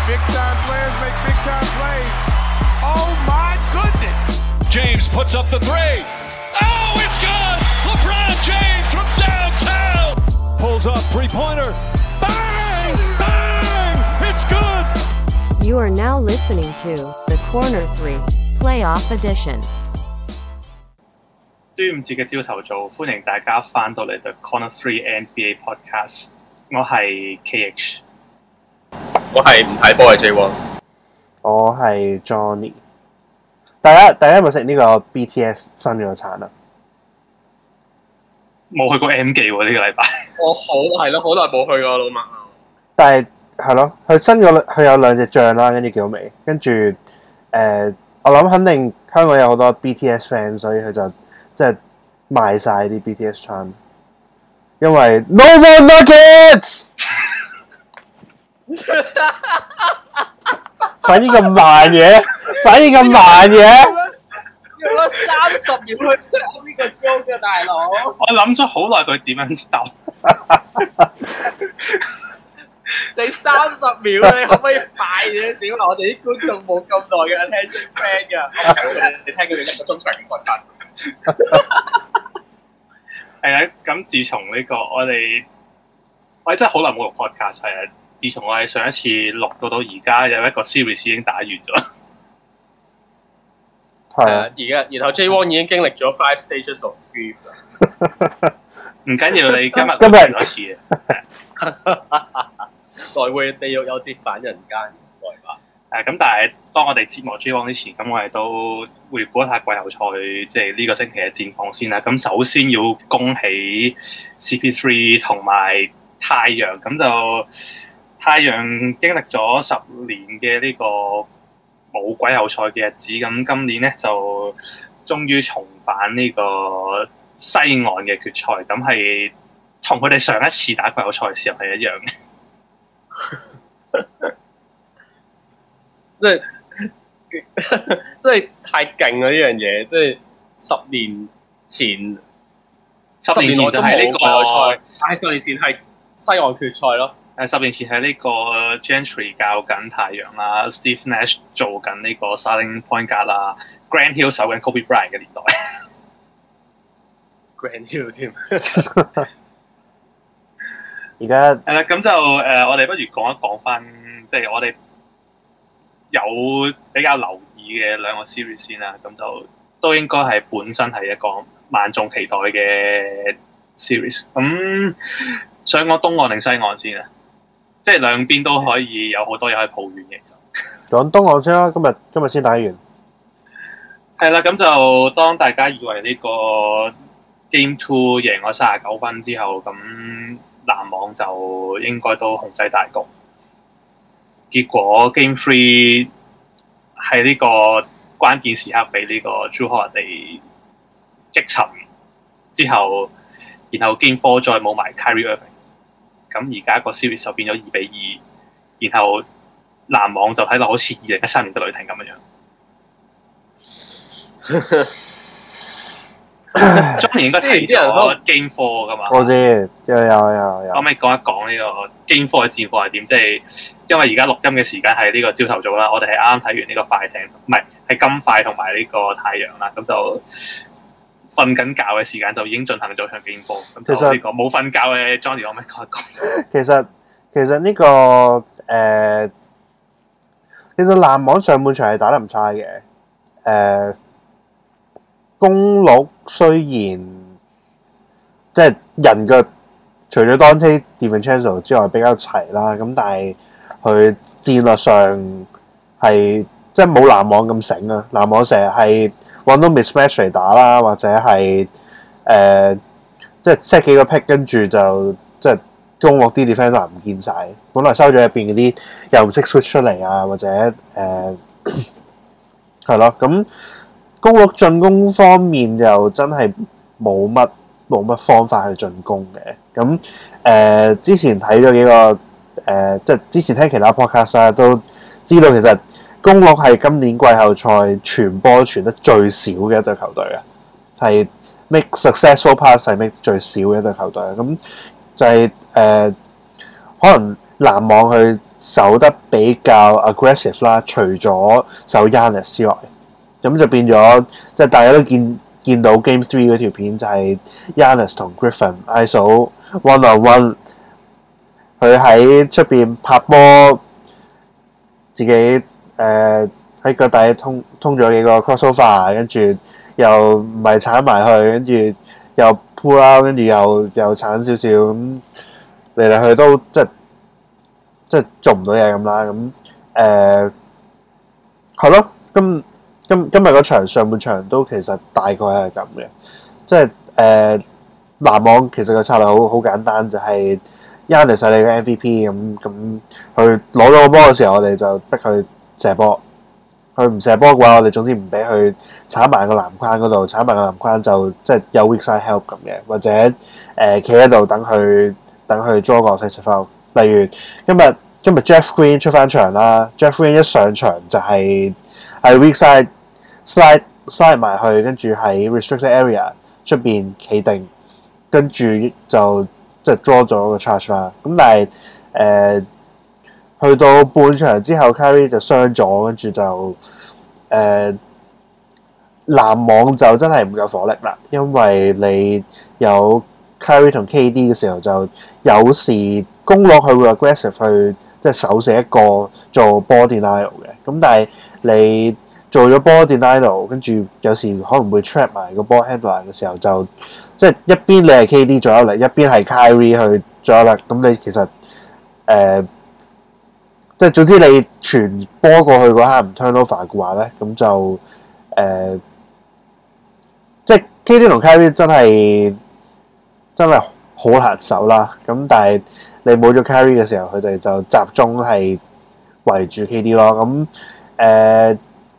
Big time players make big time plays. Oh my goodness! James puts up the three. Oh, it's good! LeBron James from downtown. Pulls up three-pointer. Bang! Bang! It's good! You are now listening to The Corner 3 Playoff Edition。 端午節嘅朝頭早，歡迎大家翻到嚟 The Corner 3 NBA Podcast。我係 KH， 我係唔睇波嘅 J1， 我係 Johnny。大家有冇食呢個 BTS 新咗餐啊？ 冇去過 M 記喎呢個禮拜。 我好耐冇去過老麥。 但係咯，佢有兩隻醬啦，跟住幾好味。跟住我諗肯定香港有好多 BTS fans， 所以佢就即係賣晒啲 BTS 餐。因為 No more nuggets， 反應咁慢嘅， 用咗30秒去 set 呢個 joke 嘅大佬。 我諗咗好耐佢點樣答。 你30秒你可唔可以快啲少？我哋啲觀眾冇咁耐嘅 attention span 㗎。你聽佢哋1個鐘長嘅 podcast。 係啊，咁自從呢個我哋真係好耐冇錄 podcast 係啊。自從我哋上一次錄到而家有一個 series 已經打完咗。 係啊， 然後 J1 已經經歷咗5 stages of grief 啦。 唔緊要，你今日錄多次啊。 來回地獄有折返人間，來吧。 咁但係當我哋節目 J1 之前，咁我哋都回顧一下季後賽，即係呢個星期嘅戰況先啦。咁首先要恭喜 CP3 同埋太陽，咁就太陽經歷咗10年嘅呢個冇季後賽嘅日子，咁今年咧就終於重返呢個西岸嘅決賽，咁係同佢哋上一次打季後賽嘅時候係一樣嘅。 即係太勁啦！呢樣嘢，即係10年前就係呢個賽， 但係10年前係西岸決賽咯。 10年前係呢個 Gentry 教緊太陽啦 ，Steve Nash 做緊呢個 starting point guard 啦 ，Grant Hill 守緊 Kobe Bryant 嘅年代。 Grant Hill 添。 而家咁就我哋不如講一講翻，即係我哋有比較留意嘅兩個 series 先啦。咁就都應該係本身係一個萬眾期待嘅 series。咁想講東岸定西岸先啊？即係兩邊都可以有好多嘢可以抱怨嘅。其實講東岸先啦，今日先打完。 係啦，咁就當大家以為呢個 Game 2贏咗39分之後，咁籃網就應該都控制大局，結果 Game 3喺呢個關鍵時刻俾呢個 Jrue Holiday擊沉之後，然後 Game 4再冇埋 Kyrie Irving， 咁而家個 series 就變咗2-2，然後籃網就睇落好似2013年嘅雷霆咁樣。Johnny 應該睇咗 Game 4噶嘛？ 我知，有。 可唔可以講一講呢個 Game 4嘅戰況係點？即係因為而家錄音嘅時間係呢個朝頭早啦，我哋係啱啱睇完呢個快艇，唔係金塊同埋呢個太陽啦，咁就瞓緊覺嘅時間就已經進行咗場 Game 4。咁就呢個冇瞓覺嘅 Johnny 可唔可以講一講？ 其實呢個其實籃網上半場係打得唔差嘅，公鹿雖然即係人腳除咗 Donte DiVincenzo 之外比較齊啦，咁但係佢戰略上係即係冇籃網咁醒啊！籃網成日係揾到 mismatch 嚟打啦，或者係即係 set 幾個 pick 跟住就即係公鹿啲 defender 唔見晒，本來收咗入邊嗰啲又唔識 switch 出嚟啊，或者係咯咁。公鹿進攻方面又真係冇乜方法去進攻嘅，咁之前睇咗幾個即係之前聽其他 podcast 啦，都知道其實公鹿係今年季後賽傳波傳得最少嘅一隊球隊啊，係 make successful pass 係 make 最少嘅一隊球隊啊，咁就係可能籃網去守得比較 aggressive 啦，除咗守 Giannis 之外，咁就變咗即係大家都見到 Game 3嗰條片就係 Giannis 同 Griffin ISO one on one， 佢喺出邊拍波，自己喺腳底通咗幾個 crossover， 跟住又唔係鏟埋去，跟住又 pull out， 跟住又鏟少少咁嚟嚟去都即係做唔到嘢咁啦。咁係咯，今日嗰場上半場都其實大概係咁嘅，即係籃網其實個策略好簡單，就係 Giannis 係你嘅 MVP 咁，佢攞到個波嘅時候，我哋就逼佢射波。佢唔射波嘅話，我哋總之唔俾佢鏟埋個籃筐嗰度，鏟埋個籃筐就即係有 weak side help 咁嘅，或者企喺度等佢 draw 個 offensive foul。例如今日 Jeff Green 出翻場啦 ，Jeff Green 一上場就係 weak side slide 埋去，跟住喺 restricted area 出邊企定，跟住就即係 draw 咗個 charge 啦。咁但係去到半場之後 Kyrie 就傷咗，跟住就籃網就真係唔夠火力啦，因為你有 Kyrie 同 KD 嘅時候，就有時攻落去會 aggressive 去即係手射一個做 ball denial 嘅，咁但係你做咗 ball denial， 跟住有時可能會 trap 埋個 ball handler 嘅時候，就即係一邊你係 KD 左右力，一邊係 Kyrie 去左右力，咁你其實即係總之你傳波過去嗰刻唔 turnover 嘅話咧，咁就即係 KD 同 Kyrie 真係好難守啦。咁但係你冇咗 Kyrie 嘅時候，佢哋就集中係圍住 KD 咯。咁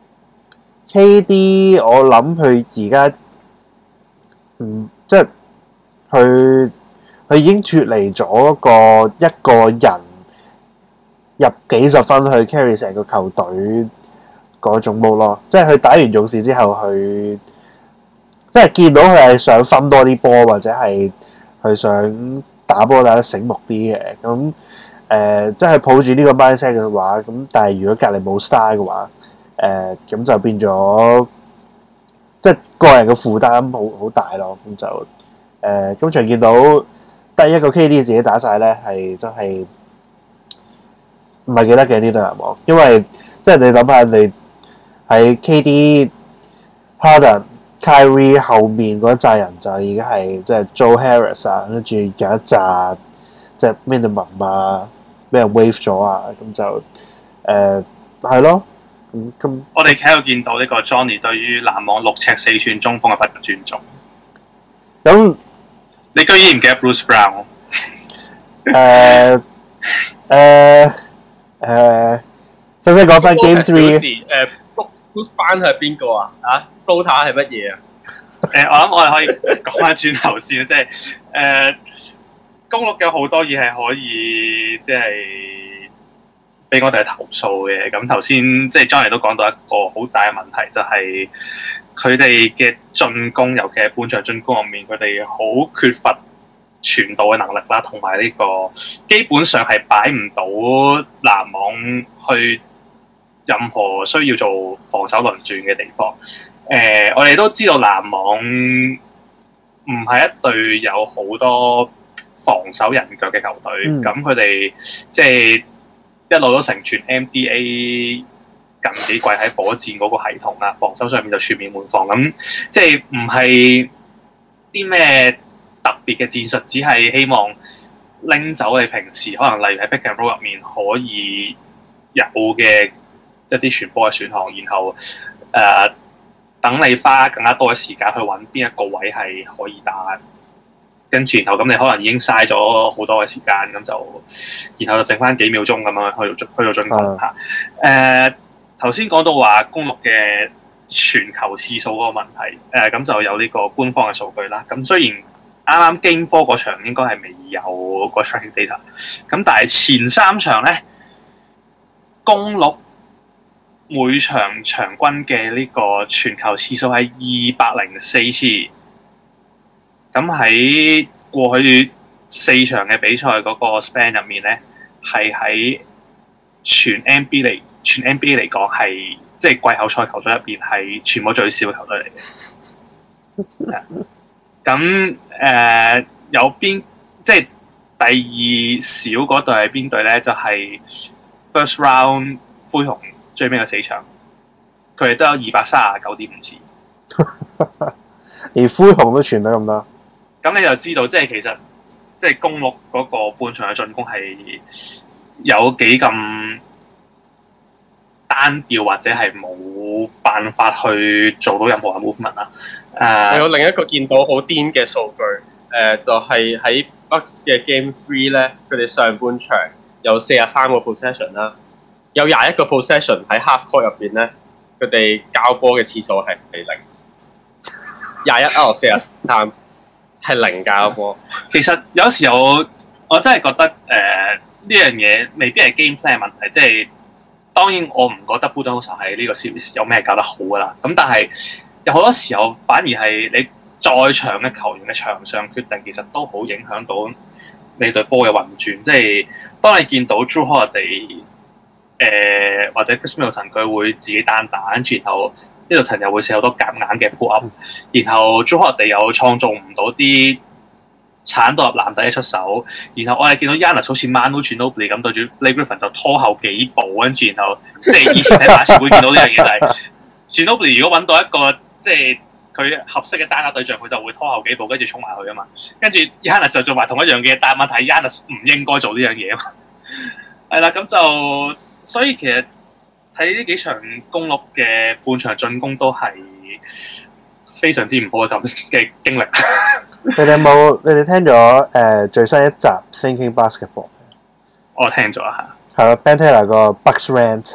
KD 我諗佢而家即係佢已經脫離咗一個人入幾十分去 carry 成個球隊嗰種 mode 咯，即係佢打完勇士之後，佢即係見到佢係想分多啲波，或者係佢想打波打得醒目啲嘅。咁即係抱住呢個 mindset 嘅話，咁但係如果隔離冇 star 嘅話，咁就變咗即係個人嘅負擔好大咯。咁就今場見到第一個 KD 自己打晒咧，係真係唔係記得嘅呢隊籃網，因為即係你諗下，你喺 KD、Harden、Kyrie 後面嗰一紮人就已經係即係 Joe Harris 啊，跟住有一紮即係 minimum 啊，俾人 wave 咗啊，咁就係咯。咁我哋喺度見到呢個 Johnny 對於籃網6尺4寸中鋒嘅不尊重。 咁你居然唔記得 Bruce Brown？ 使唔使講翻 Game 3？ Bruce Brown 係邊個啊？Floater 係乜嘢啊？ 我諗我哋可以講翻轉頭先，即係公鹿有好多嘢係可以即係俾我哋投訴嘅。咁頭先即係 Johnny 都講到一個好大嘅問題，就係佢哋嘅進攻，尤其係半場進攻入面，佢哋好缺乏傳導嘅能力啦，同埋呢個基本上係擺唔到籃網去任何需要做防守輪轉嘅地方。我哋都知道籃網唔係一隊有好多防守人腳嘅球隊，咁佢哋即係一路都成全 NBA 近幾季喺火箭嗰個系統啦，防守上面就全面換防，咁即係唔係啲咩特別嘅戰術，只係希望拎走你平時可能例如喺 pick and roll 入面可以有嘅一啲傳波嘅選項，然後等你花更加多嘅時間去揾邊一個位係可以打，跟住然後咁你可能已經嘥咗好多嘅時間，咁就然後就剩翻幾秒鐘咁樣去到進攻嚇。頭先講到話公鹿嘅傳球次數嗰個問題，咁就有呢個官方嘅數據啦。咁雖然啱啱Game 4嗰場應該係未有個 tracking data， 咁但係前3場咧，公鹿每場場均嘅呢個傳球次數係204次。咁喺過去4場嘅比賽嗰個 span 入面咧， 係喺全 NBA 嚟講係即係季後賽球隊入邊係全部最少嘅球隊嚟嘅。咁有邊即係第二少嗰隊係邊隊咧？就係、是、First Round 灰熊最尾嘅4場，佢哋都有239.5次。 連灰熊都傳得咁多， 咁你就知道即係其實即係公鹿嗰個半場嘅進攻係有幾咁單調，或者係冇辦法去做到任何嘅 movement 啦。 我有另一個見到好癲嘅數據，就係喺 Bucks 嘅 Game 3咧，佢哋上半場有43個 possession 啦，有21個 possession 喺 half court 入邊咧，佢哋交波嘅次數係0。21 out of 43係0交波。 其實有時候我真係覺得呢樣嘢未必係 game plan 問題，即係當然我唔覺得 Budenholzer 喺呢個 series 有咩搞得好噶啦。咁但係有好多時候反而係你在場嘅球員嘅場上決定，其實都好影響到你隊波嘅運轉。即係當你見到 Jrue Holiday 或者 Chris Middleton 佢會自己單打，跟住然後Middleton又會射好多夾硬嘅 pull up， 然後 Jrue Holiday又創造唔到啲鏟到入籃底嘅出手，然後我哋見到 Giannis 好似 Manu Ginobili 咁對住 Blake Griffin 就拖後幾步，跟住然後即係以前喺馬刺會見到呢樣嘢就係 Ginobili 如果揾到一個即係佢合適嘅單打對象，佢就會拖後幾步跟住衝埋去啊嘛，跟住 Giannis 就做埋同一樣嘢，但係問題 Giannis 唔應該做呢樣嘢啊嘛，係啦，咁就所以其實睇呢幾場公鹿嘅半場進攻都係非常之唔好嘅經歷。 你哋聽咗最新一集 Thinking Basketball？ 我聽咗下。 係咯 Ben Taylor 個 Bucks Rant。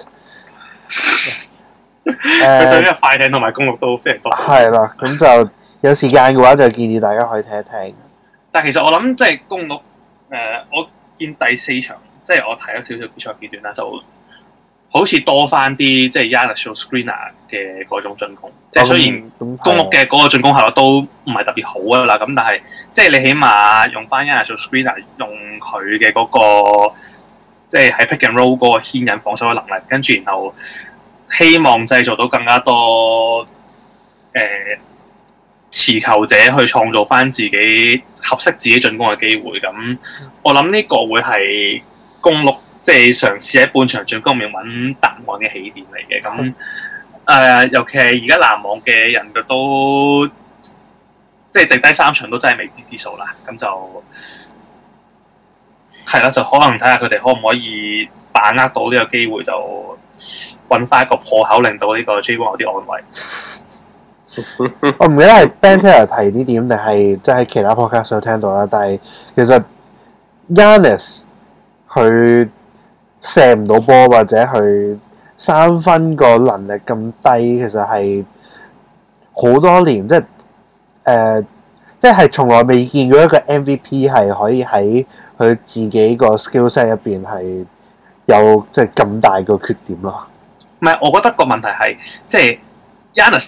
佢對呢個快艇同埋公鹿都非常多。 係啦，咁就有時間嘅話就建議大家可以聽一聽。 但係其實我諗即係公鹿我見第4場即係我睇咗少少比賽片段啦，就好似多翻啲即係 Giannis 做 screener 嘅嗰種進攻，即係雖然公鹿嘅嗰個進攻效率都唔係特別好啊啦，咁但係即係你起碼用翻 Giannis 做 screener， 用佢嘅嗰個即係喺 pick and roll 嗰個牽引防守嘅能力，跟住然後希望製造到更加多持球者去創造翻自己合適自己進攻嘅機會。咁我諗呢個會係公鹿即係嘗試喺半場進攻入面揾答案嘅起點嚟嘅。咁尤其係而家籃網嘅人嘅都即係剩低3場都真係未知之數啦。咁就係啦，就可能睇下佢哋可唔可以把握到呢個機會，就揾翻一個破口，令到呢個 J1 有啲安慰。 我唔記得係 Ben Taylor 提呢點定係即係其他 podcast 有聽到啦。但係其實 Giannis 佢射唔到波或者佢3分個能力咁低，其實係好多年即係從來未見過一個 MVP 係可以喺佢自己個 skill set 入邊係有即係咁大個缺點咯。 唔係，我覺得個問題係即係 Giannis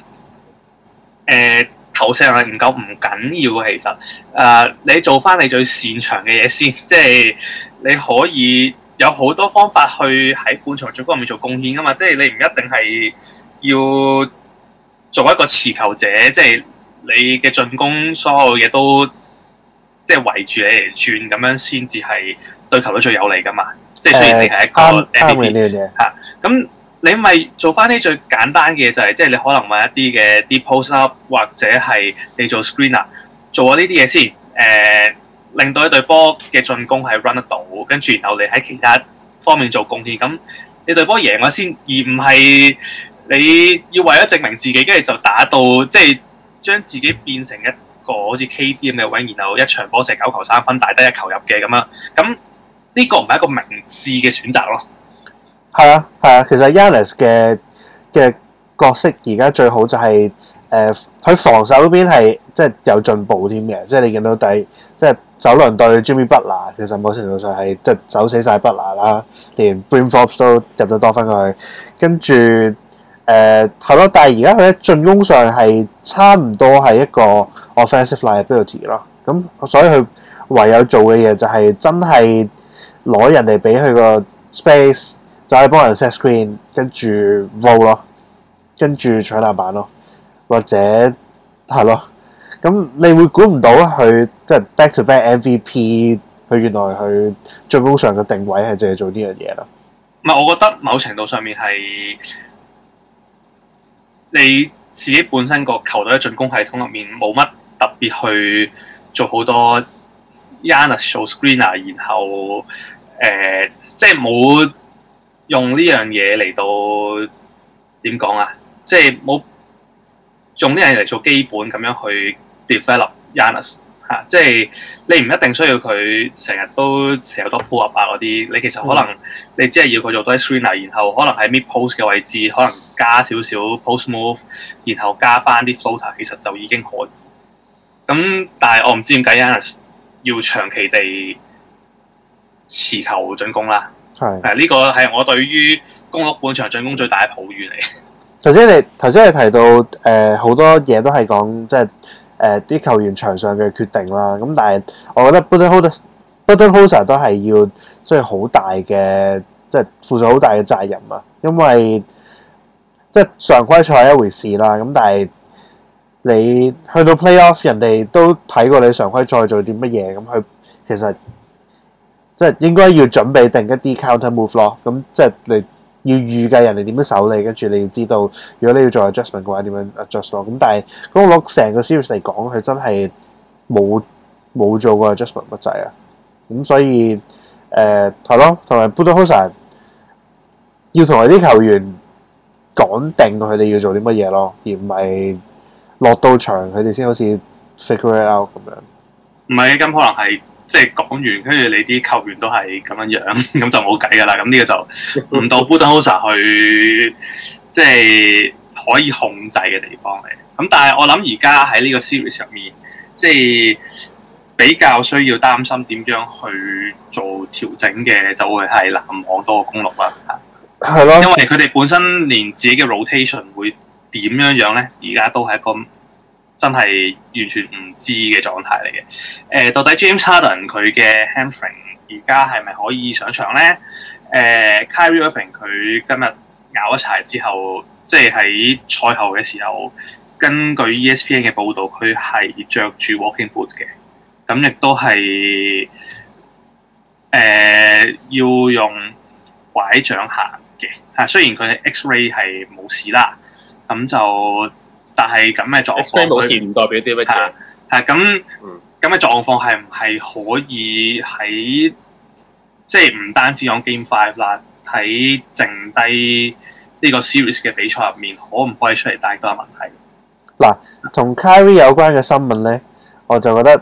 投射能力唔夠唔緊要嘅，其實你做翻你最擅長嘅嘢先，即係你可以有好多方法去喺半場進攻入面做貢獻噶嘛，即係你唔一定係要做一個持球者，即係你嘅進攻所有嘢都即係圍住你嚟轉咁樣先至係對球隊最有利噶嘛，即係雖然你係一個 MVP 嚇，咁你咪做翻啲最簡單嘅嘢，就係即係你可能揾一啲嘅 deep post up 或者係你做 screener 做咗呢啲嘢先，令到一隊波嘅進攻係 run 得到，跟住然後你喺其他方面做貢獻，咁你隊波贏咗先，而唔係你要為咗證明自己，跟住就打到即係將自己變成一個好似 KD 咁嘅位，然後一場波射9球3分，大得1球入嘅咁樣，咁呢個唔係一個明智嘅選擇咯。 係啊，其實 Giannis 嘅角色而家最好就係佢防守嗰邊係即係有進步添嘅，即係你見到即係首輪對 Jimmy Butler， 其實某程度上係即係走死晒 Butler 啦，連 Bryn Forbes 都入咗多分過去，跟住係咯，但係而家佢喺進攻上係差唔多係一個 offensive liability 咯，咁所以佢唯有做嘅嘢就係真係攞人哋俾佢個 space，就可以幫人 set screen， 跟住 roll 咯，跟住搶籃板咯，或者係咯。咁你會估唔到佢即係 back to back MVP， 佢原來佢進攻上嘅定位係淨係做呢樣嘢咯。 唔係，我覺得某程度上面係你自己本身個球隊嘅進攻系統入面冇乜特別去做好多 Giannis 做 screener， 然後即係冇用呢樣嘢嚟到點講啊？即係冇用呢樣嘢嚟做基本咁樣去 develop Giannis 嚇，即係你唔一定需要佢成日都成日多 pull up 啊嗰啲，你其實可能你只係要佢做多啲 screener， 然後可能喺 mid post 嘅位置可能加少少 post move， 然後加翻啲 floater， 其實就已經可以。咁但係我唔知點解 Giannis 要長期地持球進攻啦。係呢個係我對於公鹿本場進攻最大嘅抱怨嚟。頭先你提到好多嘢都係講即係啲球員場上嘅決定啦。咁但係我覺得 Budenholzer 都係要需要好大嘅即係負上好大嘅責任啊。因為即係常規賽係一回事啦。咁但係你去到 playoff， 人哋都睇過你常規賽做啲乜嘢，咁佢其實即係應該要準備定一啲 counter move 咯。咁即係你要預計人哋點樣守你，跟住你要知道如果你要做 adjustment 嘅話點樣 adjust 咯。咁但係公鹿成個 series 嚟講，佢真係冇做過 adjustment 乜滯啊。咁所以係咯，同埋 Budenholzer 要同佢啲球員講定佢哋要做啲乜嘢咯，而唔係落到場佢哋先好似 figure it out 咁樣。唔係，咁可能係即係講完，跟住你啲球員都係咁樣樣，咁就冇計㗎啦。咁呢個就唔到 Budenholzer 去即係可以控制嘅地方嚟。咁但係我諗而家喺呢個 series 入面，即係比較需要擔心點樣去做調整嘅，就會係籃網多過公鹿啦。係咯，因為佢哋本身連自己嘅 rotation 會點樣咧，而家都係一個真係完全唔知嘅狀態嚟嘅。到底 James Harden 佢嘅 hamstring 而家係咪可以上場咧？Kyrie Irving 佢今日咬一柴之後，即係喺賽後嘅時候，根據 ESPN 嘅報導，佢係着住 walking boots 嘅，咁亦都係要用拐杖行嘅。嚇，雖然佢嘅 X-ray 係冇事啦，咁就但係咁嘅狀況 X-ray 冇事唔代表啲乜嘢。 係咁嘅狀況係唔係可以喺即係唔單止講 Game 5啦，喺剩低呢個 series 嘅比賽入面，可唔可以出嚟帶多個問題？嗱，同 Kyrie 有關嘅新聞咧，我就覺得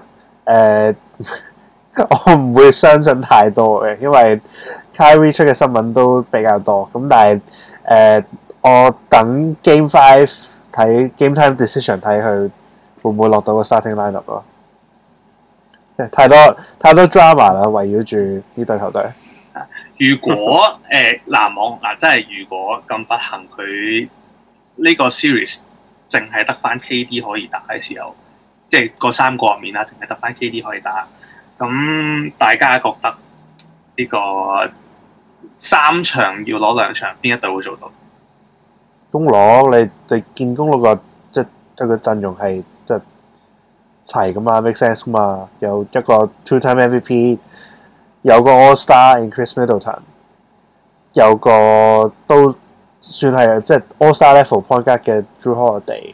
我唔會相信太多嘅，因為 Kyrie 出嘅新聞都比較多。咁但係我等 Game 5睇 Game Time Decision 睇佢會唔會落到個 starting lineup 咯。太多 drama 啦，圍繞住呢隊球隊。如果籃網嗱，真係如果咁不幸，佢呢個 series 淨係得翻 KD 可以打嘅時候，即係個三個入面啦，淨係得翻 KD 可以打，咁大家覺得呢個3場要攞2場，邊一隊會做到？公鹿，你見公鹿個即係佢個陣容係即係齊噶嘛 ，make sense 噶嘛，有一個 two-time MVP， 有個 All-Star in Chris Middleton， 有個都算係即係 All-Star level point guard 嘅 Drew Holiday，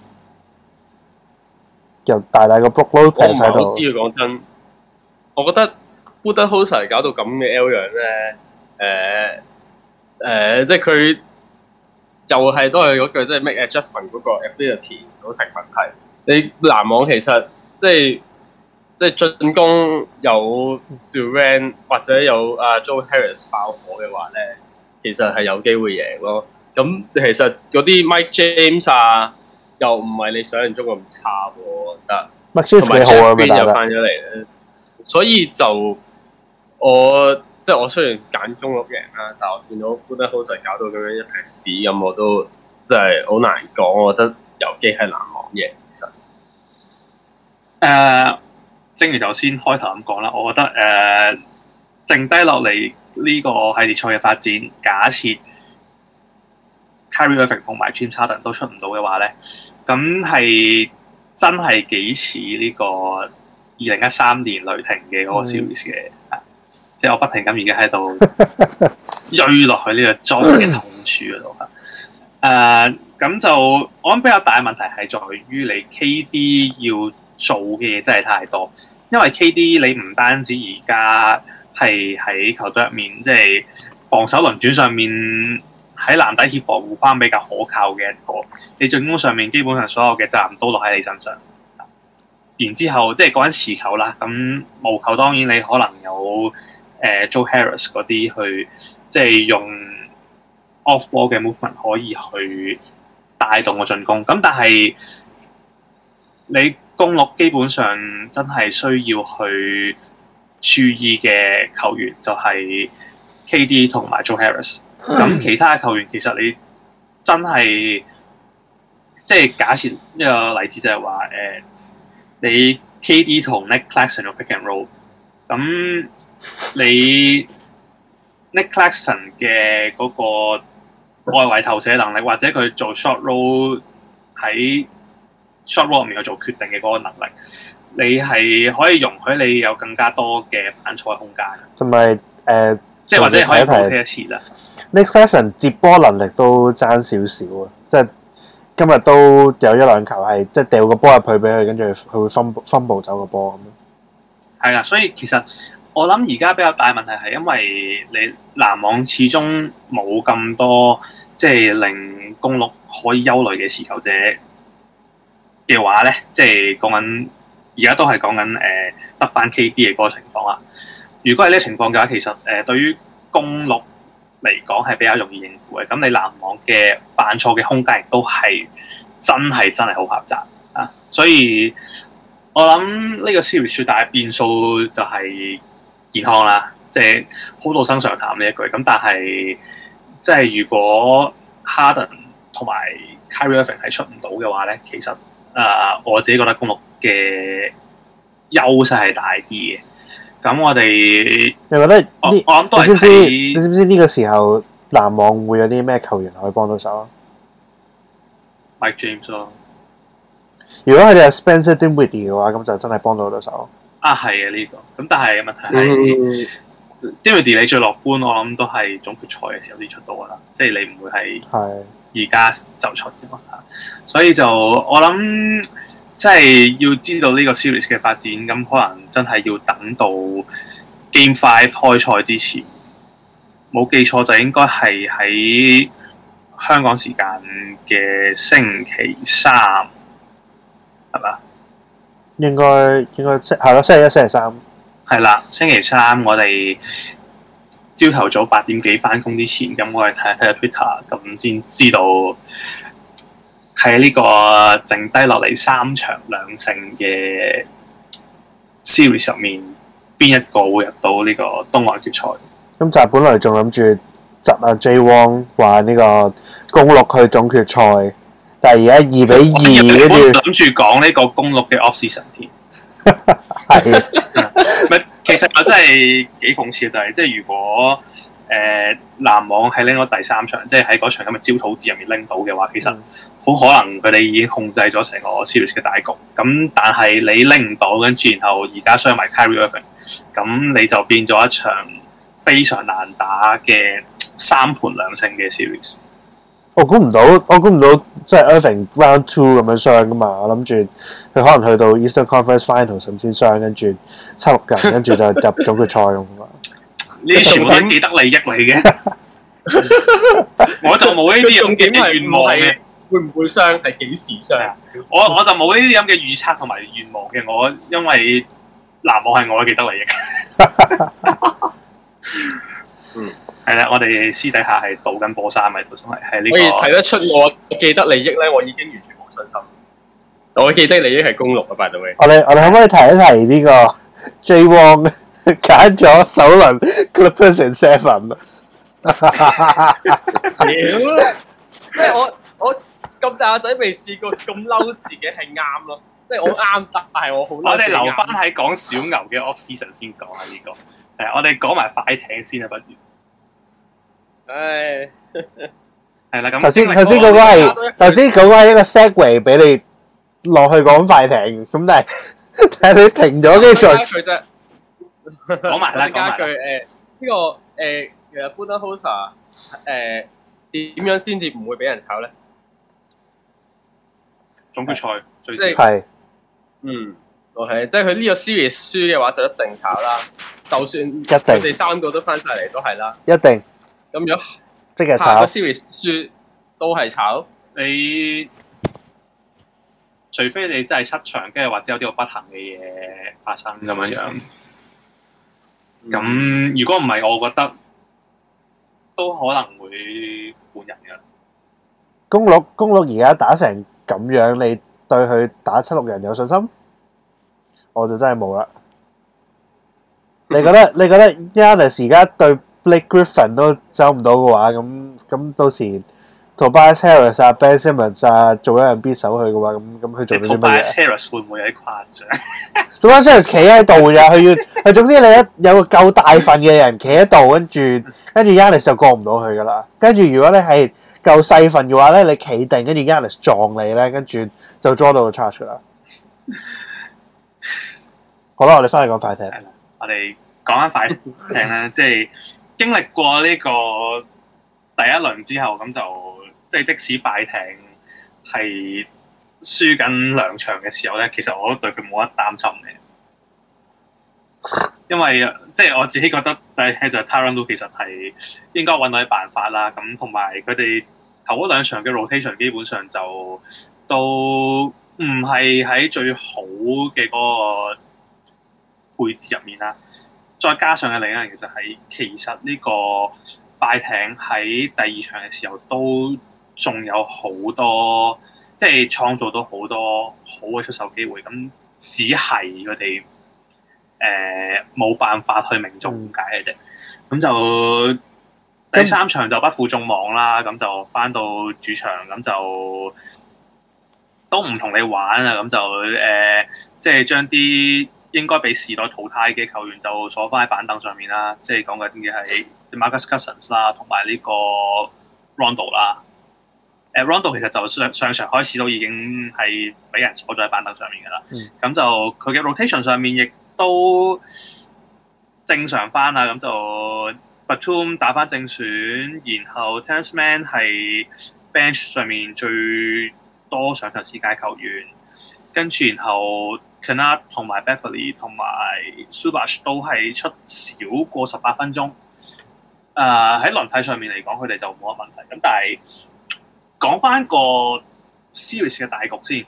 又大個 Brook Lopez 喺度。我唔係好知講真，我覺得 Budenholzer 搞到咁嘅 L 樣咧，即係佢。又係都係嗰句，即係 make adjustment 嗰個 ability 都成問題。你籃網其實即係進攻有 Durant 或者有Joe Harris 爆火嘅話咧，其實係有機會贏咯。咁其實嗰啲 Mike James 又唔係你想象中咁差喎，我覺得。Mike James 幾好啊，邊又翻咗嚟咧，所以就我雖然揀公鹿贏啦，但係我見到 Budenholzer 搞到咁樣一撇屎咁，我都真係好難講。我覺得有機係籃網贏。其實正如頭先開頭咁講啦，我覺得剩低落嚟呢個系列賽嘅發展，假設 Kyrie Irving 同埋 James Harden 都出唔到嘅話咧，咁係真係幾似呢個2013年雷霆嘅嗰個 series 嘅，即係我不停咁而家喺度追落去呢個裝嘅痛處嗰度。咁就我諗比較大嘅問題係在於你 KD 要做嘅嘢真係太多，因為 KD 你唔單止而家係喺球隊入面，即係防守輪轉上面喺籃底協防護框比較可靠嘅一個，你進攻上面基本上所有嘅責任都落喺你身上。然之後即係講緊持球啦，咁無球當然你可能有Joe Harris 嗰啲去即係用 off ball 嘅 movement 可以去帶動個進攻，咁但係你公鹿基本上真係需要去注意嘅球員就係 KD 同埋 Joe Harris。咁其他球員其實你真係即係假設一個例子就係話你 KD 同 Nick Claxton 用 pick and roll， 咁你 Nick Claxton 嘅嗰個外圍投射能力，或者佢做 short roll 喺 short roll 入面去做決定嘅嗰個能力，你係可以容許你有更加多嘅反錯空間， 同埋即係或者可以補踢一次啦。 Nick Claxton 接波能力都爭少少啊，即係今日都有一兩球係即係掉個波入去俾佢，跟住佢會分步走個波咁。 係啦，所以其實我諗而家比較大問題係因為你籃網始終冇咁多即係令公鹿可以憂慮嘅持球者嘅話咧，即係講緊而家都係講緊得翻 KD 嘅嗰個情況啦。如果係呢個情況嘅話，其實對於公鹿嚟講係比較容易應付嘅。咁你籃網嘅犯錯嘅空間亦都係真係好狹窄啊！所以我諗呢個 series 最大嘅變數就係健康啦，即係好到生常談呢一句。咁但係即係如果 Harden 同埋 Kyrie Irving 係出唔到嘅話咧，其實我自己覺得公鹿嘅優勢係大啲嘅。咁我哋，你覺得我諗都係睇， 你知唔知呢個時候籃網會有啲咩球員可以幫到手啊 ？Mike James 咯。 如果佢哋係 Spencer Dinwiddie 嘅話，咁就真係幫到手。 啊，係啊，呢個。咁但係問題係，Dinwiddie 你最樂觀，我諗都係總決賽嘅時候先出到噶啦，即係你唔會係而家就出嘅嘛。所以就我諗。即係要知道呢個 series 嘅發展，咁可能真係要等到 Game 5開賽之前，冇記錯就應該係喺香港時間嘅星期3，係嘛？應該係咯，星期1、星期3。 係啦，星期3我哋朝頭早8點幾返工之前，咁我哋睇下 Twitter， 咁先知道。喺呢個剩低落嚟3場2勝嘅 series 入面，邊一個會入到呢個東岸決賽？ 咁就係本來仲諗住窒阿 J Wong 話呢個公鹿去總決賽，但係而家2-2，跟住諗住講呢個公鹿嘅 off season 添。 係， 其實我真係幾諷刺嘅就係，即係如果籃網係拎到第3場，即係喺嗰場咁嘅焦土戰入面拎到嘅話，其實好可能佢哋已經控制咗成個 series 嘅大局。咁但係你拎唔到，跟住然後而家傷埋 Kyrie Irving， 咁你就變咗一場非常難打嘅3盤2勝嘅 series。 我估唔到，即係 Irving Round 2咁樣傷噶嘛。我諗住佢可能去到 Eastern Conference Finals 先傷，跟住7-6人，跟住就入總決賽咁嘛。 呢啲全部都係既得利益嚟嘅，我就冇呢啲咁嘅願望嘅。 會唔會傷？係幾時傷啊？ 我就冇呢啲咁嘅預測同埋願望嘅。我因為籃網係我嘅既得利益。係啦，我哋私底下係賭緊波衫嘅，都仲係呢個。可以睇得出我既得利益咧，我已經完全冇信心。我既得利益係公鹿啊 by the way。我哋可唔可以提一提呢個 J Wong 揀咗首輪 Clippers and 7？ 即係我咁大個仔未試過咁嬲自己係啱咯，即係我啱，但係我好嬲。 我哋留翻喺講小牛嘅 off season 先講下呢個。 係啊，我哋講埋快艇先啊，不如。 唉， 係啦，咁頭先嗰個係一個 segue 俾你落去講快艇，咁但係你停咗，跟住再佢啫。 講埋啦， 加句呢個其實 Budenholzer 點樣先至唔會俾人炒咧？ 總決賽最即係係 OK， 即係佢呢個 series 輸嘅話就一定炒啦。就算佢哋三個都翻晒嚟都係啦， 一定。 咁如果即係下個 series 輸都係炒， 你除非你真係七場，跟住或者有啲好不幸嘅嘢發生咁樣樣。咁如果唔係，我覺得都可能會換人嘅。 公鹿而家打成咁樣，你對佢打76人有信心？我就真係冇啦。你覺得 Giannis 而家對 Blake Griffin 都走唔到嘅話，咁到時 Tobias Harris 啊、Ben Simmons 啊做一樣 beat 手佢嘅話，咁佢做到啲乜嘢 ？Tobias Harris 會唔會有啲誇張 ？Tobias Harris 企喺度㗎，佢總之你有個夠大份嘅人企喺度，跟住 Giannis 就過唔到去㗎啦。跟住如果你係夠細份嘅話咧，你企定跟住 Giannis 撞你咧，跟住就 draw 到個 charge 㗎啦。好啦，我哋翻去講快艇。 我哋講翻快艇咧，即係經歷過呢個第一輪之後，咁就即係即使快艇係輸緊2場嘅時候咧，其實我都對佢冇乜擔心嘅，因為即係我自己覺得第一就係 Tyronn Lue 其實係應該揾到啲辦法啦。咁同埋佢哋頭嗰2場嘅 rotation 基本上就都唔係喺最好嘅嗰個配置入面啦，再加上嘅另一樣嘢就係，其實呢個快艇喺第2場嘅時候都仲有好多，即係創造到好多好嘅出手機會，咁只係佢哋冇辦法去命中解嘅啫。咁就第3場就不負眾望啦，咁就翻到主場，咁就都唔同你玩啊，咁就即係將啲應該被時代淘汰嘅球員就坐翻喺板凳上面啦，即係講緊嘅係 Marcus Cousins 啦，同埋呢個 Rondo 啦。Rondo 其實就上場開始都已經係俾人坐咗喺板凳上面㗎啦。咁就佢嘅 rotation 上面亦都正常翻啦。咁就 Batum 打翻正選，然後 Terance Mann 係 bench 上面最多上場時間球員，跟住然後Kennard 同埋 Beverly 同埋 Zubac 都係出少過18分鐘。喺輪替上面嚟講，佢哋就冇乜問題。咁但係講翻個 series 嘅大局先。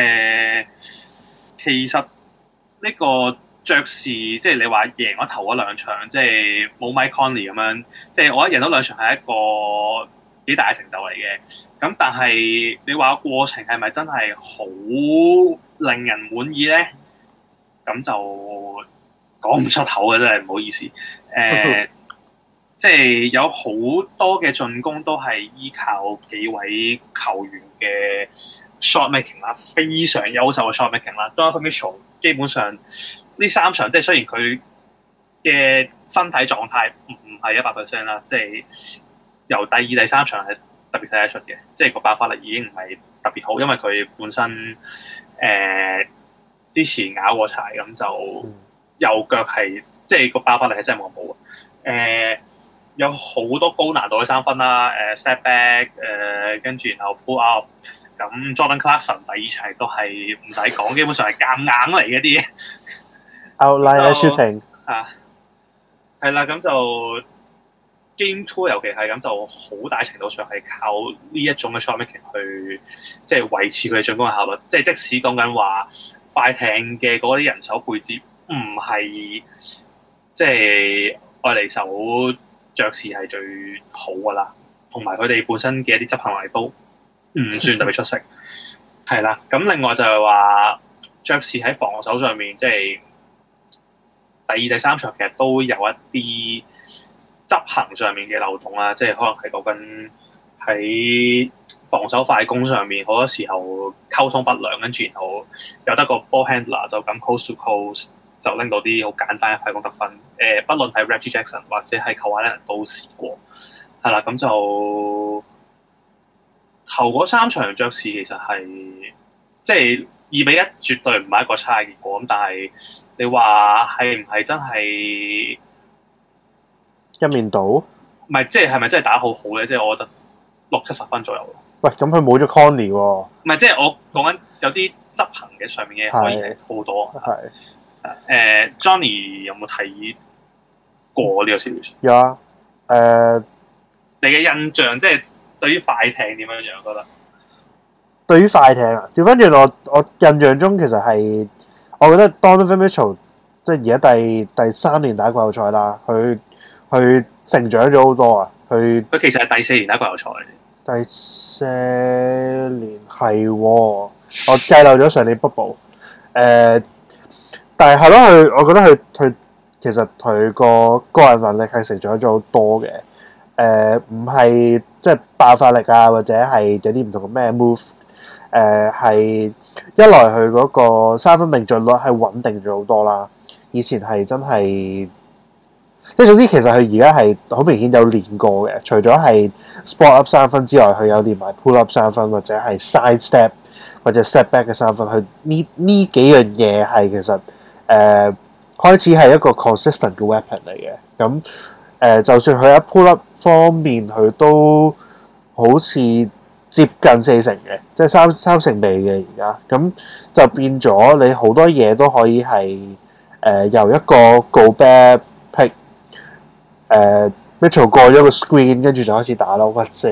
其實呢個爵士即係你話贏咗頭嗰2場，即係冇 Mike Conley 咁樣，即係我覺得贏咗2場係一個幾大嘅成就嚟嘅。咁但係你話過程係咪真係好令人滿意咧？咁就講唔出口嘅，真係唔好意思。即係有好多嘅進攻都係依靠幾位球員嘅 shot making 啦，非常優秀嘅 shot making 啦。Donovan Mitchell 基本上呢3場，即係雖然佢嘅身體狀態唔係100% 啦，即係由第2、第3場係特別睇得出嘅，即係個爆發力已經唔係特別好，因為佢本身之前咬過柴，咁就右腳係即係個爆發力係真係冇咁好。有好多高難度嘅3分啦，step back， 跟住然後 pull up， 咁 Jordan Clarkson 第2場都係唔使講，基本上係夾硬嚟嘅啲嘢。 Outline shooting 係啦，咁就 Game 2尤其係咁，就好大程度上係靠呢一種嘅 shot making 去即係維持佢嘅進攻嘅效率。即係即使講緊話快艇嘅嗰啲人手配置唔係即係愛嚟手爵士係最好噶啦，同埋佢哋本身嘅一啲執行力都唔算特別出色。係啦，咁另外就係話爵士喺防守上面，即係第2、第3場其實都有一啲執行上面嘅漏洞啦，即係可能係講緊喺防守快攻上面，好多時候溝通不良，跟住然後有得個 ball handler 就咁 coast to coast 就拎到啲好簡單嘅快攻得分。 不論係 Reggie Jackson 或者係Kawhi Leonard都試過，係啦，咁就頭嗰3場爵士其實係即係2-1，絕對唔係一個差嘅結果。咁但係你話係唔係真係一面倒？唔係，即係咪真係打好好咧？即係我覺得60-70分左右。 喂，咁佢冇咗 Conley 喎。唔係，即係我講緊有啲執行嘅上面嘅可以係好多。係。Johnny 有冇睇過呢個 series？ 有啊。 你嘅印象即係對於快艇點樣樣？覺得對於快艇啊，調翻轉我印象中其實係，我覺得 Donovan Mitchell 即係而家第3年打季後賽啦，佢成長咗好多啊！佢其實係第4年打季後賽。 第4年係喎，我計漏咗上年 bubble。但係咯，我覺得佢其實佢個人能力係成長咗好多嘅。唔係即係爆發力啊，或者係有啲唔同嘅咩 move。係一來佢嗰個三分命中率係穩定咗好多啦。以前係真係。即係總之，其實佢而家係好明顯有練過嘅。除咗係 spot up 3分之外，佢有練埋 pull up 3分，或者係 side step 或者 step back 嘅3分。佢呢幾樣嘢係其實開始係一個 consistent 嘅 weapon 嚟嘅。咁就算佢喺 pull up 方面，佢都好似接近40成嘅，即係三成尾嘅而家。咁就變咗你好多嘢都可以係由一個 Gobert pick。Mitchell 過咗個 screen， 跟住就開始打咯，或者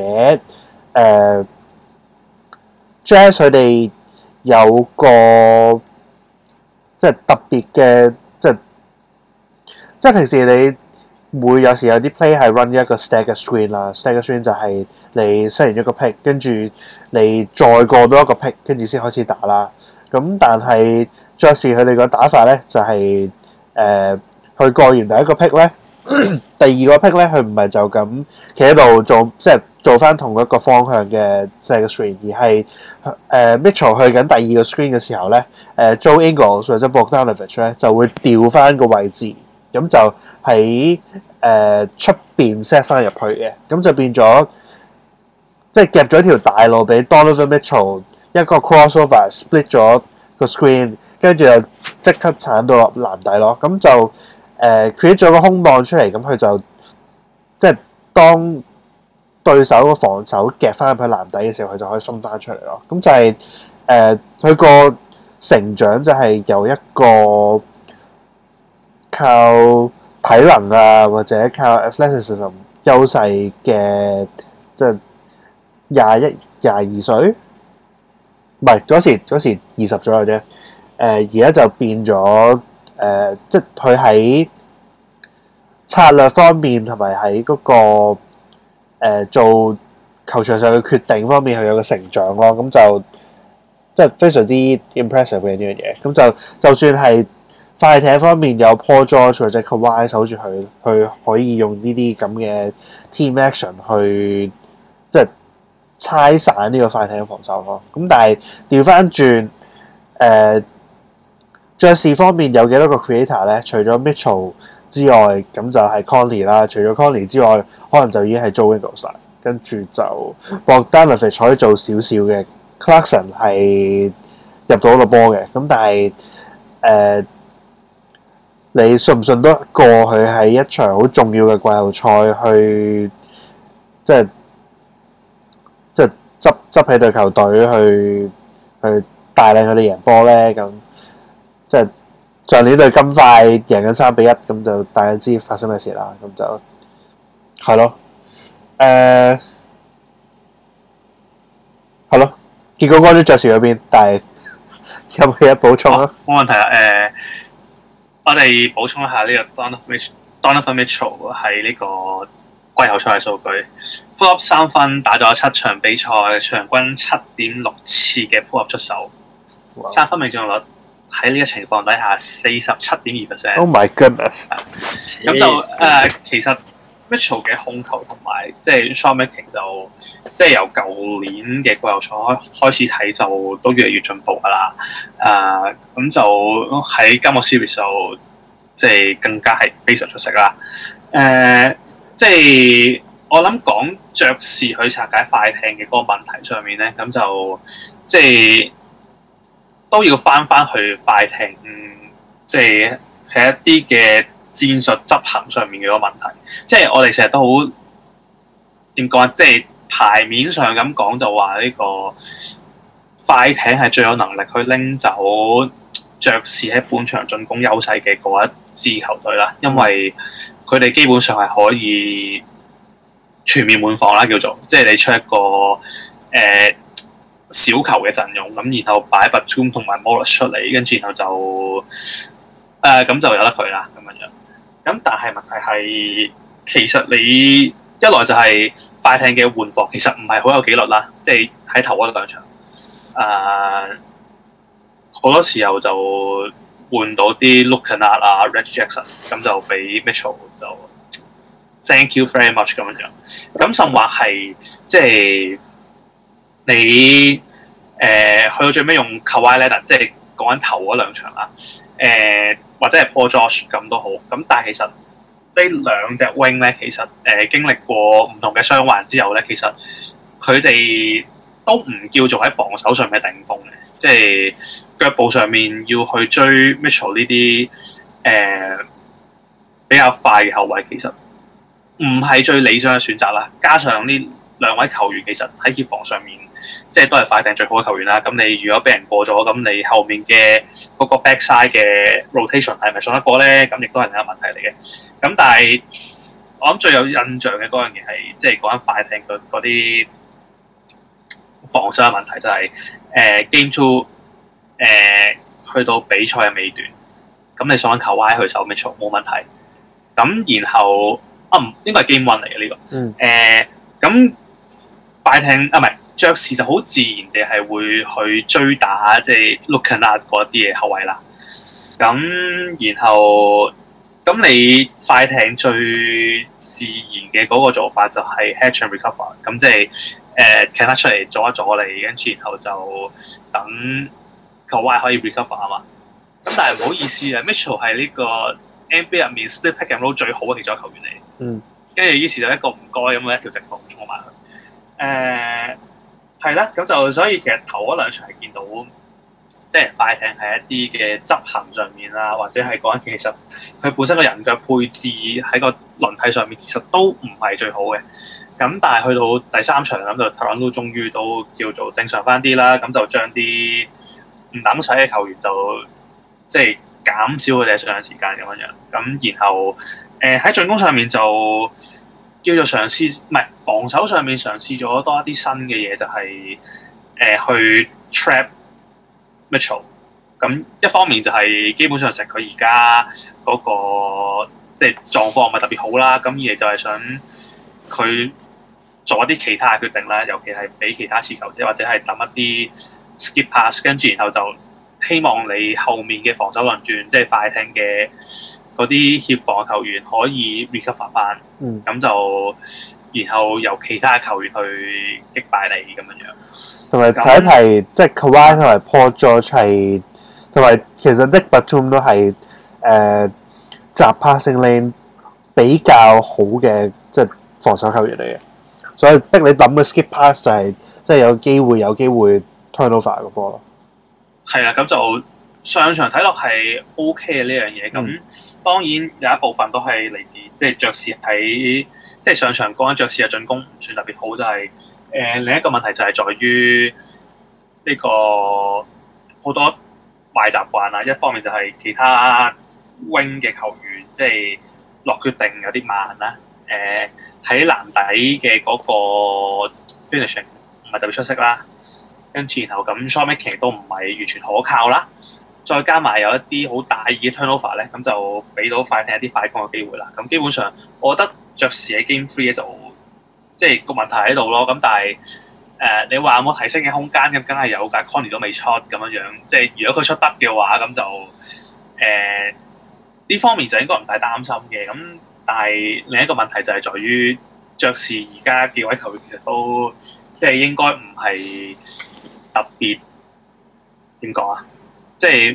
Jazz 佢哋有個即係特別嘅，即係平時你會有時有啲 play 係 run 一個 stagger screen 啦 ，stagger screen 就係你 set 完一個 pick， 跟住你再過多一個 pick， 跟住先開始打啦。咁但係爵士佢哋個打法咧就係佢過完第一個 pick 咧。第二個 pick 咧，佢唔係就咁企喺度做，即係做翻同一個方向嘅 set screen， 而係Mitchell 去緊第二個 screen 嘅時候咧，Joe Ingles 或者 Bogdanovic 咧就會調翻個位置，咁就喺出邊 set 翻入去嘅，咁就變咗即係夾咗條大路俾 Donovan Mitchell 一個 crossover split 咗個 screen， 跟住就即刻鏟到落籃底咯，咁就。create 咗個空檔出嚟，咁佢就即係當對手個防守夾翻入去籃底嘅時候，佢就可以鬆翻出嚟咯。咁就係佢個成長就係由一個靠體能啊或者靠 athleticism 優勢嘅，即係22歲，唔係嗰時20左右啫。而家就變咗。即係佢喺策略方面同埋喺嗰個做球場上嘅決定方面，佢有個成長咯。咁就即係非常之 impressive 嘅呢樣嘢。咁就算係快艇方面有 Paul George 或者 Kawhi 守住佢可以用呢啲咁嘅 team action 去即係拆散呢個快艇嘅防守咯。咁但係調翻轉爵士方面有幾多個 creator 咧？除咗 Mitchell 之外，咁就係 Conley 啦。除咗 Conley 之外，可能就已經係 Joe Ingles 啦。跟住就 Bogdanovic 可以做少少嘅 ，Clarkson 係入到個波嘅。咁但係你信唔信得過佢喺一場好重要嘅季後賽去即係執起隊球隊去帶領佢哋贏波咧？咁即係上年對金塊贏緊3-1，咁就大家知發生咩事啦。咁就係咯，係咯。結果關於爵士嗰邊，但係有冇嘢補充啊？ 冇問題啦。我哋補充一下呢個 Donovan Mitchell 喺呢個季後賽嘅數據 ，pull up 3分，打咗7場比賽，場均7.6次嘅 pull up 出手，3分命中率。喺呢個情況底下，47.2%。 Oh my goodness！ 咁就其實 Mitchell 嘅控球同埋即係 shot making 就即係由舊年嘅季後賽開始睇就都越嚟越進步㗎啦。咁就喺今個 series 就即係更加係非常出色啦。即係我諗講爵士去拆解快艇嘅嗰個問題上面咧，咁就即係都要翻去快艇，即係喺一啲嘅戰術執行上面嘅嗰個問題。即係我哋成日都好點講啊，即係牌面上咁講就話呢個快艇係最有能力去拎走爵士喺本場進攻優勢嘅嗰一支球隊啦，因為佢哋基本上係可以全面滿防啦，叫做即係你出一個小球嘅陣容，咁然後擺 Batum 同埋 Morris 出嚟，跟住然後就咁就由得佢啦咁樣。咁但係問題係，其實你一來就係快艇嘅換防其實唔係好有紀律啦，即係喺頭嗰兩場好多時候就換到啲 Luke Kennard 啊 Reggie Jackson， 咁就俾 Mitchell 就 Thank you very much 咁樣。咁甚或係即係你去到最尾用 Kawhi Leonard， 即係講緊頭嗰兩場啦，或者係 Paul George 咁都好。咁但係其實呢兩隻 wing 咧，其實經歷過唔同嘅傷患之後咧，其實佢哋都唔叫做喺防守上面頂峰嘅，即係腳步上面要去追 Mitchell 呢啲比較快嘅後衛，其實唔係最理想嘅選擇啦。加上呢兩位球員其實喺協防上面，即係都係快艇最好嘅球員啦。咁你如果俾人過咗，咁你後面嘅嗰個 backside 嘅 rotation 係咪信得過咧？咁亦都係另一個問題嚟嘅。咁但係我諗最有印象嘅嗰樣嘢係，即係講緊快艇嗰啲防守嘅問題，就係Game 2去到比賽嘅尾段，咁你想揾Kawhi去守 Mitchell 冇問題。咁然後應該係 Game 1嚟嘅呢個。咁快艇唔係爵士就好自然地係會去追打即係 Luke Kennard 嗰啲嘅後衛啦。咁然後咁你快艇最自然嘅嗰個做法就係 hedge and recover， 咁即係Kennard 出嚟阻一阻你，跟住然後就等Kawhi可以 recover 啊嘛。咁但係唔好意思啊，Mitchell 係呢個 NBA 入面 split pick and roll 最好嘅其中一個球員嚟。跟住於是就一個唔該咁樣一條直路衝埋去。係啦，咁就所以其實頭嗰兩場係見到，即係快艇係一啲嘅執行上面啦，或者係講緊其實佢本身個人腳配置喺個輪替上面其實都唔係最好嘅。咁但係去到第三場咁就 Toronto 終於都叫做正常翻啲啦，咁就將啲唔等使嘅球員就即係減少佢哋嘅上場時間咁樣。咁然後喺進攻上面就叫做嘗試，唔係防守上面嘗試咗多一啲新嘅嘢，就係去 trap Mitchell。咁一方面就係基本上食佢而家嗰個即係狀況唔係特別好啦。咁二嚟就係想佢做一啲其他嘅決定啦，尤其係俾其他持球者或者係抌一啲 skip pass， 跟住然後就希望你後面嘅防守輪轉，即係快艇嘅嗰啲協防球員可以 recover 翻，咁就然後由其他球員去擊敗你咁樣。同埋睇一睇，即係 Kawhi 同埋 Paul George 係，同埋其實 Nick Batum 都係集 passing lane 比較好嘅即係防守球員嚟嘅，所以逼你抌嘅 skip pass 就係即係有機會 turnover 個波咯。係啊， 咁就上場睇落係 OK 嘅呢樣嘢。咁當然有一部分都係嚟自即係爵士喺即係上場講緊爵士嘅進攻唔算特別好，就係另一個問題就係在於呢個好多壞習慣啦。一方面就係其他 wing 嘅球員即係落決定有啲慢啦。喺籃底嘅嗰個 finishing 唔係特別出色啦。跟住然後咁 shot making 都唔係完全可靠啦。再加埋有一啲好大意嘅 turnover 咧，咁就俾到快艇一啲快攻嘅機會啦。咁基本上，我覺得爵士喺 Game 3咧就即係個問題喺度咯。咁但係你話有冇提升嘅空間？咁梗係有㗎。Conley 都未出咁樣，即係如果佢出得嘅話，咁就呢方面就應該唔太擔心嘅。咁但係另一個問題就係在於爵士而家幾位球員其實都即係應該唔係特別點講啊？即係唔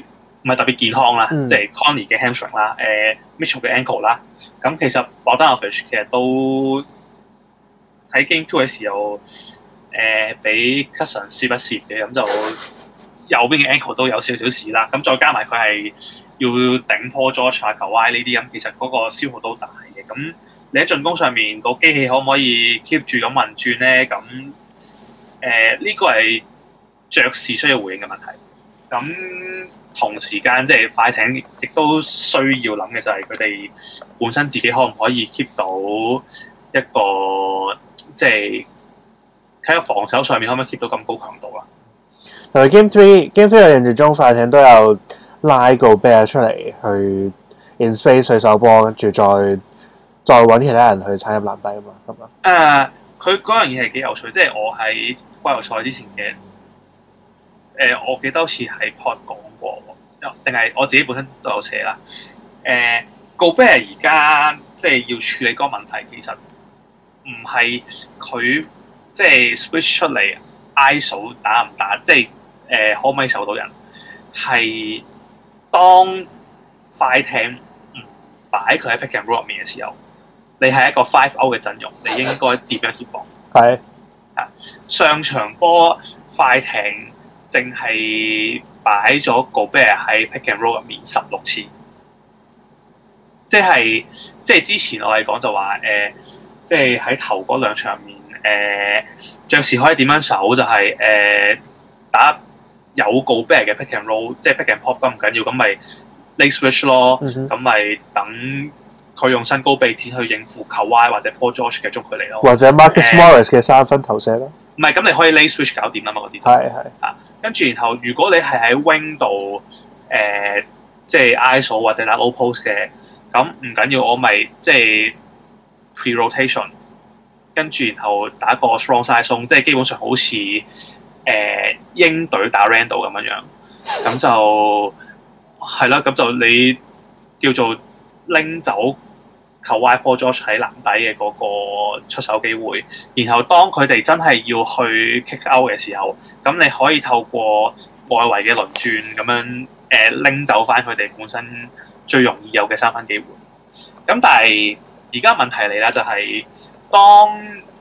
唔係特別健康啦，即係 Conley 嘅 hamstring 啦，Mitchell 嘅 ankle 啦。咁其實 Bogdanovic 其實都喺 Game 2嘅時候，俾 Cousins 攝一攝嘅，咁就右邊嘅 ankle 都有少少事啦。咁再加埋佢係要頂 Paul George 啊、Kawhi 呢啲咁，其實嗰個消耗都大嘅。咁你喺進攻上面個機器可唔可以 keep 住咁運轉咧？咁呢個係爵士需要回應嘅問題。咁同時間即係快艇亦都需要諗嘅就係佢哋本身自己可唔可以 keep 到一個即係喺個防守上面可唔可以 keep 到咁高強度啊？ 同埋 Game 3嘅印象中，快艇都有拉Gobert出嚟去 in space 去手波，跟住再揾其他人去踩入籃底啊嘛，咁啊。 佢嗰樣嘢係幾有趣，即係我喺季後賽之前嘅我記得好似喺 pod 講過，定係我自己本身都有寫啦。Gobert 而家即係要處理嗰個問題，其實唔係佢即係 switch 出嚟 ISO 打唔打，即係可唔可以守到人？係當快艇唔擺佢喺 pick and roll 入面嘅時候，你係一個 5-0 嘅陣容，你應該點樣協防？係啊，上場波快艇淨係擺咗 Gobert 喺 pick and roll 入面16次，即係之前我哋講就話即係喺頭嗰兩場入面爵士可以點樣守就係打有 Gobert 嘅 pick and roll， 即係 pick and pop 咁唔緊要，咁咪 late switch 咯，咁咪等佢用身高臂展去應付 Kawhi 或者 Paul George 嘅中距離咯， 或者 Marcus Morris 嘅三分投射咯。 唔係，咁你可以 late switch 搞掂啦嘛，嗰啲就係跟住然後如果你係喺 wing 度即係 ISO 或者打 low post 嘅，咁唔緊要，我咪即係 pre-rotation， 跟住然後打個 strong side zone， 即係基本上好似鷹隊打 Randle 咁樣，咁就係啦，咁就你叫做拎走Kawhi Paul George 喺籃底嘅嗰個出手機會，然後當佢哋真係要去 kick out 嘅時候，咁你可以透過外圍嘅輪轉咁樣拎走翻佢哋本身最容易有嘅三分機會。咁但係而家問題嚟啦，就係當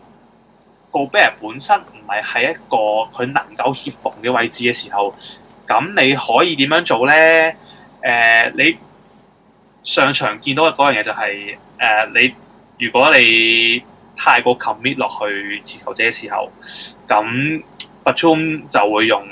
Gobert本身唔係喺一個佢能夠協防嘅位置嘅時候，咁你可以點樣做咧？你上場見到嘅嗰樣嘢就係你如果你太過 commit 落去持球者嘅時候，咁 Batum 就會用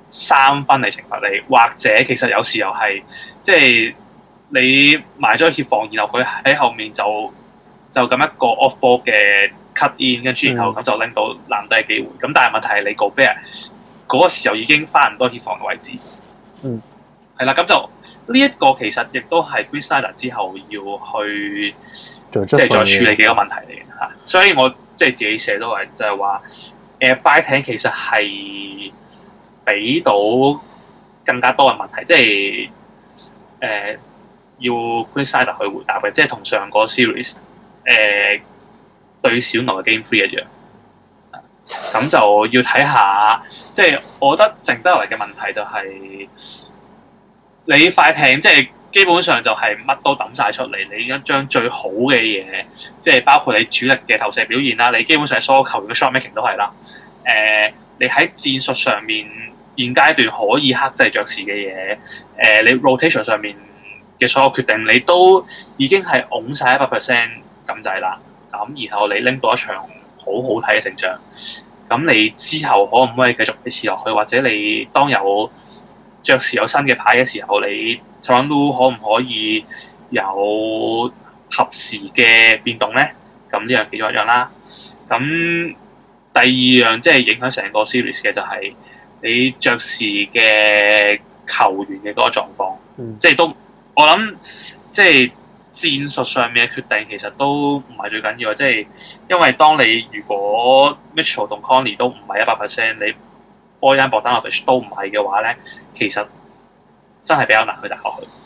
3分嚟懲罰你，或者其實有時候係即係你埋咗協防，然後佢喺後面就咁一個 off ball 嘅 cut in， 跟住然後咁就拎到籃底嘅機會。咁但係問題係你 Gobert 嗰個時候已經翻唔多協防嘅位置，係啦，咁就。呢一個其實亦都係 Quin Snyder 之後要去即係再處理嘅一個問題嚟嘅嚇，所以我即係自己寫都係就係話快艇其實係俾到更加多嘅問題，即係要 Quin Snyder 去回答嘅，即係同上個 series 對小牛嘅 Game 3一樣，咁就要睇下，即係我覺得剩得落嚟嘅問題就係。你快艇即係基本上就係乜都抌晒出嚟，你已經將最好嘅嘢，即係包括你主力嘅投射表現啦，你基本上所有球員嘅 shot making 都係啦。你喺戰術上面現階段可以克制爵士嘅嘢，你 rotation 上面嘅所有決定，你都已經係拱晒100% 咁滯啦。咁然後你拎到一場好好睇嘅勝仗，咁你之後可唔可以繼續維持落去，或者你當有爵士有新嘅牌嘅時候，你 Toronto 可唔可以有合時嘅變動咧？咁呢樣其中一樣啦。咁第二樣即係影響成個 series 嘅就係你爵士嘅球員嘅嗰個狀況，即係都我諗即係戰術上面嘅決定其實都唔係最緊要，即係因為當你如果 Mitchell 同 Conley 都唔係100%，你Bojan Bogdanovic 都唔係嘅話咧，其實真係比較難去打落去。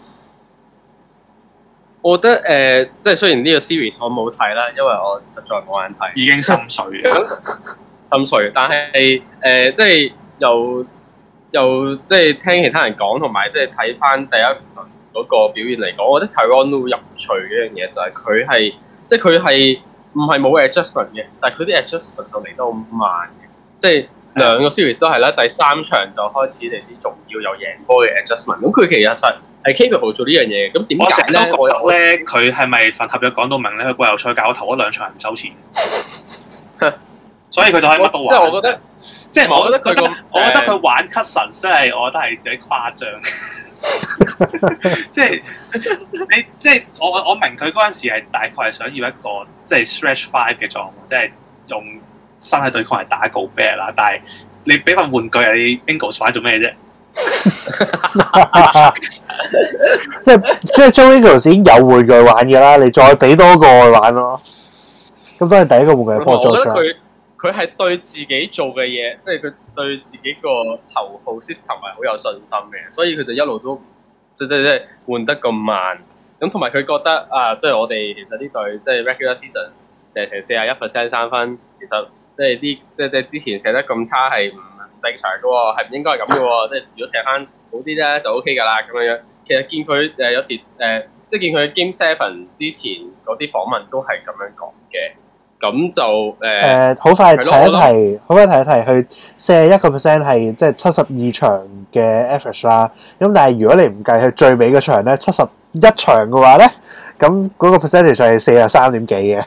我覺得即係雖然呢個 series 我冇睇啦，因為我實在冇眼睇， 已經心碎嘅。 心碎，但係即係由又即係聽其他人講，同埋即係睇翻第一輪嗰個表現嚟講，我覺得 Tyronn 都好有趣嘅一樣嘢就係佢係即係佢係唔係冇 adjustment 嘅，但係佢啲 adjustment 就嚟得好慢嘅，即係兩個 series 都係啦，第三場就開始嚟啲重要又贏波嘅 adjustment， 咁佢其實係 capable 做呢樣嘢，咁點解咧？ 我覺得咧，佢係咪份合約講到明咧？佢季後賽搞頭嗰兩場唔收錢，所以佢就可以乜都玩。 即係我覺得，即係我覺得佢我覺得佢玩 Cousins 真係，我覺得係有啲誇張。即係你即係我明佢嗰陣時係大概係想要一個即係 stretch five 嘅狀況，即係用身體對抗嚟打Gobert啦。但係你俾份玩具你 Ingles 玩做咩啫？ 即係 Joe Ingles 已經有玩具玩嘅啦，你再俾多個去玩咯。咁都係第一個玩具嘅幫助。 我覺得佢係對自己做嘅嘢，即係佢對自己個頭號 system 係好有信心嘅，所以佢就一路都即係換得咁慢。咁同埋佢覺得啊，即係我哋其實呢隊即係 regular season 射成41% 三分，其實即係啲即係之前射得咁差係唔正常嘅喎，係唔應該係咁嘅喎。即係如果射翻好啲咧就 OK 㗎啦咁樣樣。其實見佢有時即係見佢 Game 7之前嗰啲訪問都係咁樣講嘅。咁就好快提一提，佢41% 係即係72場嘅 average 啦。咁但係如果你唔計佢最尾嗰場咧71場嘅話咧，咁嗰個 percentage 係43點幾嘅。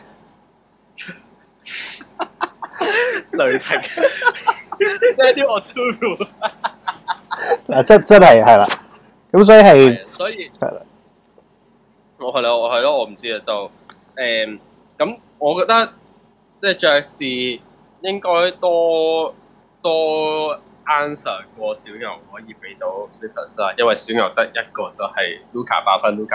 雷霆，呢啲我 true 嗱，真係啦。咁所以係啦。 我係咯，我唔知啊，就咁，我覺得。即係爵士應該多 answer 過小牛可以俾到 Clippers 啦，因為小牛得一個就係 Luka 8分。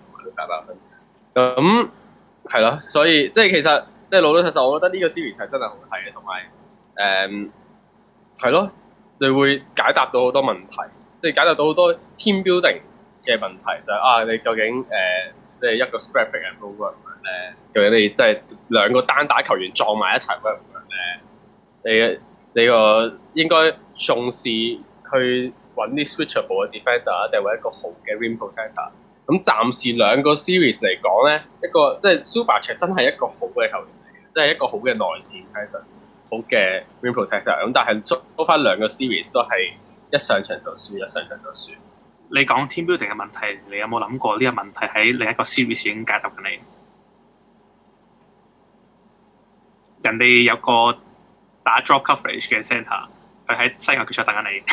咁係咯，所以即係其實即係老實實，我覺得呢個 series 係真係好睇嘅，同埋係咯，你會解答到好多問題，即係解答到好多 team building 嘅問題，就係你究竟即係一個 spread pick and roll 咁樣咧，究竟你即係兩個單打球員撞埋一齊咁樣咧？你個應該重視去揾啲 switchable 嘅 defender，定係一個好嘅 rim protector？咁暫時兩個 series 嚟講咧，一個即係 Zubac 真係一個好嘅球員嚟嘅，即係一個好嘅內線 presence， 好嘅 rim protector。咁但係收翻兩個 series 都係一上場就輸，一上場就輸。 你講 team building 嘅問題，你有冇諗過呢個問題喺另一個 series 已經解答緊你？人哋有個打 drop coverage 嘅 center， 佢喺西岸決賽等緊你。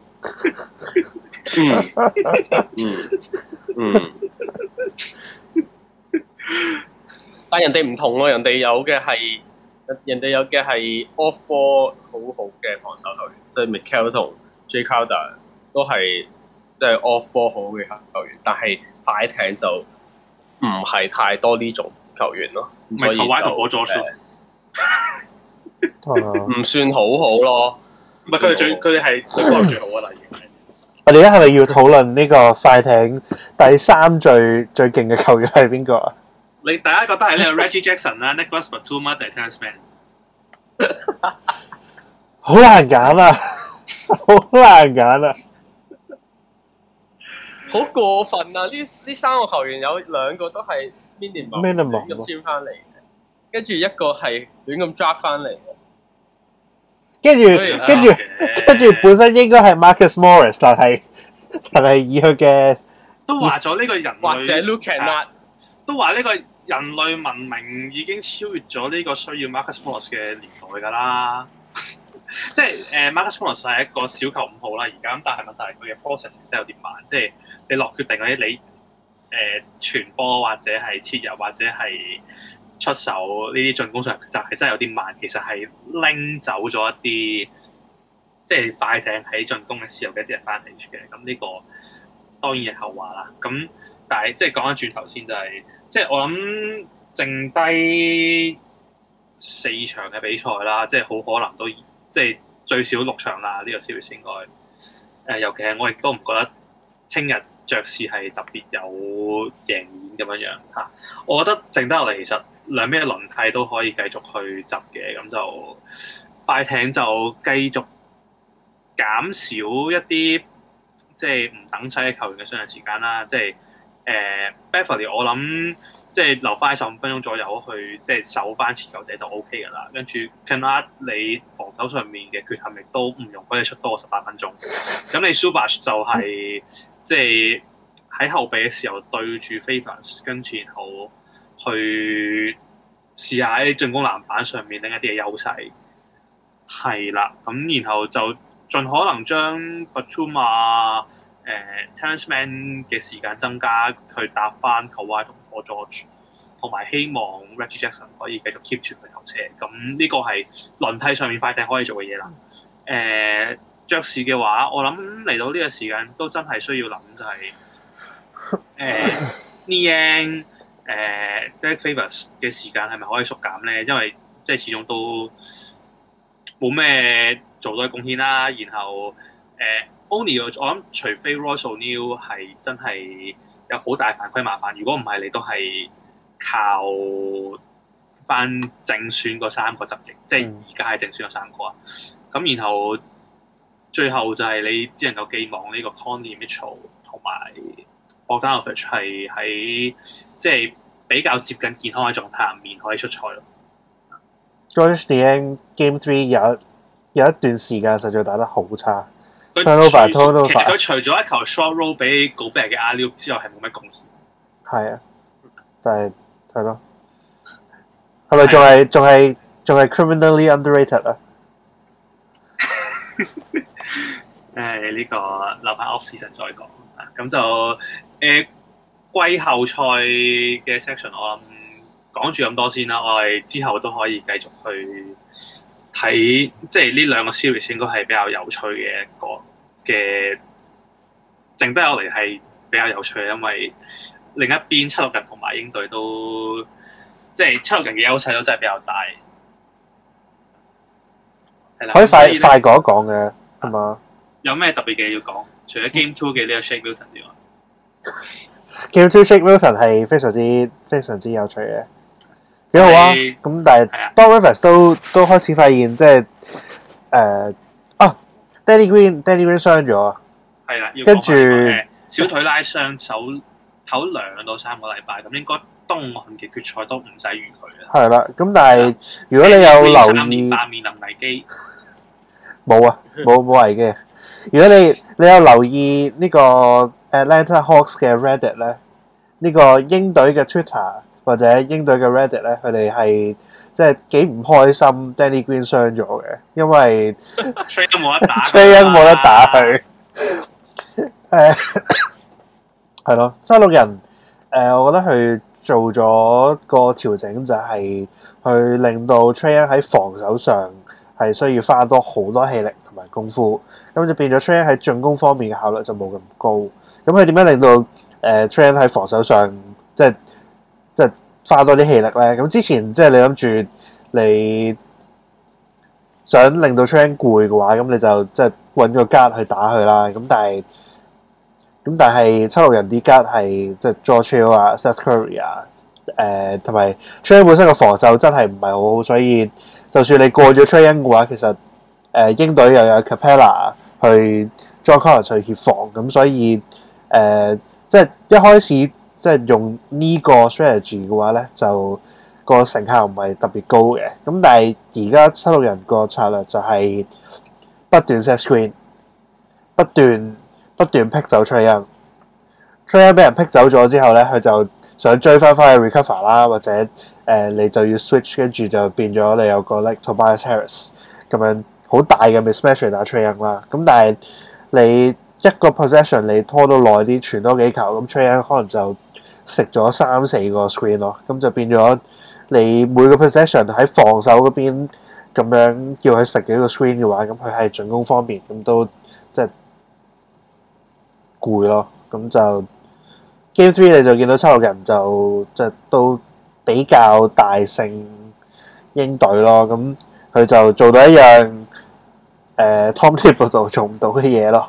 但人哋唔同喎，人哋有嘅係 off ball 好好嘅防守球員，即係 Mikal 同 Jay Crowder 都係即係 off ball 好嘅球員，但係快艇就唔係太多呢種球員咯。所以就唔算好咯。唔係佢哋係對波最好嘅啦，已經。 我哋而家係咪要討論呢個快艇第三最勁嘅球員係邊個啊？ 你大家覺得係呢個 Reggie Jackson 啦，Nicholas Batum 定係 Terance Mann？ 好難揀啊！好難揀啊！ 好過分啊！呢三個球員有兩個都係 minimum 亂咁簽翻嚟嘅，跟住一個係亂咁 draft 翻嚟嘅。跟住本身應該係 Marcus Morris， 但係以佢嘅都話咗呢個人類或者 Luke Kennard 都話呢個人類文明已經超越咗呢個需要 Marcus Morris 嘅年代㗎啦。即係Marcus Morris 係一個小球5號啦，而家咁，但係問題係佢嘅 process 真係有啲慢，即係你落決定嗰啲你傳波或者係切入或者係出手呢啲進攻上就係真係有啲慢，其實係拎走咗一啲即係快艇喺進攻嘅時候嘅一啲 advantage 嘅。咁呢個當然係後話啦。咁但係即係講翻轉頭先就係、是，即係我諗剩低4場嘅比賽啦，即係好可能都即係最少6場啦。呢、這個 series 應該尤其係我亦都唔覺得聽日爵士係特別有贏面咁樣嚇。我覺得剩低落嚟其實兩邊嘅輪替都可以繼續去執嘅，咁就快艇就繼續減少一啲即係唔等使嘅球員嘅上場時間啦，即係Beverly 我諗即係留翻15分鐘左右去即係守翻持球者就 OK 㗎啦，跟住 Kennard 你防守上面嘅缺陷亦都唔容許你出多過18分鐘，咁你 Zubac 就係、即係喺後備嘅時候對住 Favors， 跟住然後去試下喺進攻籃板上面另一啲嘅優勢，係啦，咁然後就盡可能將 Batum、Terrence Mann 嘅時間增加，去搭翻 Kawhi 同 Paul George， 同埋希望 Reggie Jackson 可以繼續 keep 住佢頭車。咁呢個係輪替上面快艇可以做嘅嘢啦。爵士嘅話，我諗嚟到呢個時間都真係需要諗就係Niang、Derek Favors 嘅時間係咪可以縮減咧？因為即係始終都冇咩做到嘅貢獻啦。然後O'Neal 我諗除非 Royce O'Neal 係真係有好大犯規麻煩，如果唔係你都係靠翻正選嗰3個執翼，即係而家係正選嗰3個啊。咁然後最後就係你只能夠寄望呢個 Conley Mitchell 同埋 Bogdanovic 係喺即係比較接近健康嘅狀態入面可以出賽咯。 George Niang Game 3有一段時間實在打得好差。 其實佢除咗一球 short roll 俾 Gobert 嘅 alley-oop 之外，係冇乜貢獻。 係啊，但係係咯，係咪仲係 criminally underrated 啊？ 呢個留翻 off season 再講。咁就季後賽嘅 section 我諗講住咁多先啦，我哋之後都可以繼續去睇，即係呢兩個 series 應該係比較有趣嘅一個嘅，剩低落嚟係比較有趣嘅，因為另一邊76人同埋鷹隊都即係76人嘅優勢都真係比較大。係啦， 可以快講一講嘅係嘛？ 有咩特別嘅要講？除咗 Game 2嘅呢個 Shake Milton 之外 ，Game 2 Shake Milton 係非常之有趣嘅。幾好啊！咁但係 Doc Rivers 都開始發現，即係Danny Green 傷咗， 係啦， 跟住小腿拉傷，手唞2到3個禮拜，咁應該東岸嘅決賽都唔使預佢啦。係啦，咁但係如果你有留意 3連霸面臨危機， 冇啊，冇危機。如果你有留意呢個 Atlanta Hawks 嘅 Reddit 咧，呢個鷹隊嘅 Twitter。或者鷹隊嘅 Reddit 咧，佢哋係即係幾唔開心 Danny Green 傷咗嘅，因為 Trae 都冇得打 ，Trae 冇得打佢。係咯，76人我覺得佢做咗個調整，就係去令到 Trae 喺防守上係需要花多好多氣力同埋功夫，咁就變咗 Trae 喺進攻方面嘅效率就冇咁高。咁佢點樣令到Trae 喺防守上即係花多啲氣力咧？咁之前即係你諗住你想令到 Trae 攰嘅話，咁你就即係揾個 guard 去打佢啦。咁但係76人啲 guard 係即係 George Hill 啊、Seth Curry 啊，同埋 Trae 本身個防守真係唔係好好，所以就算你過咗 Trae 嘅話，其實鷹隊又有 Capella 去 John Collins 去協防，咁所以即係一開始。即係用呢個 strategy 嘅話咧，就個成效唔係特別高嘅。咁但係而家76人個策略就係不斷 set screen， 不斷劈走 Trae Young 俾人劈走咗之後咧，佢就想追翻去 recover 啦，或者你就要 switch， 跟住就變咗你有個 like Tobias Harris 咁樣好大嘅 mismatch 打 Trae Young 啦。咁但係你一個 possession 你拖到耐啲，傳多幾球，咁 Trae Young 可能就食咗3-4個 screen 咯，咁就變咗你每個 possession 喺防守嗰邊咁樣叫佢食幾個 screen 嘅話，咁佢喺進攻方面咁都即係攰咯。咁就 Game 3你就見到76人就即係都比較大勝鷹隊咯。咁佢就做到一樣Tom Thibodeau做唔到嘅嘢咯。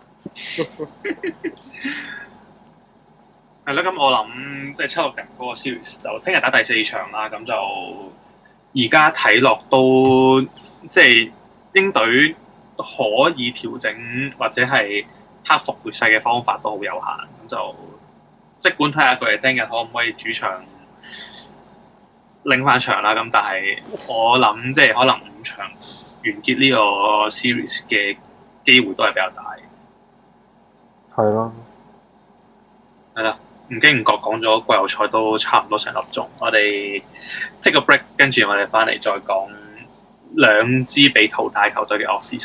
係啦，咁我諗即係76人嗰個 series 就聽日打第4場啦，咁就而家睇落都即係鷹隊可以調整或者係克服劣勢嘅方法都好有限，咁就即管睇下佢哋聽日可唔可以主場拎翻場啦。咁但係我諗即係可能5場完結呢個 series 嘅機會都係比較大。 係咯， 係啦，唔經唔覺講咗季後賽都差唔多成粒鐘，我哋 take a break， 跟住我哋翻嚟再講兩支被淘汰球隊嘅 off season。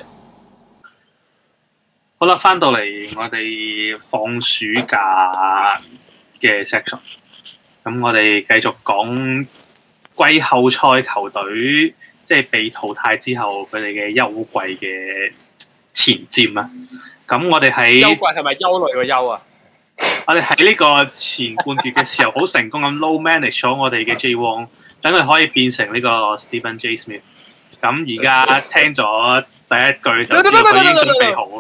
好啦，翻到嚟我哋放暑假嘅 section， 咁我哋繼續講季後賽球隊即係被淘汰之後佢哋嘅休季嘅前瞻啊。咁我哋喺休季係咪憂慮個憂啊？ 我哋喺呢個前半段嘅時候好成功咁 low manage 咗我哋嘅 J. Wong， 等佢可以變成呢個 Stephen J. Smith。咁而家聽咗第一句就知道佢已經準備好。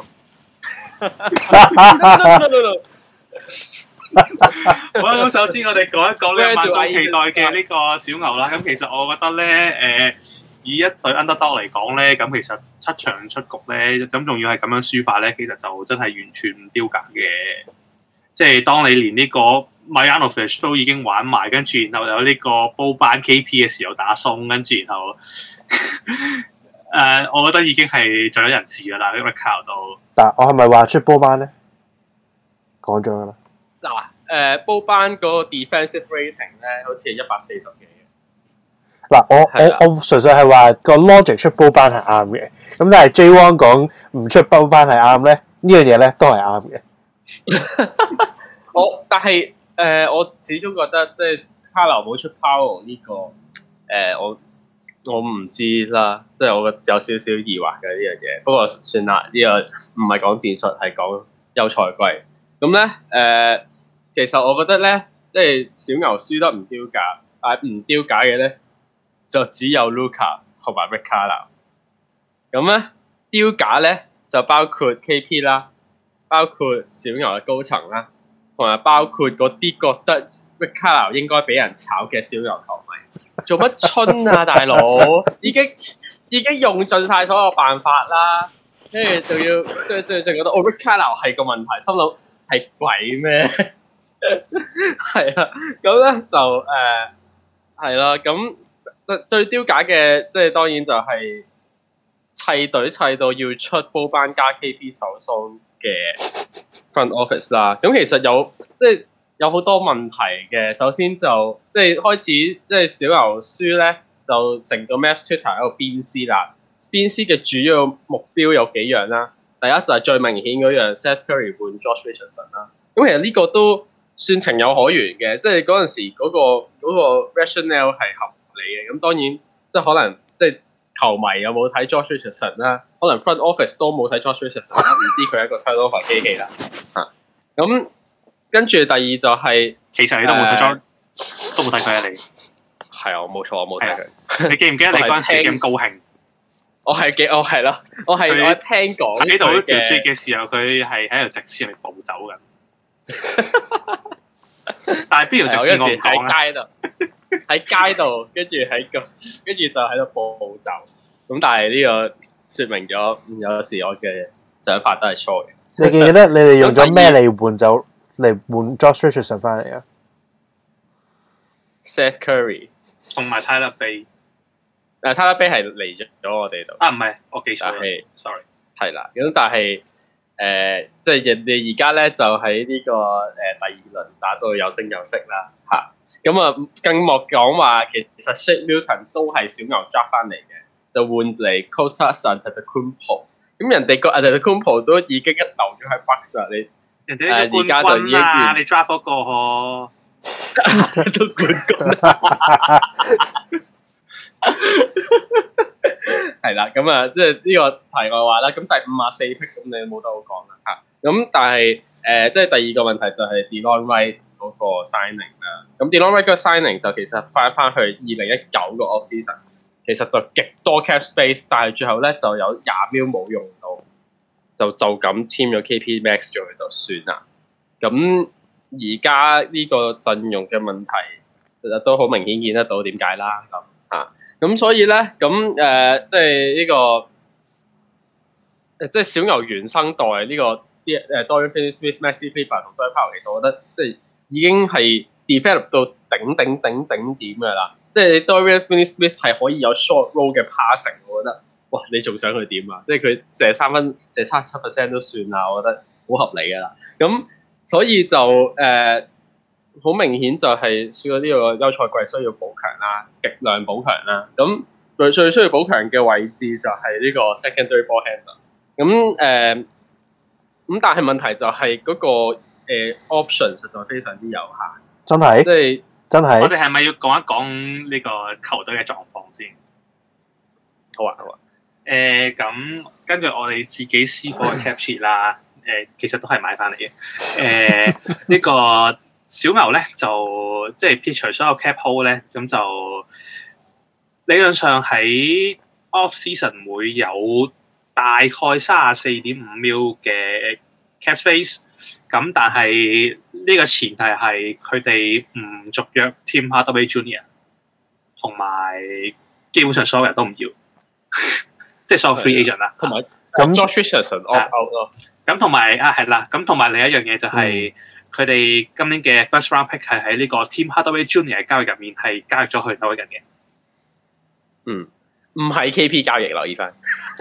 好啦，咁首先我哋講一講呢萬眾期待嘅呢個小牛啦。咁其實我覺得咧，以一隊 underdog 嚟講咧，咁其實7場出局咧，咁仲要係咁樣輸法咧，其實就真係完全唔丟架嘅。即係當你連呢個 Marjanovic 都已經玩埋，跟住然後有呢個煲班 KP 嘅時候打鬆，跟住然後我覺得已經係盡咗人事㗎啦，呢個 Recall 都。 但我係咪話出波班咧？講咗㗎啦。 嗱，煲班嗰個 defensive rating 咧，好似係140幾。 嗱，我純粹係話個 logic 出波班係啱嘅，咁但係 J. Wong 講唔出波班係啱咧，呢樣嘢咧都係啱嘅。 但係我始終覺得即係卡流冇出 Powell 呢個我唔知啦，即係我有少少疑惑嘅呢樣嘢。不過算啦，呢個唔係講戰術，係講休賽季。咁咧其實我覺得咧，即係小牛輸得唔丟架，但係唔丟架嘅咧就只有 Luka 同埋 Rick Carlisle。咁咧丟架咧就包括 KP 啦，包括小牛嘅高層啦，同埋包括嗰啲覺得 Rick Carlisle 應該俾人炒嘅小牛球迷。做乜春啊，大佬！已經用盡晒所有辦法啦，跟住仲要即係覺得Rick Carlisle 係個問題，心諗係鬼咩？係啊，咁咧就係啦，咁最丟架嘅即係當然就係砌隊砌到要出煲班加 KP 手鬆嘅 front office 啦。咁其實有好多問題嘅。首先就即係開始即係小牛輸咧，就成個 Mavs Twitter 喺度鞭屍啦。鞭屍嘅主要目標有幾樣啦。第一就係最明顯嗰樣 Seth Curry 換 Josh Richardson 啦。咁其實呢個都算情有可原嘅，即係嗰陣時嗰個 rationale 係合理嘅。咁當然即係可能即係球迷有冇睇 Josh Richardson 啦，可能 front office 都冇睇 Josh Richardson 啦，唔知佢係一個 turnover 機器啦。咁跟住第二就係其實你都冇睇咗，都冇睇佢啊！你係啊，我冇錯，我冇睇佢。 你記唔記得你嗰陣時咁高興？ 我係咯，我聽講喺度條 tweet 嘅時候，佢係喺度直線嚟暴走緊。但係邊條直線我唔講啦。喺街度，跟住就喺度暴走。咁但係呢個説明咗，有時我嘅想法都係錯嘅。 你記唔記得你哋用咗咩嚟換走嚟換 Josh Richardson 翻嚟啊 ？Seth Curry 同埋 Tyler Bay。 Tyler Bay 係嚟咗我哋度。啊， 唔係，我記錯咗。sorry。係啦，咁但係即係人哋而家咧就喺呢個第2輪打到有聲有色啦嚇。咁啊，更莫講話其實 Shake Milton 都係小牛 draft 翻嚟嘅，就換嚟 Kostas Antetokounmpo。咁人哋個 Antetokounmpo 都已經留咗喺 Bucks 啦，你人哋呢個冠軍啊，你 draft 嗰個呵，都冠軍。係啦，咁啊，即係呢個題外話啦。咁第54 pick 咁你冇得好講啦嚇。咁但係即係第二個問題就係 Delon Wright 嗰個 signing 啦。咁 Delon Wright 嗰個 signing 就其實翻去2019個 off season， 其實就極多 cap space， 但係最後咧就有20 mil 冇用到，就咁簽咗 KP Max 咗佢就算啦。咁而家呢個陣容嘅問題，其實都好明顯見得到點解啦。咁。咁所以咧，咁即係呢個即係小牛原生代呢個啲Dorian Finney-Smith、Maxi Kleber 同 Dwight Powell，其實我覺得即係已經係 develop 到頂點嘅啦。即係 Dorian Finney-Smith 係可以有 short roll 嘅 passing， 我覺得哇，你仲想佢點啊？即係佢射3分射7% 都算啦，我覺得好合理㗎啦。咁所以就好明顯就係輸咗呢個休賽季需要補強啦，極量補強啦。咁佢最需要補強嘅位置就係呢個 secondary ball handler。咁但係問題就係嗰個option 實在非常之有限。真係，即係真係。 我哋係咪要講一講呢個球隊嘅狀況先？ 好啊。 咁根據我哋自己私貨嘅 cap sheet 啦，其實都係買翻嚟嘅。呢個小牛咧就即係撇除所有 cap hold 咧，咁就理論上喺 off season 會有大概34.5 mil 嘅 cap space。咁但係呢個前提係佢哋唔續約 Tim Hardaway Jr. 同埋基本上所有人都唔要。即係所有 free agent 啦， 同埋咁 Josh Richardson opt out 咯。咁同埋係啦，咁同埋另一樣嘢就係佢哋今年嘅 first round pick 係喺呢個 Tim Hardaway Jr. 嘅交易入面係交易咗去紐約人嘅。 唔係 KP 交易，留意翻。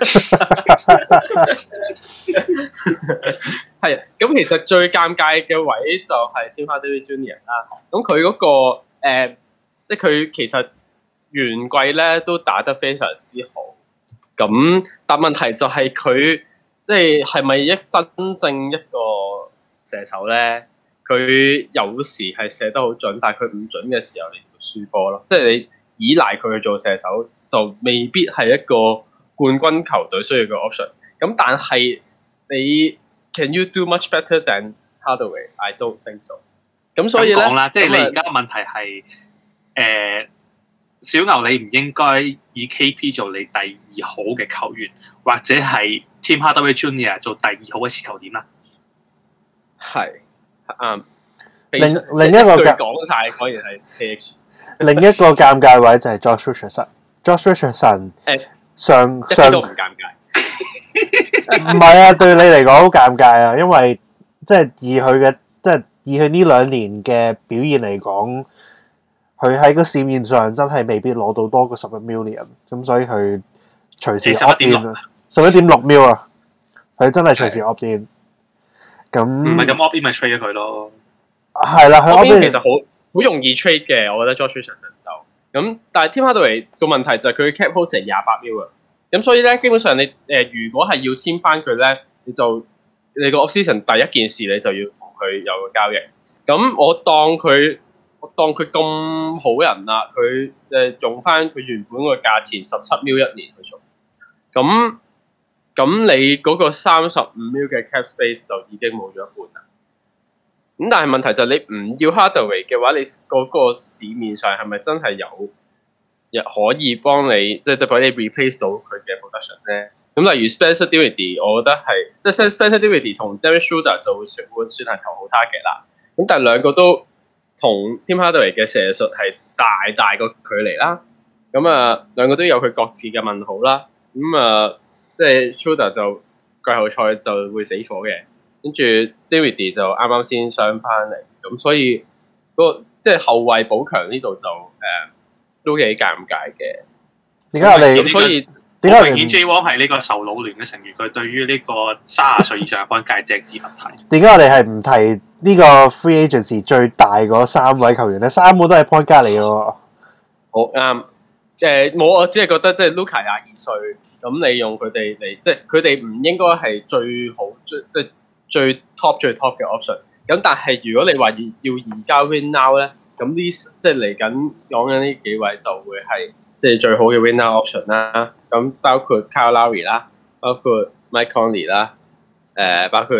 係咁，其實最尷尬嘅位就係 Tim Hardaway Jr. 啦。咁佢嗰個即係佢其實原季咧都打得非常之好。咁，但問題就係佢即係咪真正一個射手咧？佢有時係射得好準，但係佢唔準嘅時候，你就輸波咯。即係你依賴佢去做射手，就未必係一個冠軍球隊需要嘅 option。咁但係你 can you do much better than Hardaway? I don't think so。咁所以咧， 講啦，即係你而家問題係小牛你唔應該以 KP 做你第二好嘅球員，或者係 Tim Hardaway Jr. 做第二好嘅持球點啦。 係啱。 另一個講晒，果然係 KH。 另一個尷尬位就係 Josh Richardson。Josh Richardson 上都唔尷尬。 唔係啊，對你嚟講好尷尬啊，因為即係以佢呢2年嘅表現嚟講。佢喺個市面上真係未必攞到多過11 million， 咁所以佢隨時 opt in 啊，11.6 mil 啊，佢真係隨時 opt in。咁唔係咁 opt in 咪 trade 咗佢咯。 係啦，佢 opt in 其實好容易 trade 嘅，我覺得 Josh Richardson 就咁。但係 Tim Hardaway 個問題就係佢 cap hold 成28 mil 啊，咁所以咧基本上你如果係要簽翻佢咧，你個 off season 第一件事你就要同佢有個交易。咁我當佢咁好人啦，佢用翻佢原本個價錢17 mil 1年去做，咁你嗰個35 mil 嘅 cap space 就已經冇咗一半啦。咁但係問題就係你唔要 Hardaway 嘅話，你嗰個市面上係咪真係有可以幫你即係幫你 replace 到佢嘅 production 咧？咁例如 Spencer Dinwiddie， 我覺得係即係 Spencer Dinwiddie 同 Dennis Schroeder 就會算係頭號 target 啦。咁但係兩個都同 Tim Hardaway 嘅射術係大個距離啦，咁兩個都有佢各自嘅問號啦，咁即係 Schroeder 就季後賽就會死火嘅，跟住 Dinwiddie 就啱啱先傷翻嚟，咁所以即係後衛補強呢度就都幾尷尬嘅。 點解我哋所以點解明顯 J. Wong 係呢個受老聯嘅成員，佢對於呢個30歲以上嘅界隻字問題。 點解我哋係唔提呢個 free agency 最大嗰3位球員咧？3個都係 point guard 嚟嘅喎。 好啱。我只係覺得即係 Luka 22歲，咁你用佢哋嚟，即係佢哋唔應該係最好最 top 嘅 option。咁但係如果你話要移交 win now 咧，咁即係嚟緊講緊呢幾位就會係即係最好嘅 win now option 啦。咁包括 Kyle Lowry 啦，包括 Mike Conley 啦，包括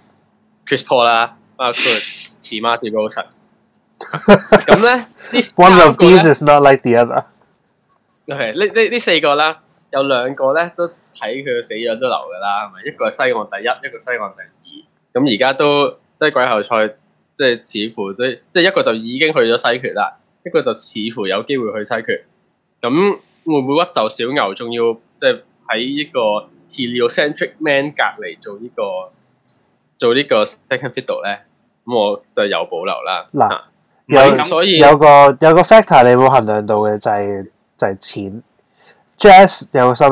Chris Paul 啦，包括 DeMar DeRozan。咁咧 ，One of these is not like the other。 係呢4個啦，有2個咧都睇佢死樣都留㗎啦，係咪？一個係西岸第一，一個西岸第2。咁而家都即係季後賽，即係似乎即係一個就已經去咗西決啦，一個就似乎有機會去西決。咁會唔會屈就小牛？仲要即係喺呢個 heliocentric man 隔離做呢個 second fiddle 咧，咁我就有保留啦。 嗱， 所以有個 factor 你冇衡量到嘅就係錢。Jazz 有個新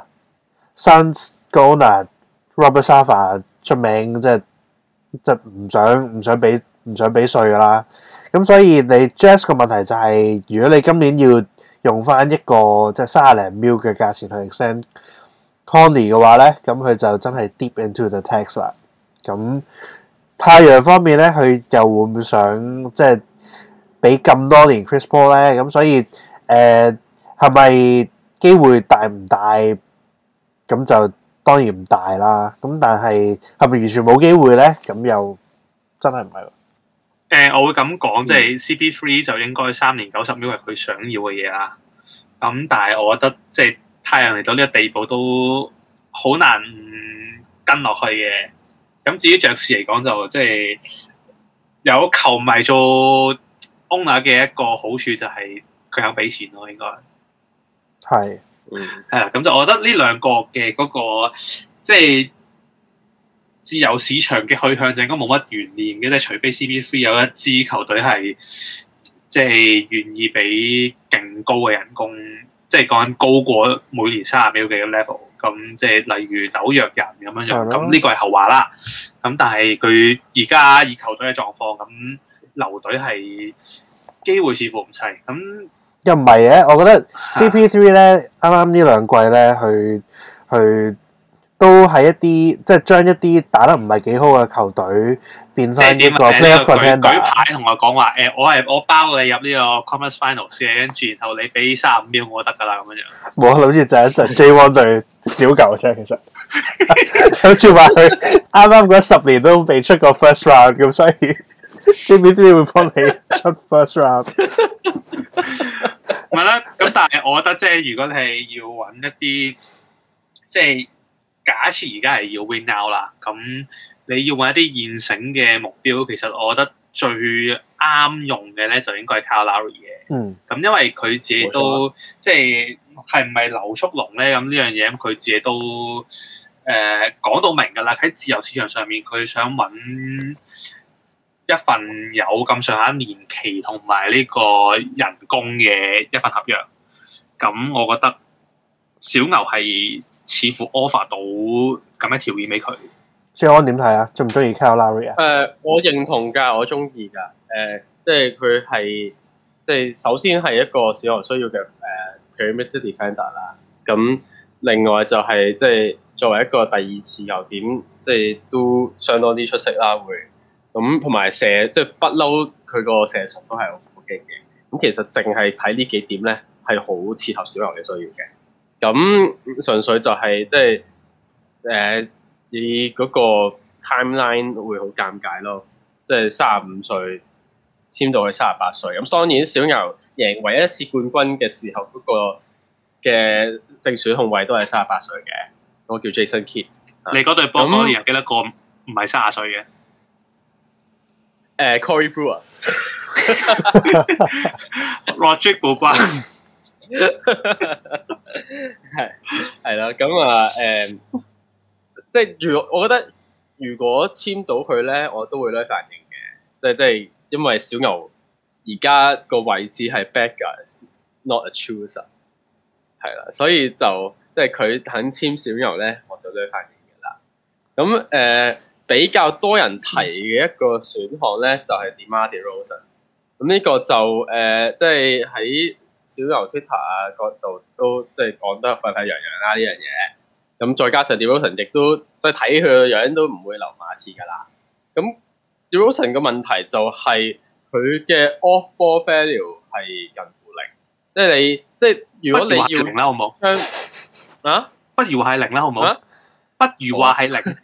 owner，Suns 個 owner Robert Sarver 出名，即係唔想俾稅噶啦。咁所以你 Jazz 個問題就係，如果你今年要用翻一個即係30零 mil 嘅價錢去 extend Conley 嘅話咧，咁佢就真係 deep into the tax 啦。咁太陽方面咧，佢又會唔會想即係俾咁多年 Chris Paul 咧？咁所以係咪機會大唔大？咁就當然唔大啦。咁但係係咪完全冇機會咧？咁又真係唔係。 我會咁講，即係 CP3 就應該3年90 mil 係佢想要嘅嘢啦。咁但係我覺得即係太陽嚟到呢個地步都好難跟落去嘅。咁至於爵士嚟講就即係有球迷做 owner 嘅一個好處就係佢肯俾錢咯，應該係係啦。咁就我覺得呢兩個嘅嗰個即係自由市場嘅去向就應該冇乜懸念嘅，即係除非 CP3 有一支球隊係即係願意俾勁高嘅人工，即係講緊高過每年30 mil 嘅 level。咁即係例如紐約人咁樣樣，咁呢個係後話啦。咁但係佢而家以球隊嘅狀況，咁留隊係機會似乎唔細。咁又唔係嘅，我覺得 CP3 咧，啱啱呢兩季咧，去都係一啲即係將一啲打得唔係幾好嘅球隊變翻一個 playoff contender。 舉牌同我講話我包你入呢個 Conference Finals 嘅，跟住然後你俾35 mil 我得㗎啦咁樣。 冇諗住就一陣 J1 對小牛啫，其實諗住話佢啱啱嗰10年都未出過 first round， 咁所以 CP3 會幫你出 first round。 唔係啦，咁但係我覺得即係如果你係要揾一啲即係假設而家係要 win now 啦，咁你要揾一啲現成嘅目標，其實我覺得最啱用嘅咧就應該係 Kyle Lowry 嘅。咁因為佢自己都即係唔係流速龍咧？咁呢樣嘢咁佢自己都講到明㗎啦。喺自由市場上面，佢想揾一份有咁上下年期同埋呢個人工嘅一份合約。咁我覺得小牛係似乎 offer 到咁嘅條件俾佢。 謝安點睇啊？中唔中意 Kyle Lowry 啊？ 我認同㗎，我中意㗎。即係佢係即係首先係一個小牛需要嘅perimeter defender 啦。咁另外就係即係作為一個第二次球點，即係都相當之出色啦。會咁同埋射即係不嬲，佢個射術都係好勁嘅。咁其實淨係睇呢幾點咧，係好切合小牛嘅需要嘅。咁純粹就係即係你嗰個 timeline 會好尷尬咯，即係35歲簽到去38歲。咁當然小牛贏唯一一次冠軍嘅時候，嗰個嘅正選控衛都係38歲嘅，我叫 Jason Kidd。 你嗰隊波嗰年記得個唔係30歲嘅 ？Corey Brewer、 Rodrigue Beaubois。 係啦，咁即係我覺得如果簽到佢咧，我都會咧反應嘅，即係因為小牛而家個位置係 backers not a chooser， 係啦，所以就即係佢肯簽小牛咧，我就咧反應嘅啦。咁比較多人提嘅一個選項咧，就係 DeMar DeRozan。咁呢個就即係喺小牛 Twitter 啊嗰度都即係講得沸沸揚揚啦呢樣嘢。咁再加上 DeRozan 亦都即係睇佢個樣都唔會留馬刺㗎啦。咁 DeRozan 嘅問題就係佢嘅 off ball value 係近乎零，即係你即係如果你要零啦，好冇？不如話係零啦，好冇？不如話係零。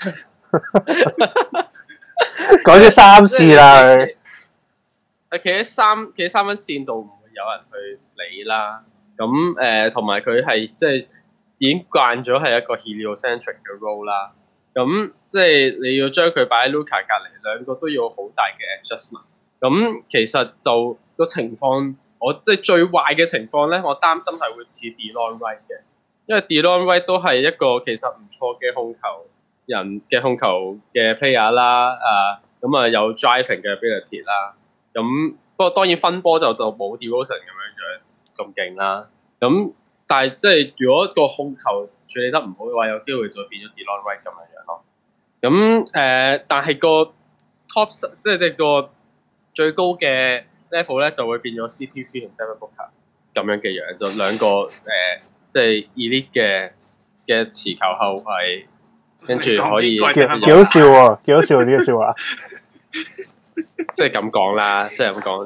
講咗3次啦， 佢企喺三分線度唔會有人去理啦。咁同埋佢係即係已經慣咗係一個 heliocentric 嘅 role 啦。咁即係你要將佢擺喺 Luka 隔離，兩個都要好大嘅 adjustment。咁其實就個情況，我即係最壞嘅情況咧，我擔心係會似 Delon Wright 嘅， 因為 Delon Wright 都係一個其實唔錯嘅控球嘅 player 啦，咁啊有 driving 嘅 ability 啦，咁不過當然分波就冇 DeRozan 咁勁啦，咁但係即係如果個控球處理得唔好嘅話，有機會就變咗 Delon Wright 咁樣咯。咁但係個 top 即係個最高嘅 level 咧就會變咗 CP3 同 Devin Booker 咁樣嘅樣，就兩個即係 elite 嘅持球後衞，跟住可以幾好笑喎，幾好笑呢個笑話。 即係咁講啦，即係咁講。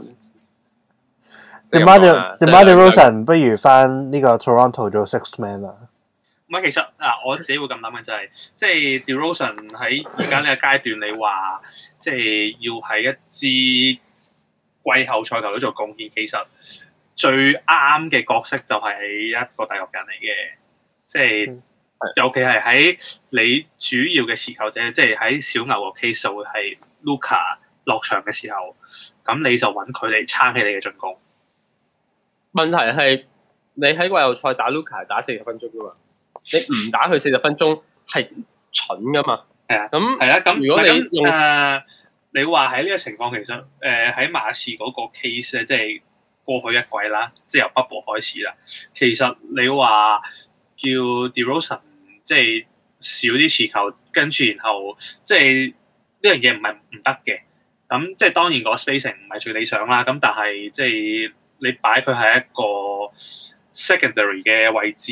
DeMar DeRozan 不如翻呢個 Toronto 做 six man 啊？ 唔係，其實我自己會咁諗嘅就係，即係 DeRozan 喺而家呢個階段，你話即係要喺一支季後賽球隊做貢獻，其實最啱嘅角色就係一個第六人嚟嘅，即係尤其係喺你主要嘅持球者，即係喺小牛個 case 會係 Luka 落場嘅時候，咁你就揾佢嚟撐起你嘅進攻。 問題係你喺季後賽打 Luka 打40分鐘噶嘛？你唔打佢40分鐘係蠢噶嘛？ 係啊， 咁係啦，咁如果你用你話喺呢個情況，其實喺馬刺嗰個 case 咧，即係過去一季啦，即係由 Bubble 開始啦。其實你話叫 DeRozan 即係少啲持球，跟住然後即係呢樣嘢唔係唔得嘅。咁即係當然個 spacing 唔係最理想啦。咁但係即係你擺佢係一個 secondary 嘅位置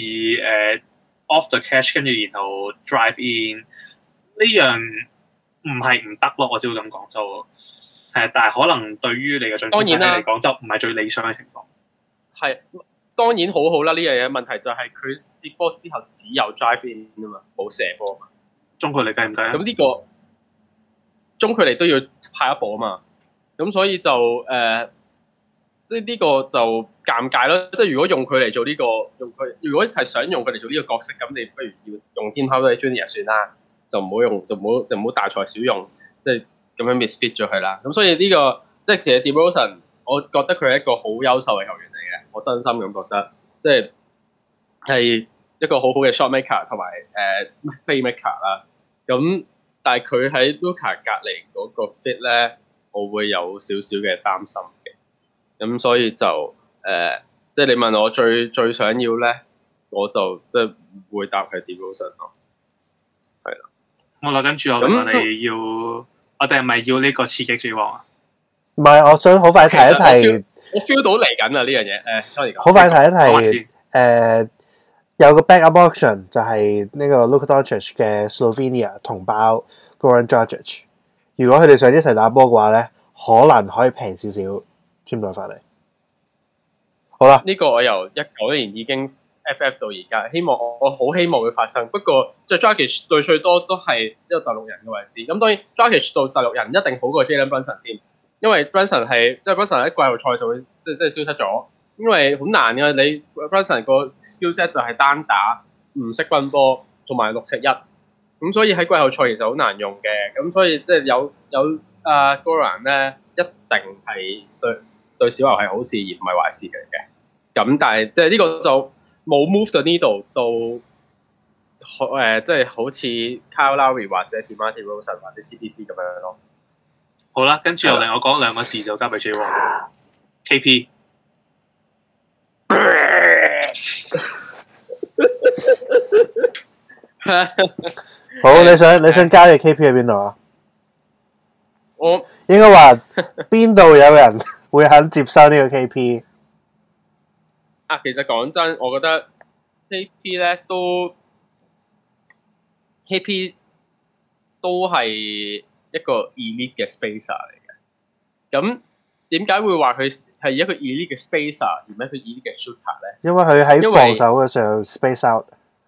，off the catch 跟住然後 drive in 呢樣唔係唔得咯，我只會咁講就係，但係可能對於你嘅進攻體系嚟講就唔係最理想嘅情況。係當然好好啦，呢樣嘢問題就係佢接波之後只有 drive in 啊嘛，冇射波。 中距離計唔計啊？ 咁呢個中距離都要派一步啊嘛，咁所以就即係呢個就尷尬咯。即係如果用佢嚟做呢個，如果係想用佢嚟做呢個角色，咁你不如要用Tim Hardaway Junior 算啦，就唔好用，就唔好大材小用，即係咁樣 misfit 咗佢啦。咁所以呢個即係其實 DeRozan，我覺得佢係一個好優秀嘅球員嚟嘅，我真心咁覺得，即係一個好好嘅 shot maker 同埋play maker 啦。咁但係佢喺 Luka 隔離嗰個 fit 咧，我會有少少嘅擔心嘅。咁所以就即係你問我最想要咧，我就即係唔會答係 DeRozan咯。係啦， 好啦，跟住我問你要，我哋係咪要呢個刺激之王啊？ 唔係，我想好快提一提， 我 feel 到嚟緊啊呢樣嘢。sorry， 好快提一提，有個 backup option 就係呢個 Luka Doncic 嘅 Slovenia 同胞 Goran Dragic。如果佢哋想一齊打波嘅話咧，可能可以平少少簽咗翻嚟。好啦， 呢個我由19年已經 FF 到而家，我好希望會發生。不過即係 Dragic 對最多都係一個第六人嘅位置。咁當然 Dragic 到第六人一定好過 Jalen Brunson 先，因為 Brunson 係即係 Brunson 喺季後賽就會即係消失咗。因為好難嘅，你 Brunson 個 skillset 就係單打，唔識分波，同埋6-1，咁所以喺季後賽其實好難用嘅。咁所以即係有Goran 咧，一定係對小牛係好事而唔係壞事嚟嘅。咁但係即係呢個就冇 move the needle 到即係好似 Kyle Lowry 或者 DeMar DeRozan 或者 CP3 咁樣咯。 好啦，跟住又令我講兩個字就交俾 J 王 KP。 好，你想交嘅 KP 喺邊度啊？ 我應該話邊度有人會肯接收呢個 KP？ 其實講真，我覺得 KP 咧KP 都係一個 elite 嘅 spacer 嚟嘅。咁點解會話佢係一個 elite 嘅 spacer，而唔係一個 elite 嘅 shooter 咧？ 因為佢喺防守嘅時候 space out。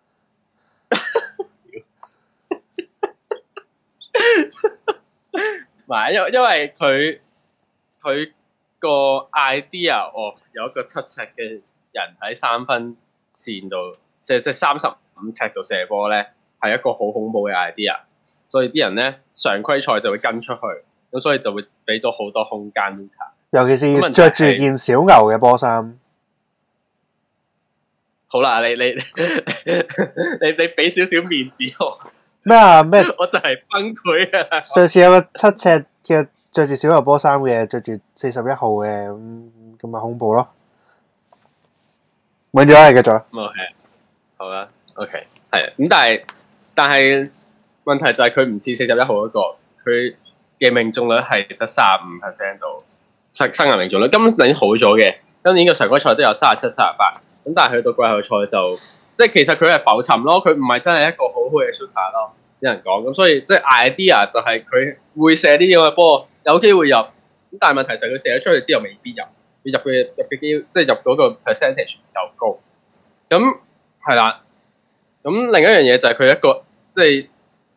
唔係，因為佢個 idea of 有一個7尺嘅人喺3分線度，即係35尺度射波咧，係一個好恐怖嘅 idea。所以啲人咧常規賽就會跟出去，咁所以就會俾到好多空間 Luka。 尤其是着住件小牛嘅波衫。 好好啦，你俾少少面子我。 咩啊？咩？ 我就係崩潰啊！ 上次有個7尺嘅着住小牛波衫嘅，着住41號嘅，咁咪恐怖咯。揾咗係繼續。 OK，好啦 ，OK， 係咁，但係問題就係佢唔似41號嗰個，佢嘅命中率係得35% 度，生涯命中率今年好咗嘅。今年嘅常規賽都有37、38，咁但係去到季後賽就即係其實佢係浮沉咯，佢唔係真係一個好好嘅 shooter 咯，只能講咁。所以即係 idea 就係佢會射啲咁嘅波，有機會入。咁但係問題就係佢射咗出去之後未必入，入嘅機即係入嗰個 percentage 唔夠高。咁係啦，咁另一樣嘢就係佢一個即係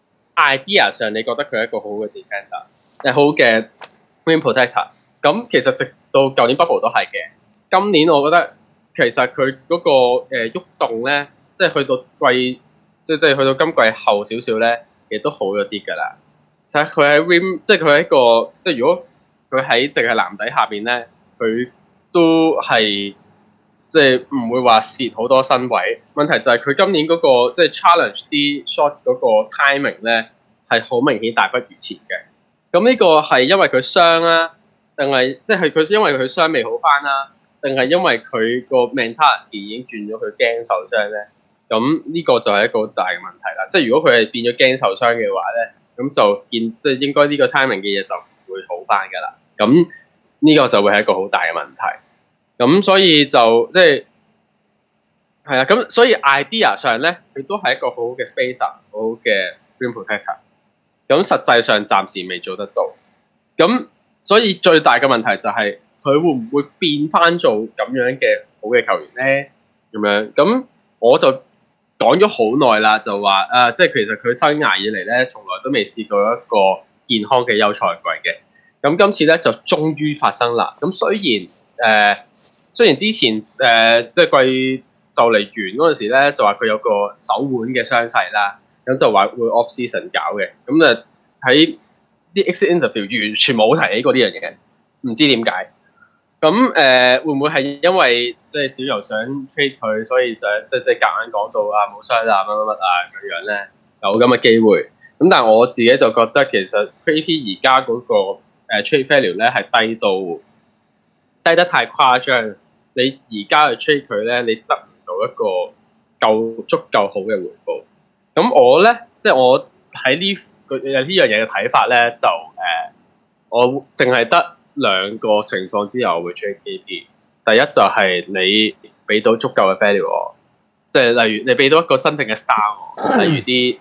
idea 上，你覺得佢係一個好嘅 defender， 好嘅 rim protector。咁其實直到舊年 bubble 都係嘅。今年我覺得其實佢嗰個喐動咧，即係去到季，即係去到今季後少少咧，亦都好咗啲㗎啦。就係佢喺 rim， 即係佢喺一個，即係如果佢喺淨係籃底下邊咧，佢都係即係唔會話蝕好多身位。問題就係佢今年嗰個即係 challenge 啲 shot 嗰個 timing 咧，係好明顯大不如前嘅。咁呢個係因為佢傷啦，定係即係佢因為佢傷未好翻啦？定係因為佢個 mentality 已經轉咗，佢驚受傷咧，咁呢個就係一個好大嘅問題啦。即係如果佢係變咗驚受傷嘅話咧，咁就即係應該呢個 timing 嘅嘢就唔會好翻噶啦。咁呢個就會係一個好大嘅問題。咁所以就即係係啊，咁所以 idea 上咧，佢都係一個好好嘅 spacer， 好好嘅 rim protector。咁實際上暫時未做得到。咁所以最大嘅問題就係，佢會唔會變翻做咁樣嘅好嘅球員咧？咁樣咁我就講咗好耐啦，就話即係其實佢生涯以嚟咧，從來都未試過一個健康嘅休賽季嘅。咁今次咧就終於發生啦。咁雖然之前即係季就嚟完嗰陣時咧，就話佢有個手腕嘅傷勢啦，咁就話會 off season 搞嘅。咁啊喺啲 exit interview 完全冇提起過呢樣嘢嘅，唔知點解。咁會唔會係因為即係小牛想 trade 佢，所以想即係夾硬講到啊冇傷啊乜咁樣咧？有咁嘅機會。咁但係我自己就覺得其實 KP 而家嗰個trade value 咧係低得太誇張。你而家去 trade 佢咧，你得唔到一個足夠好嘅回報。咁我咧即係我喺呢樣嘢嘅睇法咧，就我淨係得兩個情況之下我會 trade KP。第一就係你俾到足夠嘅 value 我，即係例如你俾到一個真正嘅 star 我，例如啲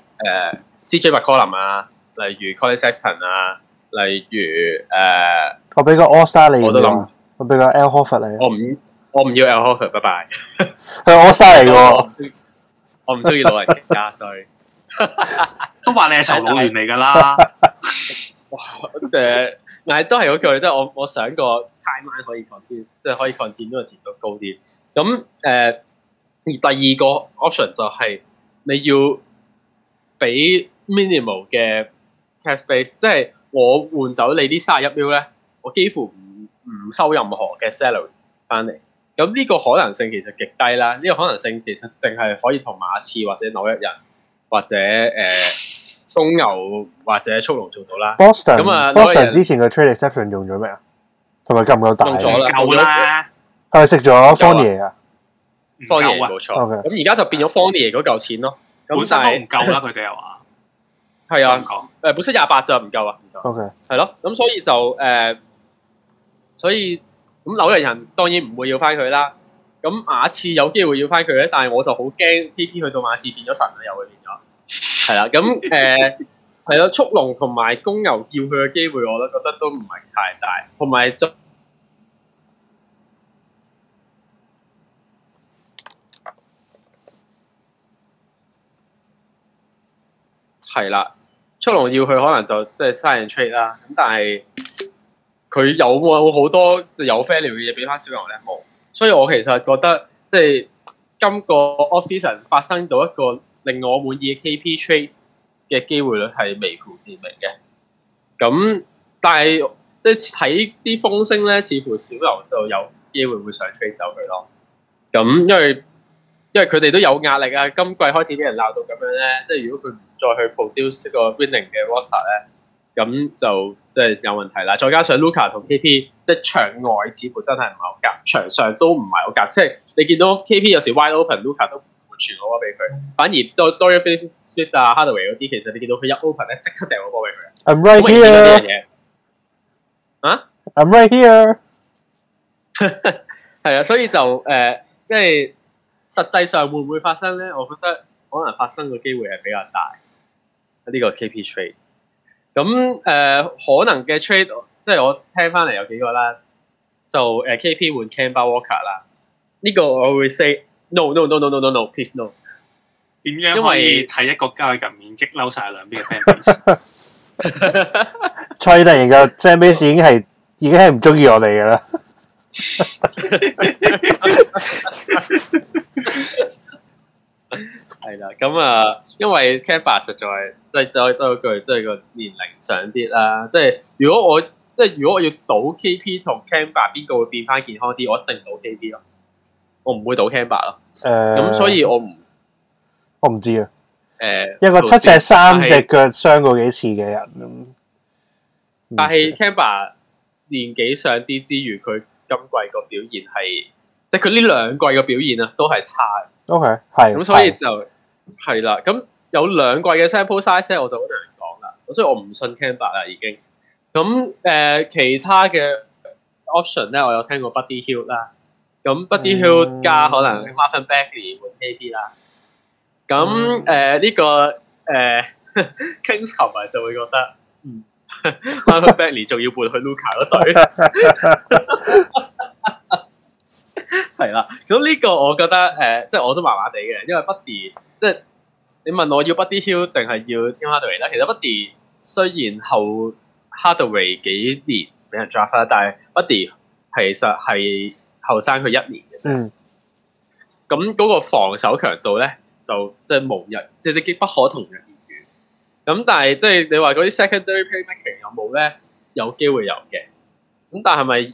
CJ McCollum 啊，例如 Collin Sexton 啊，例如我俾個 All Star 你， 我都諗， 我俾個 Al Horford 你。 我唔要 Al Horford， 拜拜。 係 All Star 嚟嘅， 我唔中意老人家，所以都話你係受老員嚟㗎啦。 但係都係嗰句，即係我想個 timeline 可以 continue，即係可以 continue 個甜度高啲。咁而第二個 option 就係你要俾 minimal 嘅 cash base， 即係我換走你啲31 mil 咧，我幾乎唔收任何嘅 salary 翻嚟。咁呢個可能性其實極低啦。呢個可能性其實淨係可以同馬刺或者紐約人或者公牛或者速龍做到啦。 Boston 咁啊 ，Boston 之前嘅 trade exception 用咗未啊？同埋夠唔夠大？ 用咗啦， 夠啦。 係咪食咗 Fournier 啊 ？Fournier冇錯。咁而家就變咗 Fournier 嗰嚿錢咯。 本身都唔夠啦，佢哋又話。 係啊，本身28就唔夠啊，唔夠。 OK。 係咯，咁所以就所以咁紐約人當然唔會要翻佢啦。咁馬刺有機會要翻佢咧，但係我就好驚 KP 去到馬刺變咗神啦，又會變咗。係啦，咁係咯，速龍同埋公牛要佢嘅機會，我都覺得都唔係太大，同埋就係啦，速龍要佢可能就即係 sign and trade 啦，咁但係佢有冇好多有 value 嘅嘢俾翻小牛咧？冇，所以我其實覺得即係今個 off season 發生到一個令我滿意嘅 KP trade 嘅機會率係微乎其微嘅。咁但係即係睇啲風聲咧，似乎小牛就有機會會想 trade 走佢咯。咁因因為佢哋都有壓力啊。今季開始俾人鬧到咁樣咧，即係如果佢唔再去 produce 一個 winning 嘅 roster 咧，咁就即係有問題啦。再加上 Luka 同 KP 即係場外似乎真係唔係好夾，場上都唔係好夾。即係你見到 KP 有時 wide open，Luka 都唔會傳個波俾佢，反而Dorian Finney-Smith 啊、Hardaway 嗰啲，其實你見到佢一 open 咧，即刻掟個波俾佢。 I'm right here。 啊 ？I'm right here。 係啊，所以就即係實際上會唔會發生咧？我覺得可能發生嘅機會係比較大。呢個 KP trade。咁可能嘅 trade， 即係我聽翻嚟有幾個啦，就KP 換 Kemba Walker 啦。呢個我會 say no please no。 點樣可以睇一個交易入面激嬲晒兩邊嘅 fans？ 蔡特然嘅 fan base 已經係唔中意我哋嘅啦。 係啦，咁因為 Kemba 實在即係多句，都係個年齡上啲啦。即係如果我要賭 KP 同 Kemba 邊個會變翻健康啲，我一定賭 KP 咯。我唔會賭 Kemba 咯。咁所以我唔知啊。一個7尺3隻腳傷過幾次嘅人咁。但係 Kemba 年紀上啲之餘，佢今季個表現係，即係佢呢兩季嘅表現啊，都係差嘅。OK， 係。咁所以就係啦。咁有兩季嘅 sample size 我就好難講啦。所以我唔信 Kemba 啦已經。咁其他嘅 option 咧，我有聽過 Buddy Hield 啦。咁 Buddy Hield 加可能 Marvin Bagley 換 KP 啦。咁呢個Kings 球迷就會覺得Marvin Bagley 仲要換去 Luka 嗰隊，係啦。咁呢個我覺得即係我都麻麻地嘅，因為 Buddy 即係你問我要 Buddy Hield 定係要 Tim Hardaway 咧？其實 Buddy 雖然後 Hardaway 幾年俾人 draft 啦，但係 Buddy 其實係後生佢1年嘅啫。咁嗰個防守強度咧，就即係無人，即係不可同日而語。咁但係即係你話嗰啲 secondary playmaking 有冇咧？有機會有嘅。咁但係咪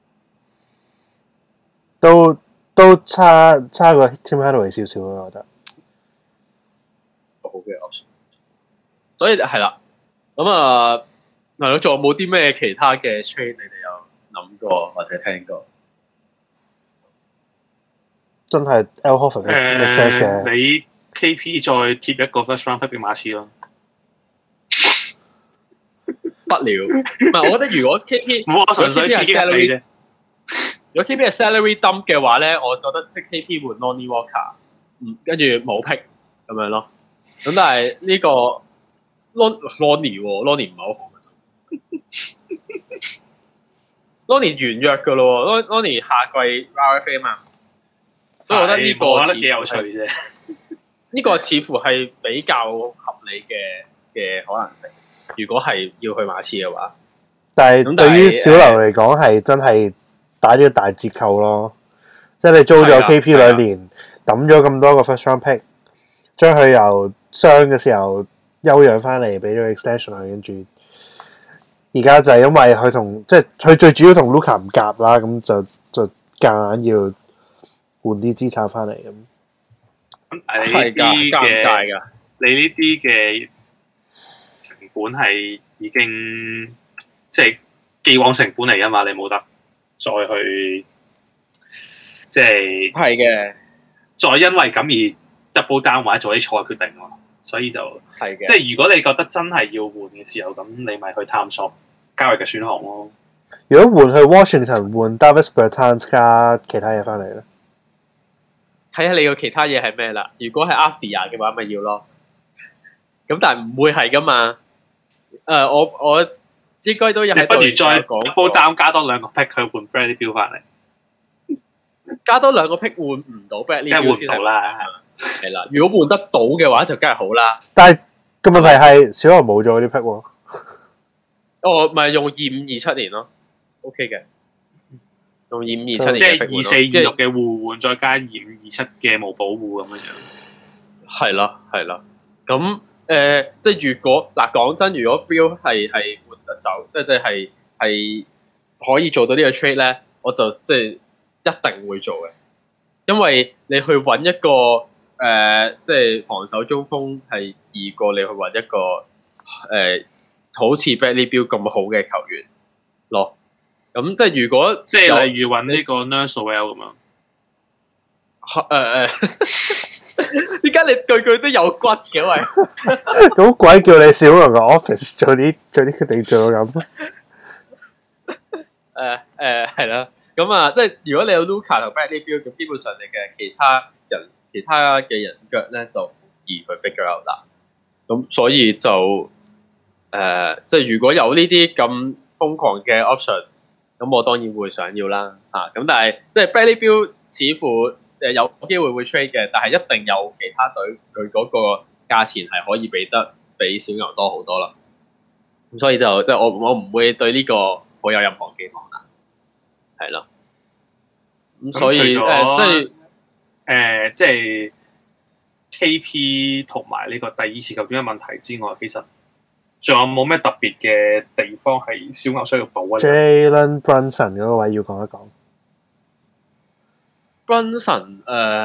都差過 Tim Hardaway 少少咯？我覺得好嘅 option。所以係啦。咁係咯，仲有冇啲咩其他嘅 trade 你哋有諗過或者聽過？真係 Al Horford 嘅 sense 嘅。 你 KP 再貼一個 first round pick 俾馬刺咯。 不了，唔係我覺得如果 KP 我純粹刺激你啫。 如果 KP 係 salary dump 嘅話咧，我覺得即 KP 換 Lonnie Walker， 跟住冇 pick 咁樣咯。咁但係呢個 Lonnie 唔係好好嘅。Lonnie 完約㗎咯 ，Lonnie 下季 RFA 嘛。所以我覺得呢個我覺得幾有趣啫。 呢個似乎係比較合理嘅可能性。如果係要去馬刺嘅話，但係對於小劉嚟講係真係打咗個大折扣咯。即係你租咗 KP 2年，抌咗咁多個 first round pick， 將佢由傷嘅時候休養翻嚟，俾咗 extension 佢，跟住而家就係因為佢同即係佢最主要同 Luka 唔夾啦，咁就夾硬要換啲資產翻嚟咁。係㗎，尷尬㗎。 你呢啲嘅成本係已經即係既往成本嚟㗎嘛，你冇得再去即係嘅，再因為咁而 double down 或者做啲錯嘅決定咯。所以就係嘅，即係如果你覺得真係要換嘅時候，咁你咪去探索交易嘅選項咯。如果換去 Washington 換 Davis Bertans 加其他嘢翻嚟咧？ 睇下你個其他嘢係咩啦。如果係 Avdia 嘅話，咪要咯。咁但係唔會係噶嘛。我應該都有喺度。不如再double down加多2個 pick 去換 Bradley Beal 翻嚟。加多2個 pick 換唔到 Bradley Beal 先換唔到啦。係啦，如果換得到嘅話就梗係好啦。但係個問題係小牛冇咗嗰啲 pick 喎。哦，咪用2527年咯。OK 嘅。用2527年，即係2426嘅互換，再加2527嘅冇保護咁樣。係啦，係啦。咁即係如果嗱講真，如果 Beal 係換得走，即係可以做到呢個 trade 咧，我就即係一定會做嘅。 因為你去揾一個即係防守中鋒係易過你去揾一個好似 Bradley Beal 咁好嘅球員咯。咁即係如果即係例如揾呢個 Nursewell 咁樣。 點解你句句都有骨嘅喂？ 咁鬼叫你小龍嘅 office 做啲決定做到咁？ 係啦。咁啊，即係如果你有 Luka 同 Bradley Beal，咁基本上你嘅其他嘅人腳咧就易去 figure out 啦。咁所以就即係如果有呢啲咁瘋狂嘅 option，咁我當然會想要啦。咁但係即係 Bradley Beal 似乎有機會會 trade 嘅，但係一定有其他隊佢嗰個價錢係可以比小牛多好多啦。咁所以就即係我唔會對呢個好有任何寄望啦。係咯，咁所以即係 KP 同埋呢個第二次球員嘅問題之外，其實仲有冇咩特別嘅地方係小牛需要補啊 ？Jalen Brunson 嗰個位要講一講。 Brunson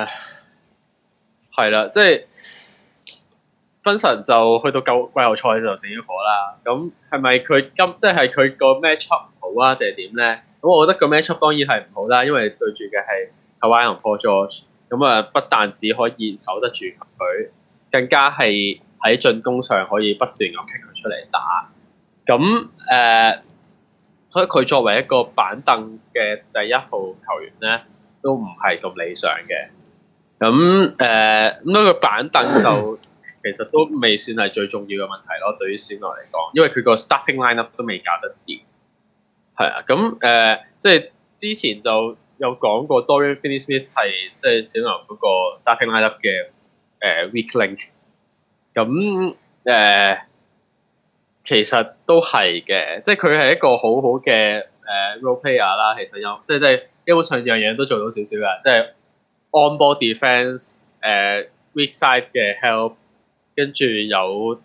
係啦，即係 Brunson 就去到季後賽就死咗火啦。咁係咪佢即係佢個 matchup 唔好啊，定係點咧？咁我覺得個 matchup 當然係唔好啦，因為對住嘅係 Kawhi 同 Paul George， 咁不但只可以守得住佢，更加係喺進攻上可以不斷咁踢佢出嚟打。咁所以佢作為一個板凳嘅第一號球員咧，都唔係咁理想嘅。咁咁個板凳就其實都未算係最重要嘅問題咯，對於小牛嚟講，因為佢個 starting lineup 都未搞得掂。係啊，咁即係之前就有講過 Dorian Finney-Smith 係即係小牛嗰個 starting lineup 嘅weak link。咁其實都係嘅，即係佢係一個好好嘅role player 啦。其實有即係基本上樣樣都做到少少嘅，即係 on ball defense，weak side 嘅 help， 跟住有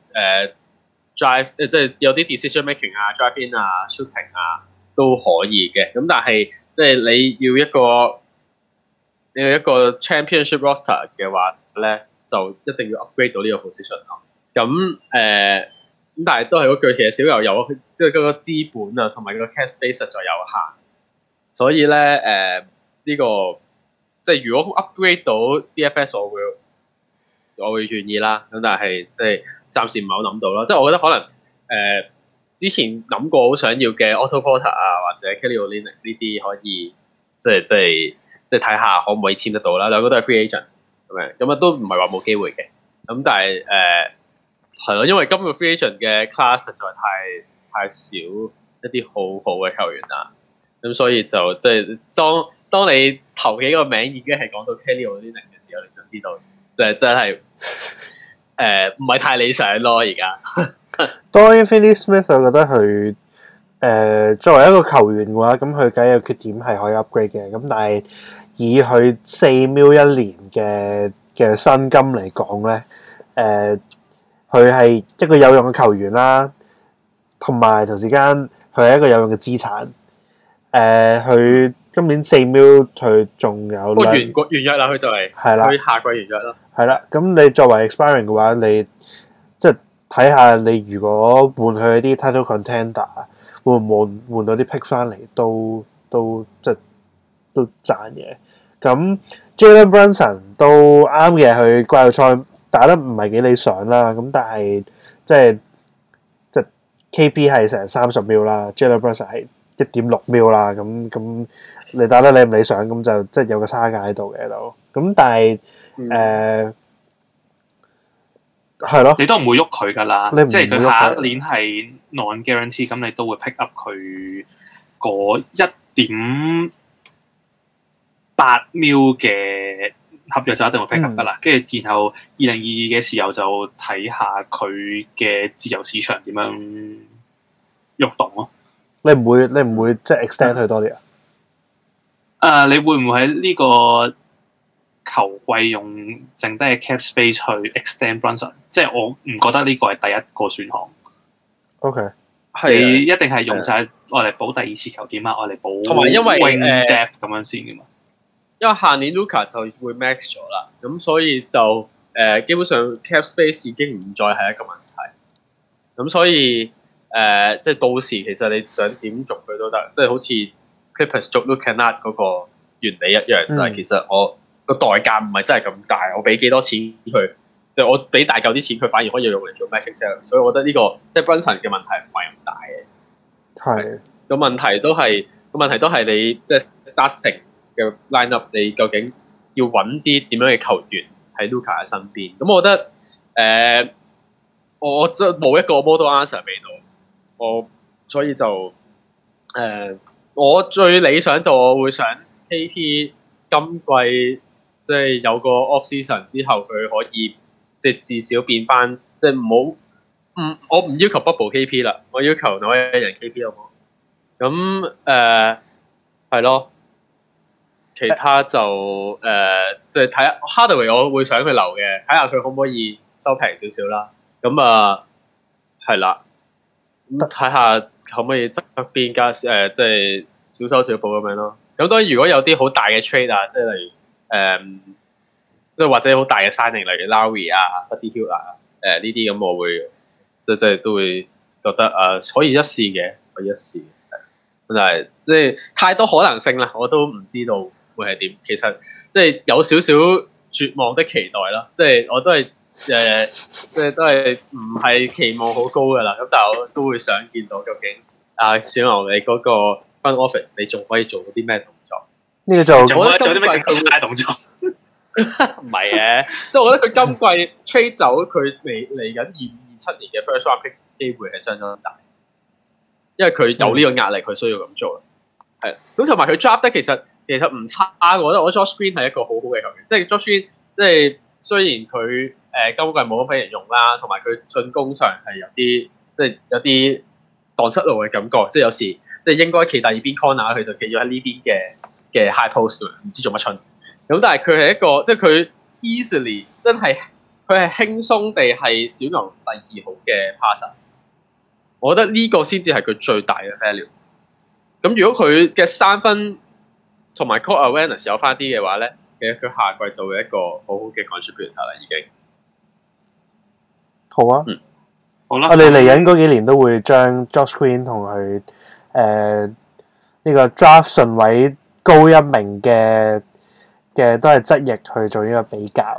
drive， 即係有啲 decision making 啊 ，drive in 啊 ，shooting 啊。都可以嘅，咁但係即係你要一個 championship roster 嘅話咧，就一定要 upgrade 到呢個 position 咯。咁咁但係都係嗰句，其實小牛有即係嗰個資本啊，同埋個 cap space 實在有限，所以咧呢個即係如果 upgrade 到 DFS， 我會願意啦。咁但係即係暫時唔係好諗到咯。即係我覺得可能之前諗過好想要嘅 Otto Porter 啊，或者 Kelly Olynyk 呢啲可以即係睇下可唔可以簽得到啦。兩個都係 free agent 咁樣，咁都唔係話冇機會嘅。咁但係係咯，因為今個 free agent 嘅 class 實在太少一啲好好嘅球員啦。咁所以就即係當你頭幾個名已經係講到 Kelly Olynyk 嘅時候，你就知道真係唔係太理想咯而家。 Dorian Finney-Smith 我覺得佢作為一個球員嘅話，咁佢梗有缺點係可以 upgrade 嘅。咁但係以佢4 million 一年嘅薪金嚟講咧，佢係一個有用嘅球員啦，同埋同時間佢係一個有用嘅資產。佢今年4 million 佢仲有完約啦，佢就係佢下季完約啦。 係啦，咁你作為 expiring 嘅話，你即係睇下你如果換佢啲 title contender， 會唔會換到啲 pick 翻嚟都即係都賺嘅。咁 Jalen Brunson 都啱嘅，佢季後賽打得唔係幾理想啦。咁但係即係 KP 係成30 million啦 ，Jalen Brunson 係1.6 million啦。咁你打得理唔理想，咁就即係有個差價喺度嘅都。咁但係係咯， 你都唔會喐佢噶啦，即係佢下一年係 non-guarantee， 咁你都會 pick up 佢嗰1.8 million 嘅合約就一定會 pick up 噶啦。跟住然後2022嘅時候就睇下佢嘅自由市場點樣喐動咯。 你唔會即係 extend 佢多啲啊？你會唔會喺呢個球季用剩低嘅 cap space 去 extend Brunson？ 即係我唔覺得呢個係第一個選項。 OK， 你一定係用晒愛嚟補第二次球點啊，愛嚟補同埋因為 wing depth 咁樣先噶嘛。 因為下年 Luka 就會 max 咗啦，咁所以就基本上 cap space 已經唔再係一個問題。咁所以即係到時其實你想點續佢都得，即係好似 Clippers 續 Luka 嗰個原理一樣，就係其實我個代價唔係真係咁大，我俾幾多錢佢，就我俾大嚿啲錢佢，反而可以用嚟做 max sale， 所以我覺得呢個即係 Brunson 嘅問題唔係咁大嘅。 係個問題都係你即係 starting 嘅 lineup， 你究竟要揾啲點樣嘅球員喺 Luka 嘅身邊？咁我覺得我真冇一個 model answer 俾到，所以就我最理想就我會想 KP 今季即係有個 off season 之後，佢可以即係至少變翻，即係我唔要求 bubble KP 啦，我要求另外一人 KP 好冇？咁係咯，其他就即係睇下 Hardaway 我會想佢留嘅，睇下佢可唔可以收平少少啦。咁係啦，咁睇下可唔可以側邊加即係小修小補咁樣咯。咁當然如果有啲好大嘅 trade 啊，即係例如即係或者好大嘅 signing，例如 Lowry 啊、Buddy Hield 啊呢啲咁，我會即係都會覺得可以一試嘅，可以一試。但係即係太多可能性啦，我都唔知道會係點。其實即係有少少絕望的期待啦，即係我都係即係都係唔係期望好高噶啦。咁但係我都會想見到究竟小牛你嗰個 front office 你仲可以做到啲咩動作？ 呢個就做啲咩更加動作？ 唔係嘅，即係我覺得佢今季 trade 走佢嚟緊2027年嘅 first round pick 機會係相當大。因為佢有呢個壓力，佢需要咁做。係，咁同埋佢 draft 得其實唔差，我覺得Josh Green 係一個好好嘅球員。即係 Josh Green，即係雖然佢今季冇乜俾人用啦，同埋佢進攻上係有啲蕩失路嘅感覺。即係有時即係應該企第二邊 corner， 佢就企咗喺呢邊嘅 high post， 唔知做乜春。咁但係佢係一個即係佢 easily 真係佢係輕鬆地係小牛第2號嘅 passer。我覺得呢個先至係佢最大嘅 value。咁如果佢嘅3分同埋 court awareness 有翻啲嘅話咧，其實佢下季就會一個好好嘅 contributor 啦，已經。 好啊， 好啦。 我哋嚟緊嗰幾年都會將 Josh Green 同佢呢個 draft 順位高一名嘅都係側翼去做呢個比較。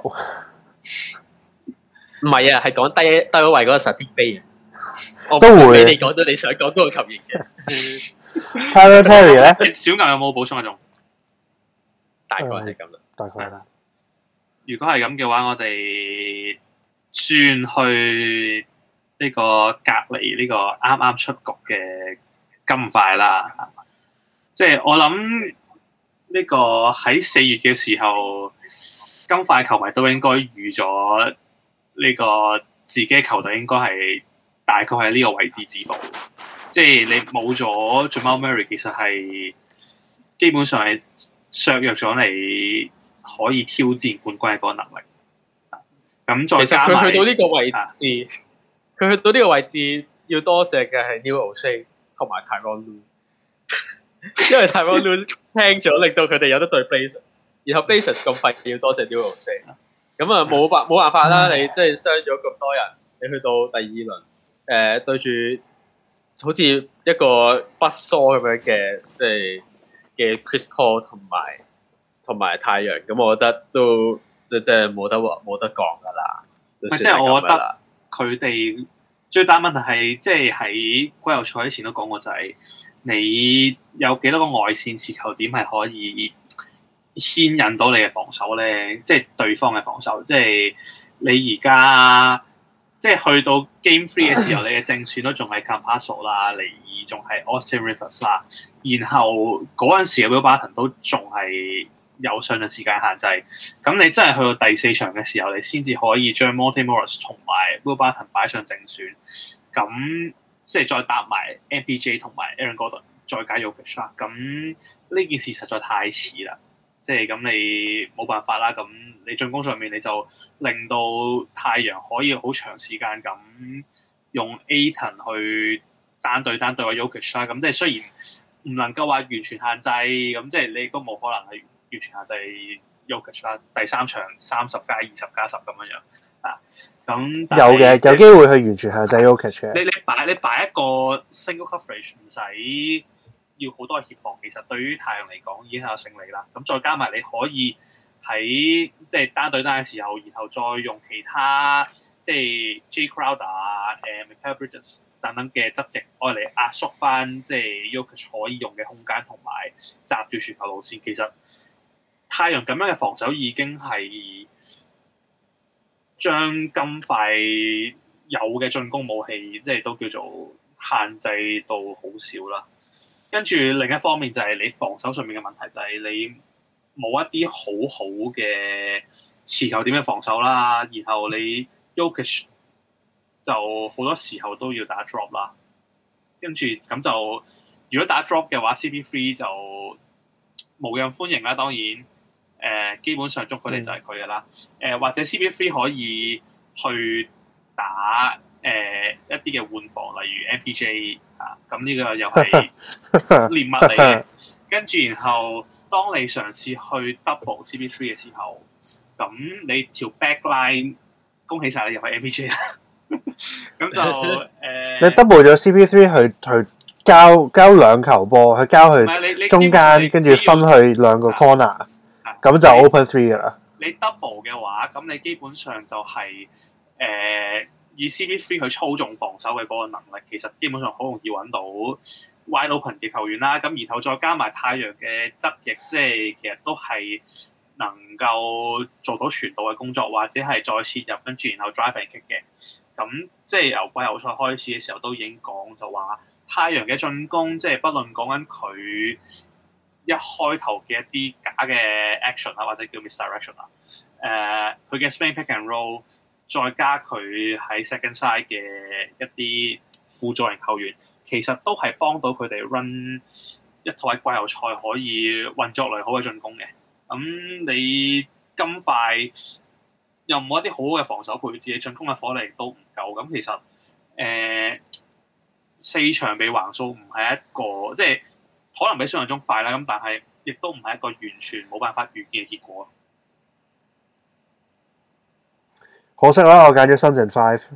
唔係啊，係講低一位嗰個 Saddiq Bey 啊。 都會。 你哋講到你想講嗰個球員嘅。 Tyler Terry 咧？ 小牛有冇補充一種？ 大概係咁啦。 大概啦。 如果係咁嘅話，我哋轉去呢個隔離呢個啱啱出局嘅金塊啦。即係我諗呢個喺4月嘅時候，金塊球迷都應該預咗呢個自己球隊應該係大概喺呢個位置止步。即係你冇咗 Jamal Murray， 其實係基本上係削弱咗你可以挑戰冠軍嘅嗰個能力。咁再加埋佢去到呢個位置，佢去到呢個位置要多謝嘅係 Neil O'Shea 同埋 Tyronn Lue， 因為 Tyronn Lue 聽咗，令到佢哋有得對 Blazers， 然後 Blazers 咁廢要多謝 Neil O'Shea。咁冇辦法啦，你即係傷咗咁多人，你去到第2輪，對住好似一個不疏咁樣嘅，即係嘅 Chris Paul 同埋太陽，咁我覺得都即係冇得講噶啦。 即係我覺得佢哋最大問題係，即係喺季後賽之前都講過，就係你有幾多個外線持球點係可以牽引到你嘅防守咧？即係對方嘅防守，即係你而家。即係去到 Game 3嘅時候，你嘅正選都仲係 Campazzo 啦，尼爾仲係 Austin Rivers 啦，然後嗰陣時嘅 Will Barton 都仲係有上場時間限制。咁你真係去到第4場嘅時候，你先至可以將 Monte Morris 同埋 Will Barton 擺上正選。咁即係再搭埋 MPJ 同埋 Aaron Gordon 再加 Jokic 啦。咁呢件事實在太遲啦。即係咁，你冇辦法啦。咁你進攻上面你就令到太陽可以好長時間咁用 Ayton 去單對個 Jokic 啦。咁即係雖然唔能夠話完全限制，咁即係你都冇可能係完全限制 Jokic 啦。第三場30+20+10咁樣啊。咁有嘅，有機會去完全限制 Jokic 嘅。 你擺一個 single coverage 唔使要好多協防，其實對於太陽嚟講已經係有勝利啦。咁再加埋你可以喺即係單對單嘅時候，然後再用其他即係 Jay Crowder 啊、Mikal Bridges 等等嘅側翼，愛嚟壓縮翻即係 Jokic 可以用嘅空間，同埋閘住傳球路線。其實太陽咁樣嘅防守已經係將金塊有嘅進攻武器，即係都叫做限制到好少啦。跟住另一方面就係你防守上面嘅問題，就係你冇一啲好好嘅持球點嘅防守啦。然後你 Jokic 就好多時候都要打 drop 啦。跟住咁就如果打 drop 嘅話 ，CP3 就無任歡迎啦。當然基本上捉佢哋就係佢嘅啦。或者 CP3 可以去打一啲嘅換防，例如 MPJ 啊，咁呢個又係獵物嚟嘅。跟住然後，當你嘗試去 double CP3 嘅時候，咁你條 backline 恭喜晒你入去 MPJ 啦。咁就你 double 咗 CP3 去交兩球波，去交去中間，跟住分去兩個 corner，咁就 open three 噶啦。 你 double 嘅話，咁你基本上就係以 CP3 去操縱防守嘅嗰個能力，其實基本上好容易揾到 wide open 嘅球員啦。咁然後再加埋太陽嘅側翼，即係其實都係能夠做到傳導嘅工作，或者係再切入跟住然後 drive and kick 嘅。咁即係由季後賽開始嘅時候都已經講就話，太陽嘅進攻即係不論講緊佢一開頭嘅一啲假嘅 action 啊，或者叫 misdirection 啊，佢嘅 spin pick and roll。再加佢喺 second side 嘅一啲輔助型球員，其實都係幫到佢哋 run 一套喺季後賽可以運作良好嘅進攻嘅。咁你咁快又冇一啲好好嘅防守配置，進攻嘅火力都唔夠。咁其實4場被橫掃唔係一個即係可能比想象中快啦。咁但係亦都唔係一個完全冇辦法預見嘅結果。 可惜啦，我揀咗 Suns in 5，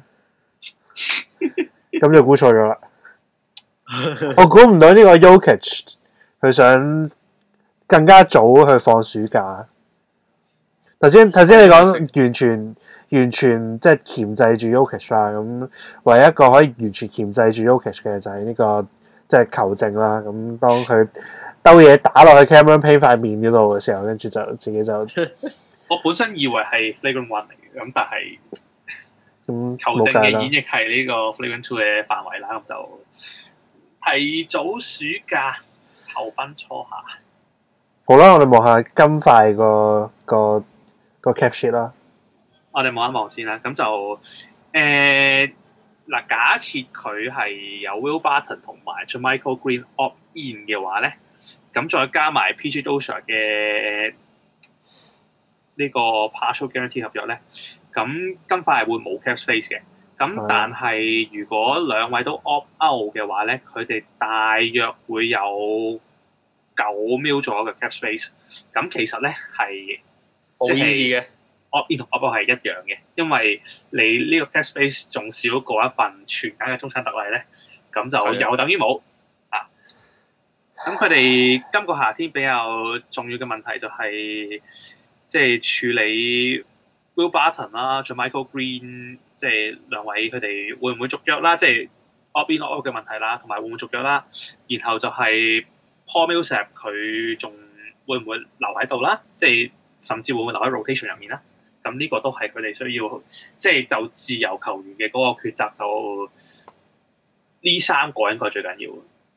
咁就估錯咗啦。我估唔到呢個 Jokic 佢想更加早去放暑假。頭先你講完全即係鉗制住 Jokic 啦，咁唯一一個可以完全鉗制住 Jokic 嘅就係呢個即係球證啦。咁當佢兜嘢打落去 Cameron Payne 塊面嗰度嘅時候，跟住就自己就我本身以為係 Flagrant 1嚟嘅，咁但係球證嘅演繹係呢個 Flagrant 2嘅範圍啦，咁就提早暑假投奔初夏。 好啦，我哋望下金塊個 cap sheet 啦。 我哋望一望先啦，咁就嗱，假設佢係有 Will Barton 同埋 JaMychal Green opt in 嘅話咧，咁再加埋 PJ Dozier 嘅呢個 partial guarantee 合約咧，咁金塊係會冇 cap space 嘅。咁但係如果兩位都 opt out 嘅話咧，佢哋大約會有9 mil 左右嘅 cap space。咁其實咧係好易嘅 opt in 同 opt out 係一樣嘅，因為你呢個 cap space 仲少過一份全額嘅中產特例咧，咁就有等於冇啊。咁佢哋今個夏天比較重要嘅問題就係即係處理 Will Barton 啦、JaMychal Green， 即係兩位佢哋會唔會續約啦？即係 opt in opt out 嘅問題啦，同埋會唔會續約啦？然後就係 Paul Millsap 佢仲會唔會留喺度啦？即係甚至會唔會留喺 rotation 入面啦？咁呢個都係佢哋需要，即係就自由球員嘅嗰個抉擇，就呢3個應該最緊要。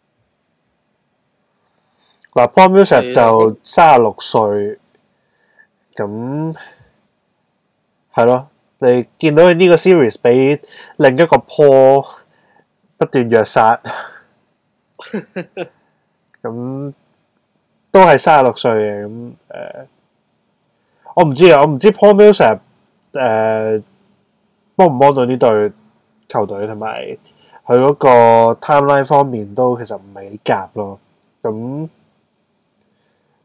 嗱，Paul Millsap 就36歲。咁係咯，你見到佢呢個 series 俾另一個 Paul 不斷虐殺，咁都係36歲嘅。咁我唔知啊，我唔知 Paul Millsap 幫唔幫到呢隊球隊，同埋佢嗰個 timeline 方面都其實唔係幾夾咯。咁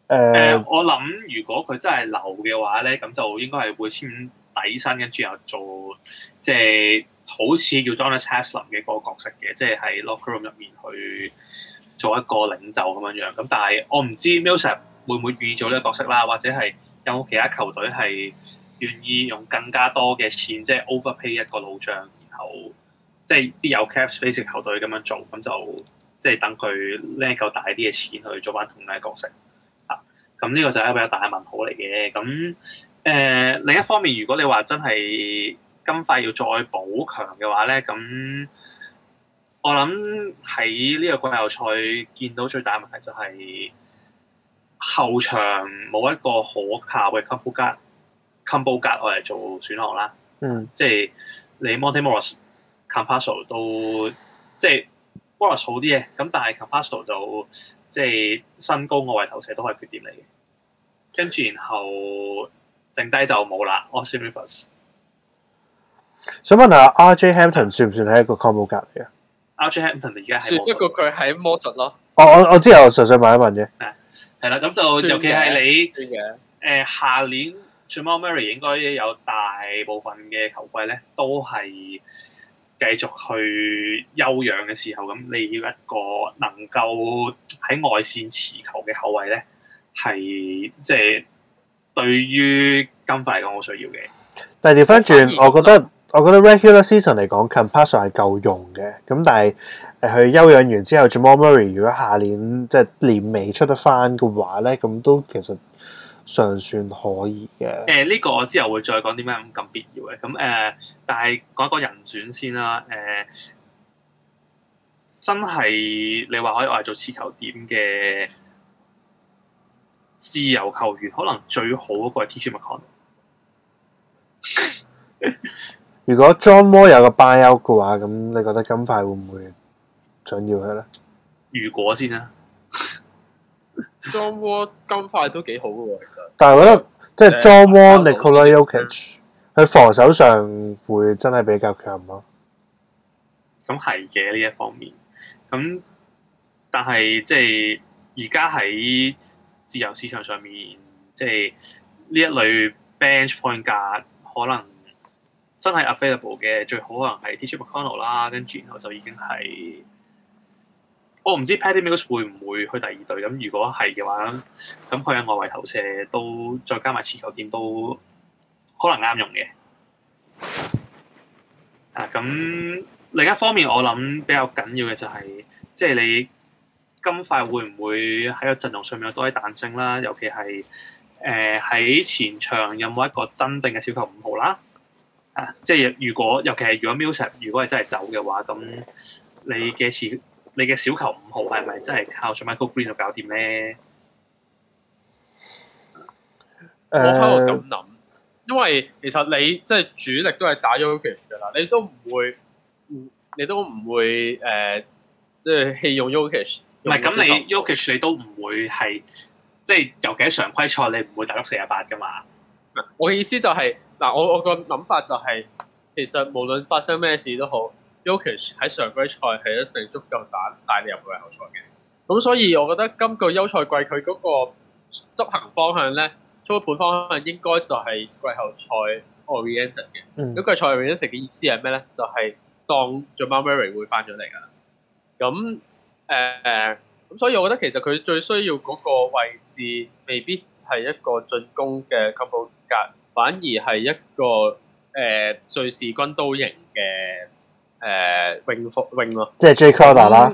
我諗如果佢真係留嘅話咧，咁就應該係會簽底薪，跟住又做即係好似叫 Udonis Haslem 嘅嗰個角色嘅，即係喺 locker room 入面去做一個領袖咁樣樣。咁但係我唔知 Millsap 會唔會願意做呢個角色啦，或者係有冇其他球隊係願意用更加多嘅錢，即係 overpay 一個老將，然後即係啲有 cap space 嘅球隊咁樣做，咁就即係等佢拎夠大啲嘅錢去做翻同樣嘅角色。咁呢個就係一個比較大嘅問號嚟嘅。咁另一方面，如果你話真係金塊要再補強嘅話咧，咁我諗喺呢個季後賽見到最大嘅問題就係後場冇一個可靠嘅 combo guard 我嚟做選項啦。即係你 Monte Morris、Campazzo 都即係 Morris 好啲嘅，咁但係 Campazzo 就即係身高外圍投射都係缺點嚟嘅，跟住然後剩低就冇啦。Austin Rivers 想問下 RJ Hampton 算唔算係一個 combo guard 嚟嘅 ？RJ Hampton 而家係算，不過佢喺魔術咯。 我知，我純粹問一問啫。 係啦，咁就尤其係你下年 Jamal Murray 應該有大部分嘅球季咧，都係繼續去休養嘅時候，咁你要一個能夠喺外線持球嘅後衛咧，係即係對於金塊嚟講好需要嘅。 但係調翻轉，我覺得 regular season 嚟講 Campazzo 係夠用嘅。咁但係佢休養完之後 Jamal Murray 如果下年即係年尾出得翻嘅話咧，咁都其實尚算可以嘅。 呢個我之後會再講點解咁必要嘅。咁但係講一個人選先啦。真係你話可以話做持球點嘅自由球員，可能最好嗰個係 TJ McConnell。 如果 John Wall 有個 buyout 嘅話，咁你覺得金塊會唔會想要佢咧？ 如果先啦 ，John Wall 金塊都幾好嘅喎，其實。但係我覺得即係 John Wall、Nikola Jokic，佢防守上會真係比較強咯。 咁係嘅呢一方面，咁但係即係而家喺自由市場上面，即係呢一類 bench point guard可能真係 available 嘅，最好可能係 TJ McConnell 啦，跟住然後就已經係我唔知 Patty Mills 會唔會去第二隊。咁如果係嘅話，咁佢喺外圍投射都再加埋持球點都可能啱用嘅。咁另一方面，我諗比較緊要嘅就係即係你金塊會唔會喺個陣容上面有多啲彈性啦？尤其係喺前場有冇一個真正嘅小球5號啦？即係尤其係如果 Millsap 如果係真係走嘅話，咁你嘅小球5號係咪真係靠住 Michael Green 去搞掂咧？ 我喺度咁諗，因為其實你即係主力都係打 Jokic 㗎啦，你都唔會即係棄用 Jokic。 唔係咁，你 Jokic 你都唔會係即係尤其喺常規賽你唔會打到48㗎嘛。 我嘅意思就係嗱，我個諗法就係其實無論發生咩事都好，Jokic 喺常規賽係一定足夠帶你入季後賽嘅。咁所以我覺得今個休賽季佢嗰個執行方向咧，操盤方向應該就係季後賽 oriented 嘅。咁季後賽 oriented 嘅意思係咩咧？就係當 Jamal Murray 會翻咗嚟㗎。咁所以我覺得其實佢最需要嗰個位置未必係一個進攻嘅 combo guard，反而係一個瑞士軍刀型嘅wing 咯， 即係 Jay Crowder 啦。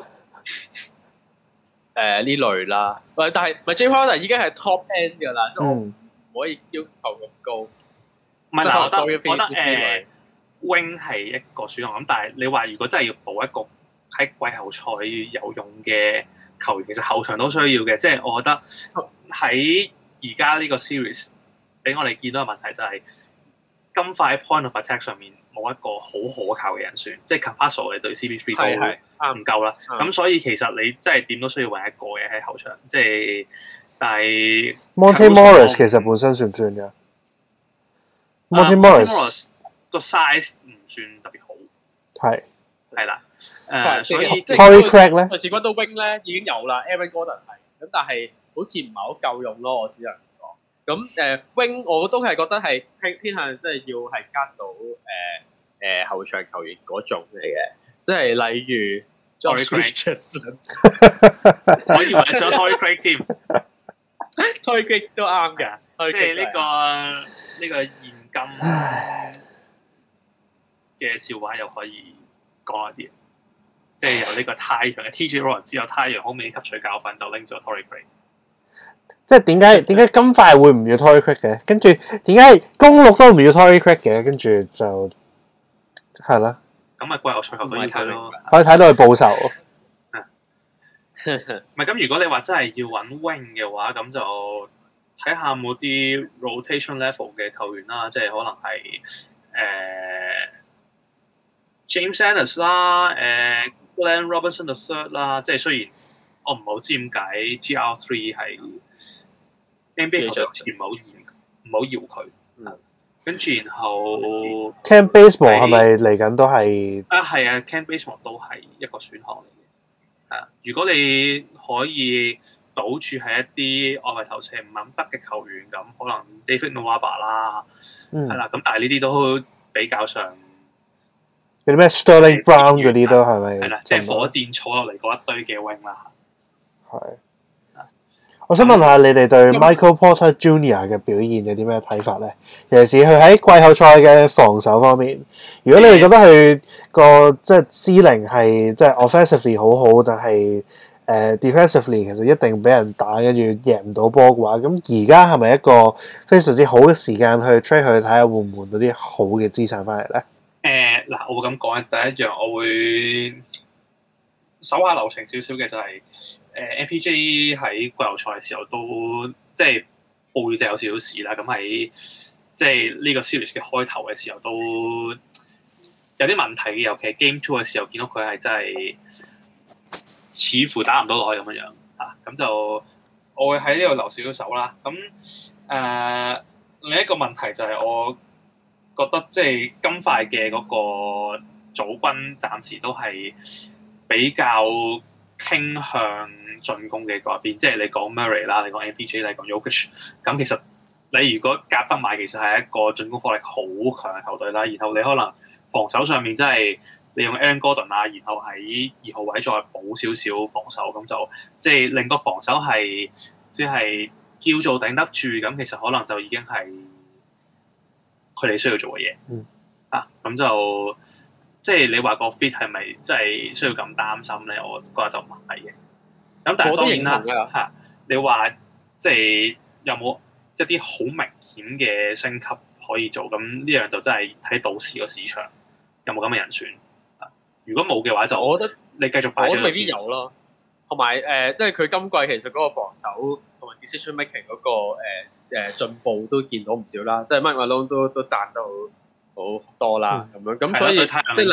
呢類啦，但係咪 Jay Crowder 已經係 top end 㗎啦，即係我唔可以要求咁高。 唔係嗱，我覺得wing 係一個選項咁，但係你話如果真係要補一個喺季後賽有用嘅球員，其實後場都需要嘅。即係我覺得喺而家呢個 series 俾我哋見到嘅問題就係金塊 point of attack 上面冇一個好可靠嘅人選，即係 Campazzo 你對 CP3 都唔夠啦。咁所以其實你真係點都需要揾一個嘅喺後場。即係但係 Monte Morris 其實本身算唔算㗎？Monte Morris 個 size 唔算特別好，係啦。所以 Torrey Craig 咧， 瑞士軍刀 wing 咧已經有啦 ，Aaron Gordon 係咁，但係好似唔係好夠用咯，我只能講。咁wing 我都係覺得係偏向即係要係加到後場球員嗰種嚟嘅，即係例如 Josh Richardson， 我以為你想 Torrey Craig 添 ，Torrey Craig 都啱㗎， 即係呢個現今嘅笑話又可以講一啲，即係由呢個太陽嘅 TJ Warren 之後，太陽好未吸取教訓，就拎咗 Torrey Craig。 即係點解金塊會唔要 Torrey Craig 嘅？跟住點解公鹿都唔要 Torrey Craig 嘅？跟住就係啦。 咁咪季後賽球都要睇咯， 可以睇到佢報仇。 唔係咁，如果你話真係要揾 wing 嘅話，咁就睇下冇啲 rotation level 嘅球員啦，即係可能係James Ennis 啦，Glenn Robinson III 啦，即係雖然我唔係好知點解 GR3 係 NBA 球隊好似唔好搖佢。跟住然後 Kent Bazemore 係咪嚟緊都係？ 係啊 Kent Bazemore 都係一個選項嚟嘅。係啊，如果你可以賭住係一啲外圍投射唔係咁得嘅球員，咁可能 David Nwaba 啦，係啦。咁但係呢啲都比較上有啲咩 Sterling Brown 嗰啲都係咪？ 係啦，即係火箭坐落嚟嗰一堆嘅 wing 啦。係。 我想問下你哋對 Michael Porter Jr. 嘅表現有啲咩睇法咧？尤其是佢喺季後賽嘅防守方面，如果你哋覺得佢個即係 ceiling 係即係 offensively 好好，但係defensively 其實一定俾人打，跟住贏唔到波嘅話，咁而家係咪一個非常之好嘅時間去 trade 佢睇下換唔換到啲好嘅資產翻嚟咧？ 嗱，我會咁講嘅。第一樣，我會手下留情少少嘅就係、MPJ 喺季後賽嘅時候都即係背脊有少少事啦。咁喺即係呢個 series 嘅開頭嘅時候都有啲問題嘅，尤其係 Game 2嘅時候見到佢係真係似乎打唔到落去咁樣啊。咁就我會喺呢度留少少手啦。咁另一個問題就係我覺得即係金塊嘅嗰個組軍暫時都係比較傾向進攻嘅嗰邊，即係你講 Murray 啦，你講 MPJ， 你講 Jokic， 咁其實你如果夾得埋，其實係一個進攻火力好強嘅球隊啦。然後你可能防守上面真係你用 Aaron Gordon 啊，然後喺2號位再補少少防守，咁就即係令個防守係即係叫做頂得住。咁其實可能就已經係佢哋需要做嘅嘢。咁就即係你話個 fit 係咪真係需要咁擔心咧？我覺得就唔係嘅。咁但係當然啦，你話即係有冇一啲好明顯嘅升級可以做？咁呢樣就真係睇到時個市場有冇咁嘅人選。如果冇嘅話，就我覺得你繼續擺咗。我未必有咯。同埋即係佢今季其實嗰個防守同埋 decision making 嗰個進步都見到唔少啦。即係 Mike Malone 都讚得好多啦，咁樣咁所以即係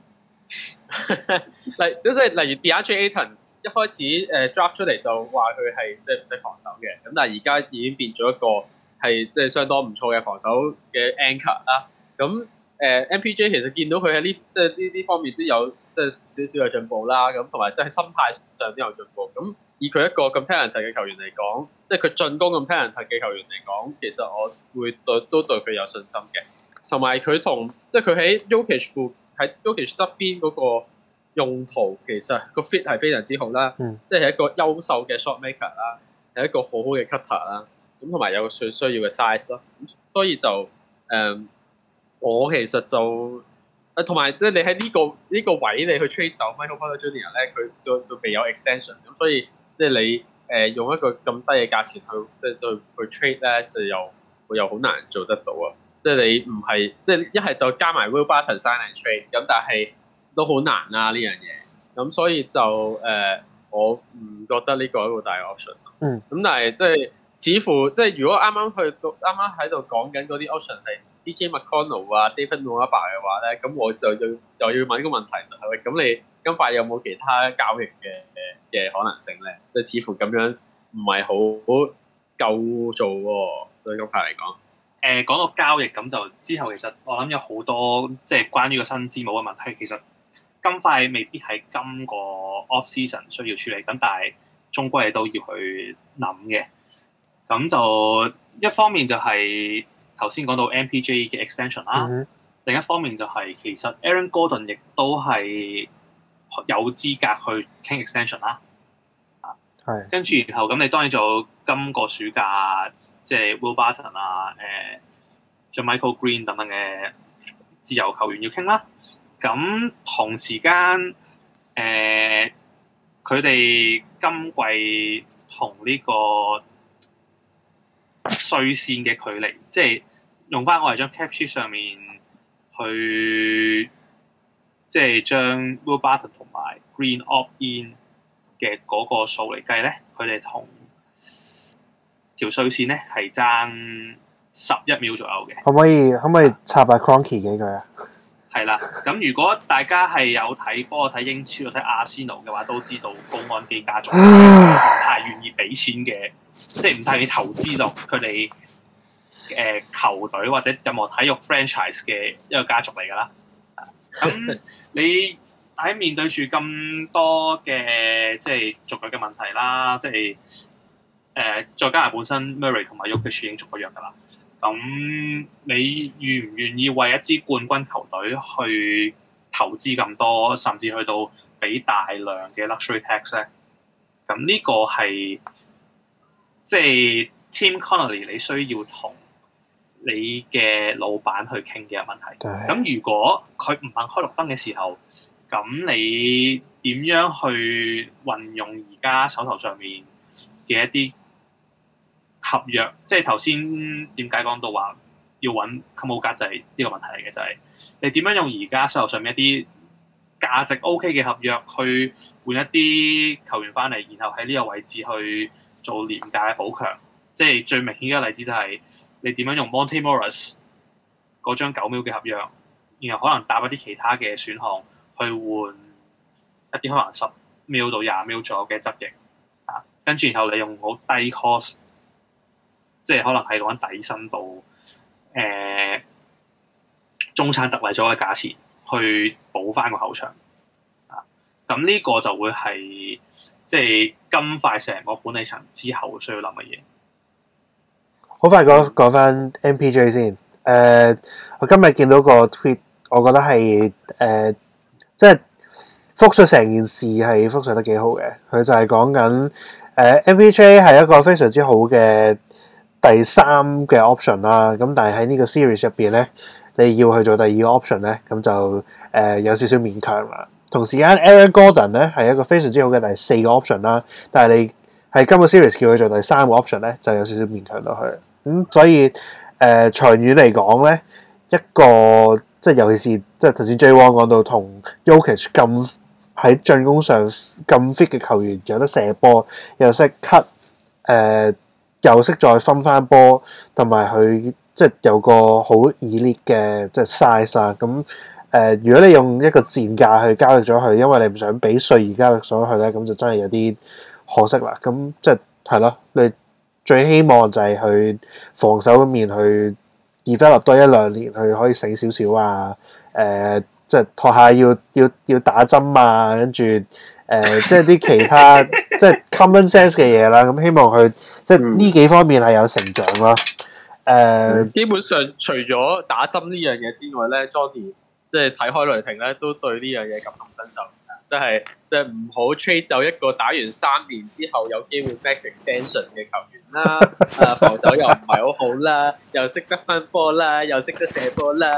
例如 DeAndre Ayton 一開始draft 出嚟就話佢係即係唔識防守嘅，咁但係而家已經變咗一個係即係相當唔錯嘅防守嘅 anchor 啦。咁MPJ 其實見到佢喺即係呢方面都有即係少少嘅進步啦，咁同埋即係心態上都有進步。咁以佢一個咁 talented 嘅球員嚟講，即係佢進攻咁 talented 嘅球員嚟講，其實我會都對佢有信心嘅。同埋佢同即係佢喺 Jokic 喺 Jokic 側邊嗰個用途，其實個 fit 係非常之好啦。即係一個優秀嘅 shot maker 啦，係一個好好嘅 cutter 啦。咁同埋有最需要嘅 size 咯。所以就我其實就同埋即係你喺呢個位你去 trade 走 Michael Porter Jr. 咧，佢就未有 extension。咁所以即係你用一個咁低嘅價錢去 trade 咧，就又好難做得到啊！即係你唔係即係一係就加埋 Will Barton sign and trade， 咁但係都好難啊呢樣嘢。咁所以就我唔覺得呢個係一個大 option。咁但係即係似乎即係如果啱啱喺度講緊嗰啲 option 係 DJ McConnell 啊 David Nwaba 嘅話咧，咁我就又要問一個問題就係喂，咁你金塊有冇其他交易嘅可能性咧？即係似乎咁樣唔係好夠做喎，對金塊嚟講。講到交易咁就之後，其實我諗有好多即係關於個薪資冇嘅問題，其實金塊未必係今個 off season 需要處理。咁但係終歸都要去諗嘅。咁就一方面就係頭先講到 MPJ 嘅 extension 啦，另一方面就係其實 Aaron Gordon 亦都係有資格去傾 extension 啦。係。跟住然後咁，你當然就今個暑假即係 Will Barton 啊、Michael Green 等等嘅自由球員要傾啦。咁同時間佢哋今季同呢個稅線嘅距離，即係用翻我哋張 cap sheet 上面去，即係將 Will Barton 同埋 Green opt in 嘅嗰個數嚟計咧，佢哋同條稅線咧係爭11秒左右嘅。可唔可以插下 Cronky 幾句啊？ 係啦，咁如果大家係有睇波、睇英超、睇阿仙奴嘅話，都知道高安基家族唔太願意俾錢嘅，即係唔太願意投資落佢哋球隊或者任何體育 franchise 嘅一個家族嚟㗎啦。咁你喺面對住咁多嘅即係續約嘅問題啦，即係再加上本身 Murray 同埋 Jokic 已經續咗約㗎啦。咁你願唔願意為一支冠軍球隊去投資咁多，甚至去到俾大量嘅 luxury tax 咧？咁呢個係即係 Tim Connolly 你需要同你嘅老闆去傾嘅問題。咁如果佢唔肯開綠燈嘅時候，咁你點樣去運用而家手頭上面嘅一啲合約？即係頭先點解講到話要揾 Kuminga 就係呢個問題嚟嘅，就係你點樣用而家手頭上面一啲價值 OK 嘅合約去換一啲球員翻嚟，然後喺呢個位置去做廉價嘅補強。即係最明顯嘅例子就係你點樣用 Monte Morris 嗰張9秒嘅合約，然後可能搭一啲其他嘅選項去換一啲可能10秒到20秒左右嘅側翼啊，跟住然後你用好低 cost。即係可能係講底薪到中產特例咗嘅價錢去補翻個後場啊，咁呢個就會係即係金塊成個管理層之後需要諗嘅嘢。 好快講翻 MPJ 先。我今日見到個 tweet， 我覺得係即係複述成件事係複述得幾好嘅。佢就係講緊MPJ 係一個非常之好嘅第3嘅 option 啦，咁但係喺呢個 series 入邊咧，你要去做第2個 option 咧，咁就有少少勉強啦。同時間 Aaron Gordon 咧係一個非常之好嘅第4個 option 啦，但係你係今個 series 叫佢做第3個 option 咧，就有少少勉強到佢。所以長遠嚟講咧，一個即係尤其是即係頭先 J Wong 講到同 Jokic 咁喺進攻上咁 fit 嘅球員，有得射波，又識 cut 又識再分翻波，同埋佢即係有個好 elite 嘅即係 size 啊！咁如果你用一個賤價去交易咗佢，因為你唔想俾稅而交易咗佢咧，咁就真係有啲可惜啦。咁即係咯，你最希望就係去防守嗰面去 develop 多1-2年，去可以醒少少啊！即係學下要打針啊，跟住即係啲其他即係 common sense 嘅嘢啦。咁希望佢即係呢幾方面係有成長啦。 基本上除咗打針呢樣嘢之外咧 ，Johnny 即係睇開雷霆咧，都對呢樣嘢感同身受。即係唔好 trade 走一個打完3年之後有機會 max extension 嘅球員啦。防守又唔係好好啦，又識得分波啦，又識得射波啦。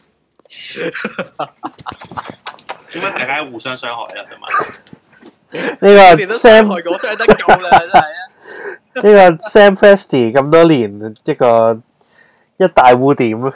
點解大家互相傷害啊？想問呢個 Sam 我傷得夠啦，真係啊！ 呢個 Sam Presti 咁多年一大污點咯。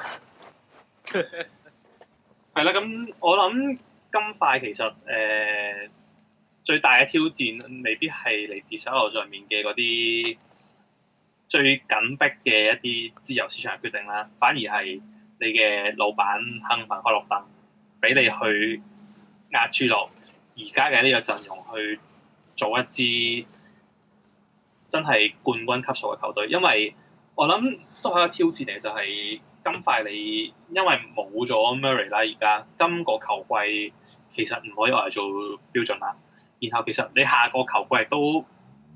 係啦，咁我諗金塊其實最大嘅挑戰未必係嚟自手頭上面嘅嗰啲最緊迫嘅一啲自由市場決定啦，反而係你嘅老闆肯唔肯開綠燈，俾你去壓住落而家嘅呢個陣容去做一支真係冠軍級數嘅球隊。因為我諗都係一個挑戰嚟，就係金塊你因為冇咗 Murray 啦，而家今個球季其實唔可以話做標準啦。然後其實你下個球季都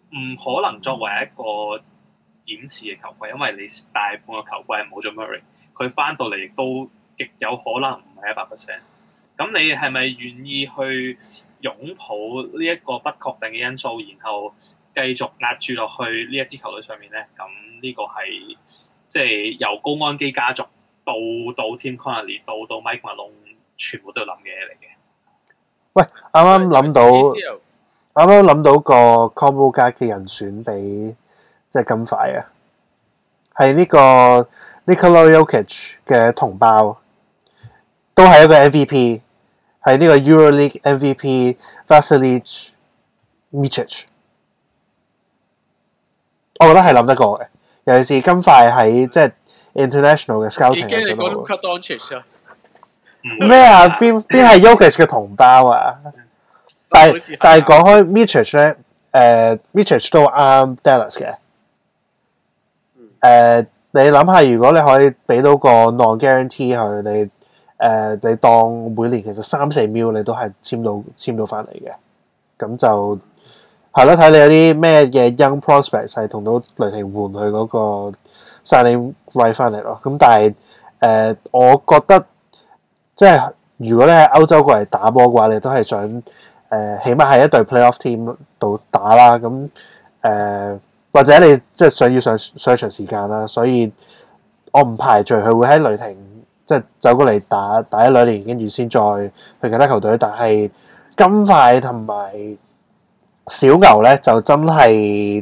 唔可能作為一個檢視嘅球季，因為你大半個球季係冇咗 Murray， 佢翻到嚟亦都極有可能唔係100%。咁你係咪願意去擁抱呢一個不確定嘅因素，然後繼續壓住落去呢一支球隊上面咧？咁呢個係即係由高安基家族到 Tim Connolly 到 Mike Malone 全部都要諗嘅嘢嚟嘅。喂， 啱啱諗到個 combo 加嘅人選俾即係金塊啊，係呢個 Nikola Jokic 嘅同胞，都係一個 MVP， 係呢個 EuroLeague MVP Vasilij Micic， 我覺得係諗得過嘅，尤其是金塊喺即係 international 嘅 scouting 已經你講 Luka Doncic 啊？ 咩啊？邊係 Jokic 嘅同胞啊？但係講開 Micic 咧，Micic 都啱 Dallas 嘅。你諗下，如果你可以俾到個 non-guarantee 佢，你當每年其實3-4 mil 你都係簽到翻嚟嘅，咁就係咯。睇你有啲咩嘅 young prospects 係同到雷霆換佢嗰個 signing right 翻嚟咯。咁但係我覺得即係如果你喺歐洲過嚟打波嘅話，你都係想起碼係一隊 playoff team 度打啦。咁或者你即係想要上場時間啦，所以我唔排除佢會喺雷霆即係走過嚟打1-2年，跟住先再去其他球隊。但係金塊同埋小牛咧，就真係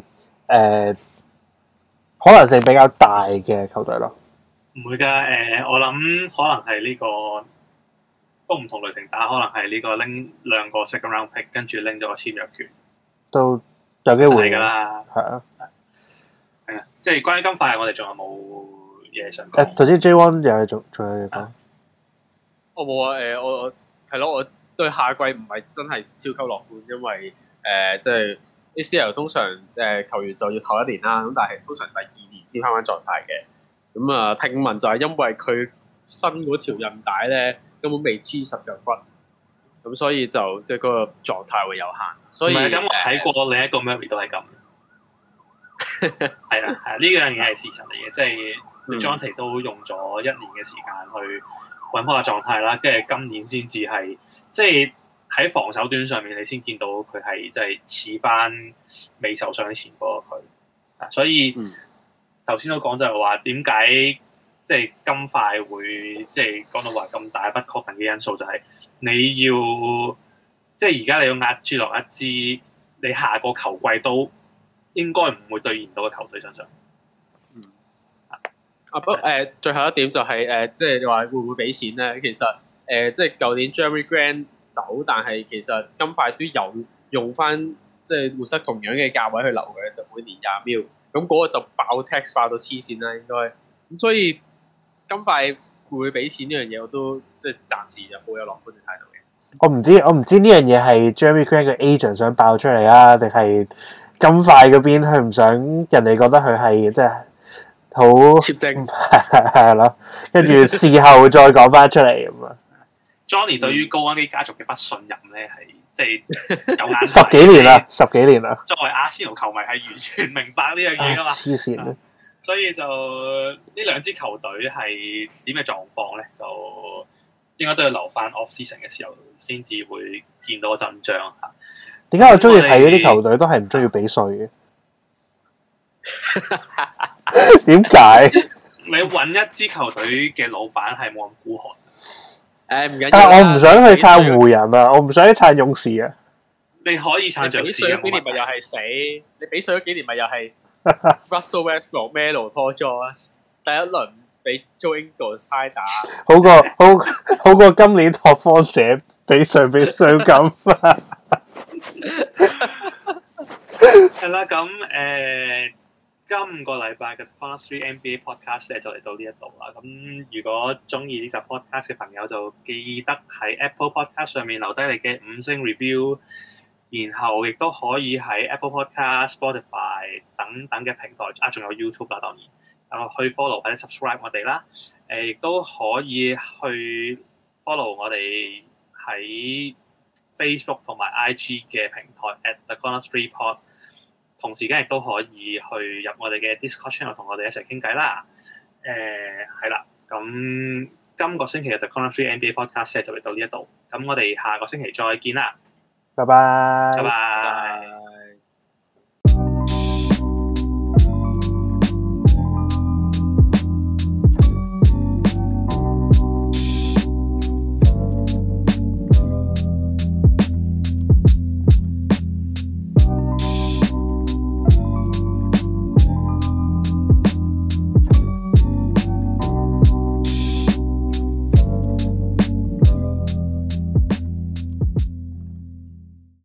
可能性比較大嘅球隊咯。 唔會㗎，我諗可能係呢個都唔同雷霆打，可能係呢個拎2個 second round pick， 跟住拎咗個簽約權，都有機會㗎啦。係啊，係啊，即係關於金塊，我哋仲有冇嘢想講？ 頭先 J1 又係仲有嘢講。 我冇啊，我係咯，我對下季唔係真係超級樂觀，因為即係 ACL 通常球員就要唞1年啦，咁但係通常第2年先翻狀態嘅。咁啊，聽聞就係因為佢新嗰條韌帶咧根本未黐實腳骨，咁所以就即係嗰個狀態會有限。所以咁，我睇過另一個 Murray 都係咁。係啦，係呢樣嘢係事實嚟嘅，即係 Jonte 都用咗1年嘅時間去揾翻個狀態啦，跟住今年先至係即係喺防守端上面，你先見到佢係即係似翻未受傷之前嗰個佢。所以頭先都講就係話點解即係金塊會即係講到話咁大不確定嘅因素，就係你要即係而家你要壓住落一支你下個球季都應該唔會兌現到嘅球隊身上。 最後一點就係即係你話會唔會俾錢咧？其實即係舊年 Jeremy Grant 走，但係其實金塊都有用翻即係活塞同樣嘅價位去留嘅，就每年20 mil。咁嗰個就爆 tax 爆到黐線啦，應該。咁所以金塊會唔會俾錢呢樣嘢，我都即係暫時就冇有樂觀嘅態度嘅。 我唔知呢樣嘢係 Jeremy Grant 嘅 agent 想爆出嚟啊，定係金塊嗰邊佢唔想人哋覺得佢係即係好貼正係咯，跟住事後再講翻出嚟咁啊。 Johnny 對於高安基家族嘅不信任咧，係即係有眼 10幾年啦，10幾年啦。 作為阿仙奴球迷係完全明白呢樣嘢噶嘛。 黐線， 所以就呢兩支球隊係點嘅狀況咧，就應該都要留翻 off season 嘅時候先至會見到個真章嚇。 點解我中意睇嗰啲球隊都係唔中意俾稅嘅？點解？ 你揾一支球隊嘅老闆係冇咁孤寒。 唔緊要。 但係我唔想去撐湖人啊，我唔想去撐勇士啊。 你可以撐爵士啊！ 幾年咪又係死？你俾稅咗幾年咪又係 Russell Westbrook、Melo、Paul George， 第一輪俾 Joe Ingles 猜打，好過今年拓荒者俾稅咁。 係啦，咁今個禮拜嘅 Fast 3 NBA Podcast 咧就嚟到呢一度啦。咁如果中意呢集 Podcast 嘅朋友，就記得喺 Apple Podcast 上面留低你嘅5星 review， 然後亦都可以喺 Apple Podcast、Spotify 等等嘅平台啊，仲有 YouTube 啦，當然去 follow 或者 subscribe 我哋啦。亦都可以去 follow 我哋喺 Facebook 同埋 IG 嘅平台 @The Corner 3 Pod。 同時間亦都可以去入我哋嘅 Discord channel 同我哋一齊傾偈啦。係啦，咁今個星期嘅 The Corner 3 NBA Podcast 就嚟到呢一度，咁我哋下個星期再見啦， 拜拜。 拜拜。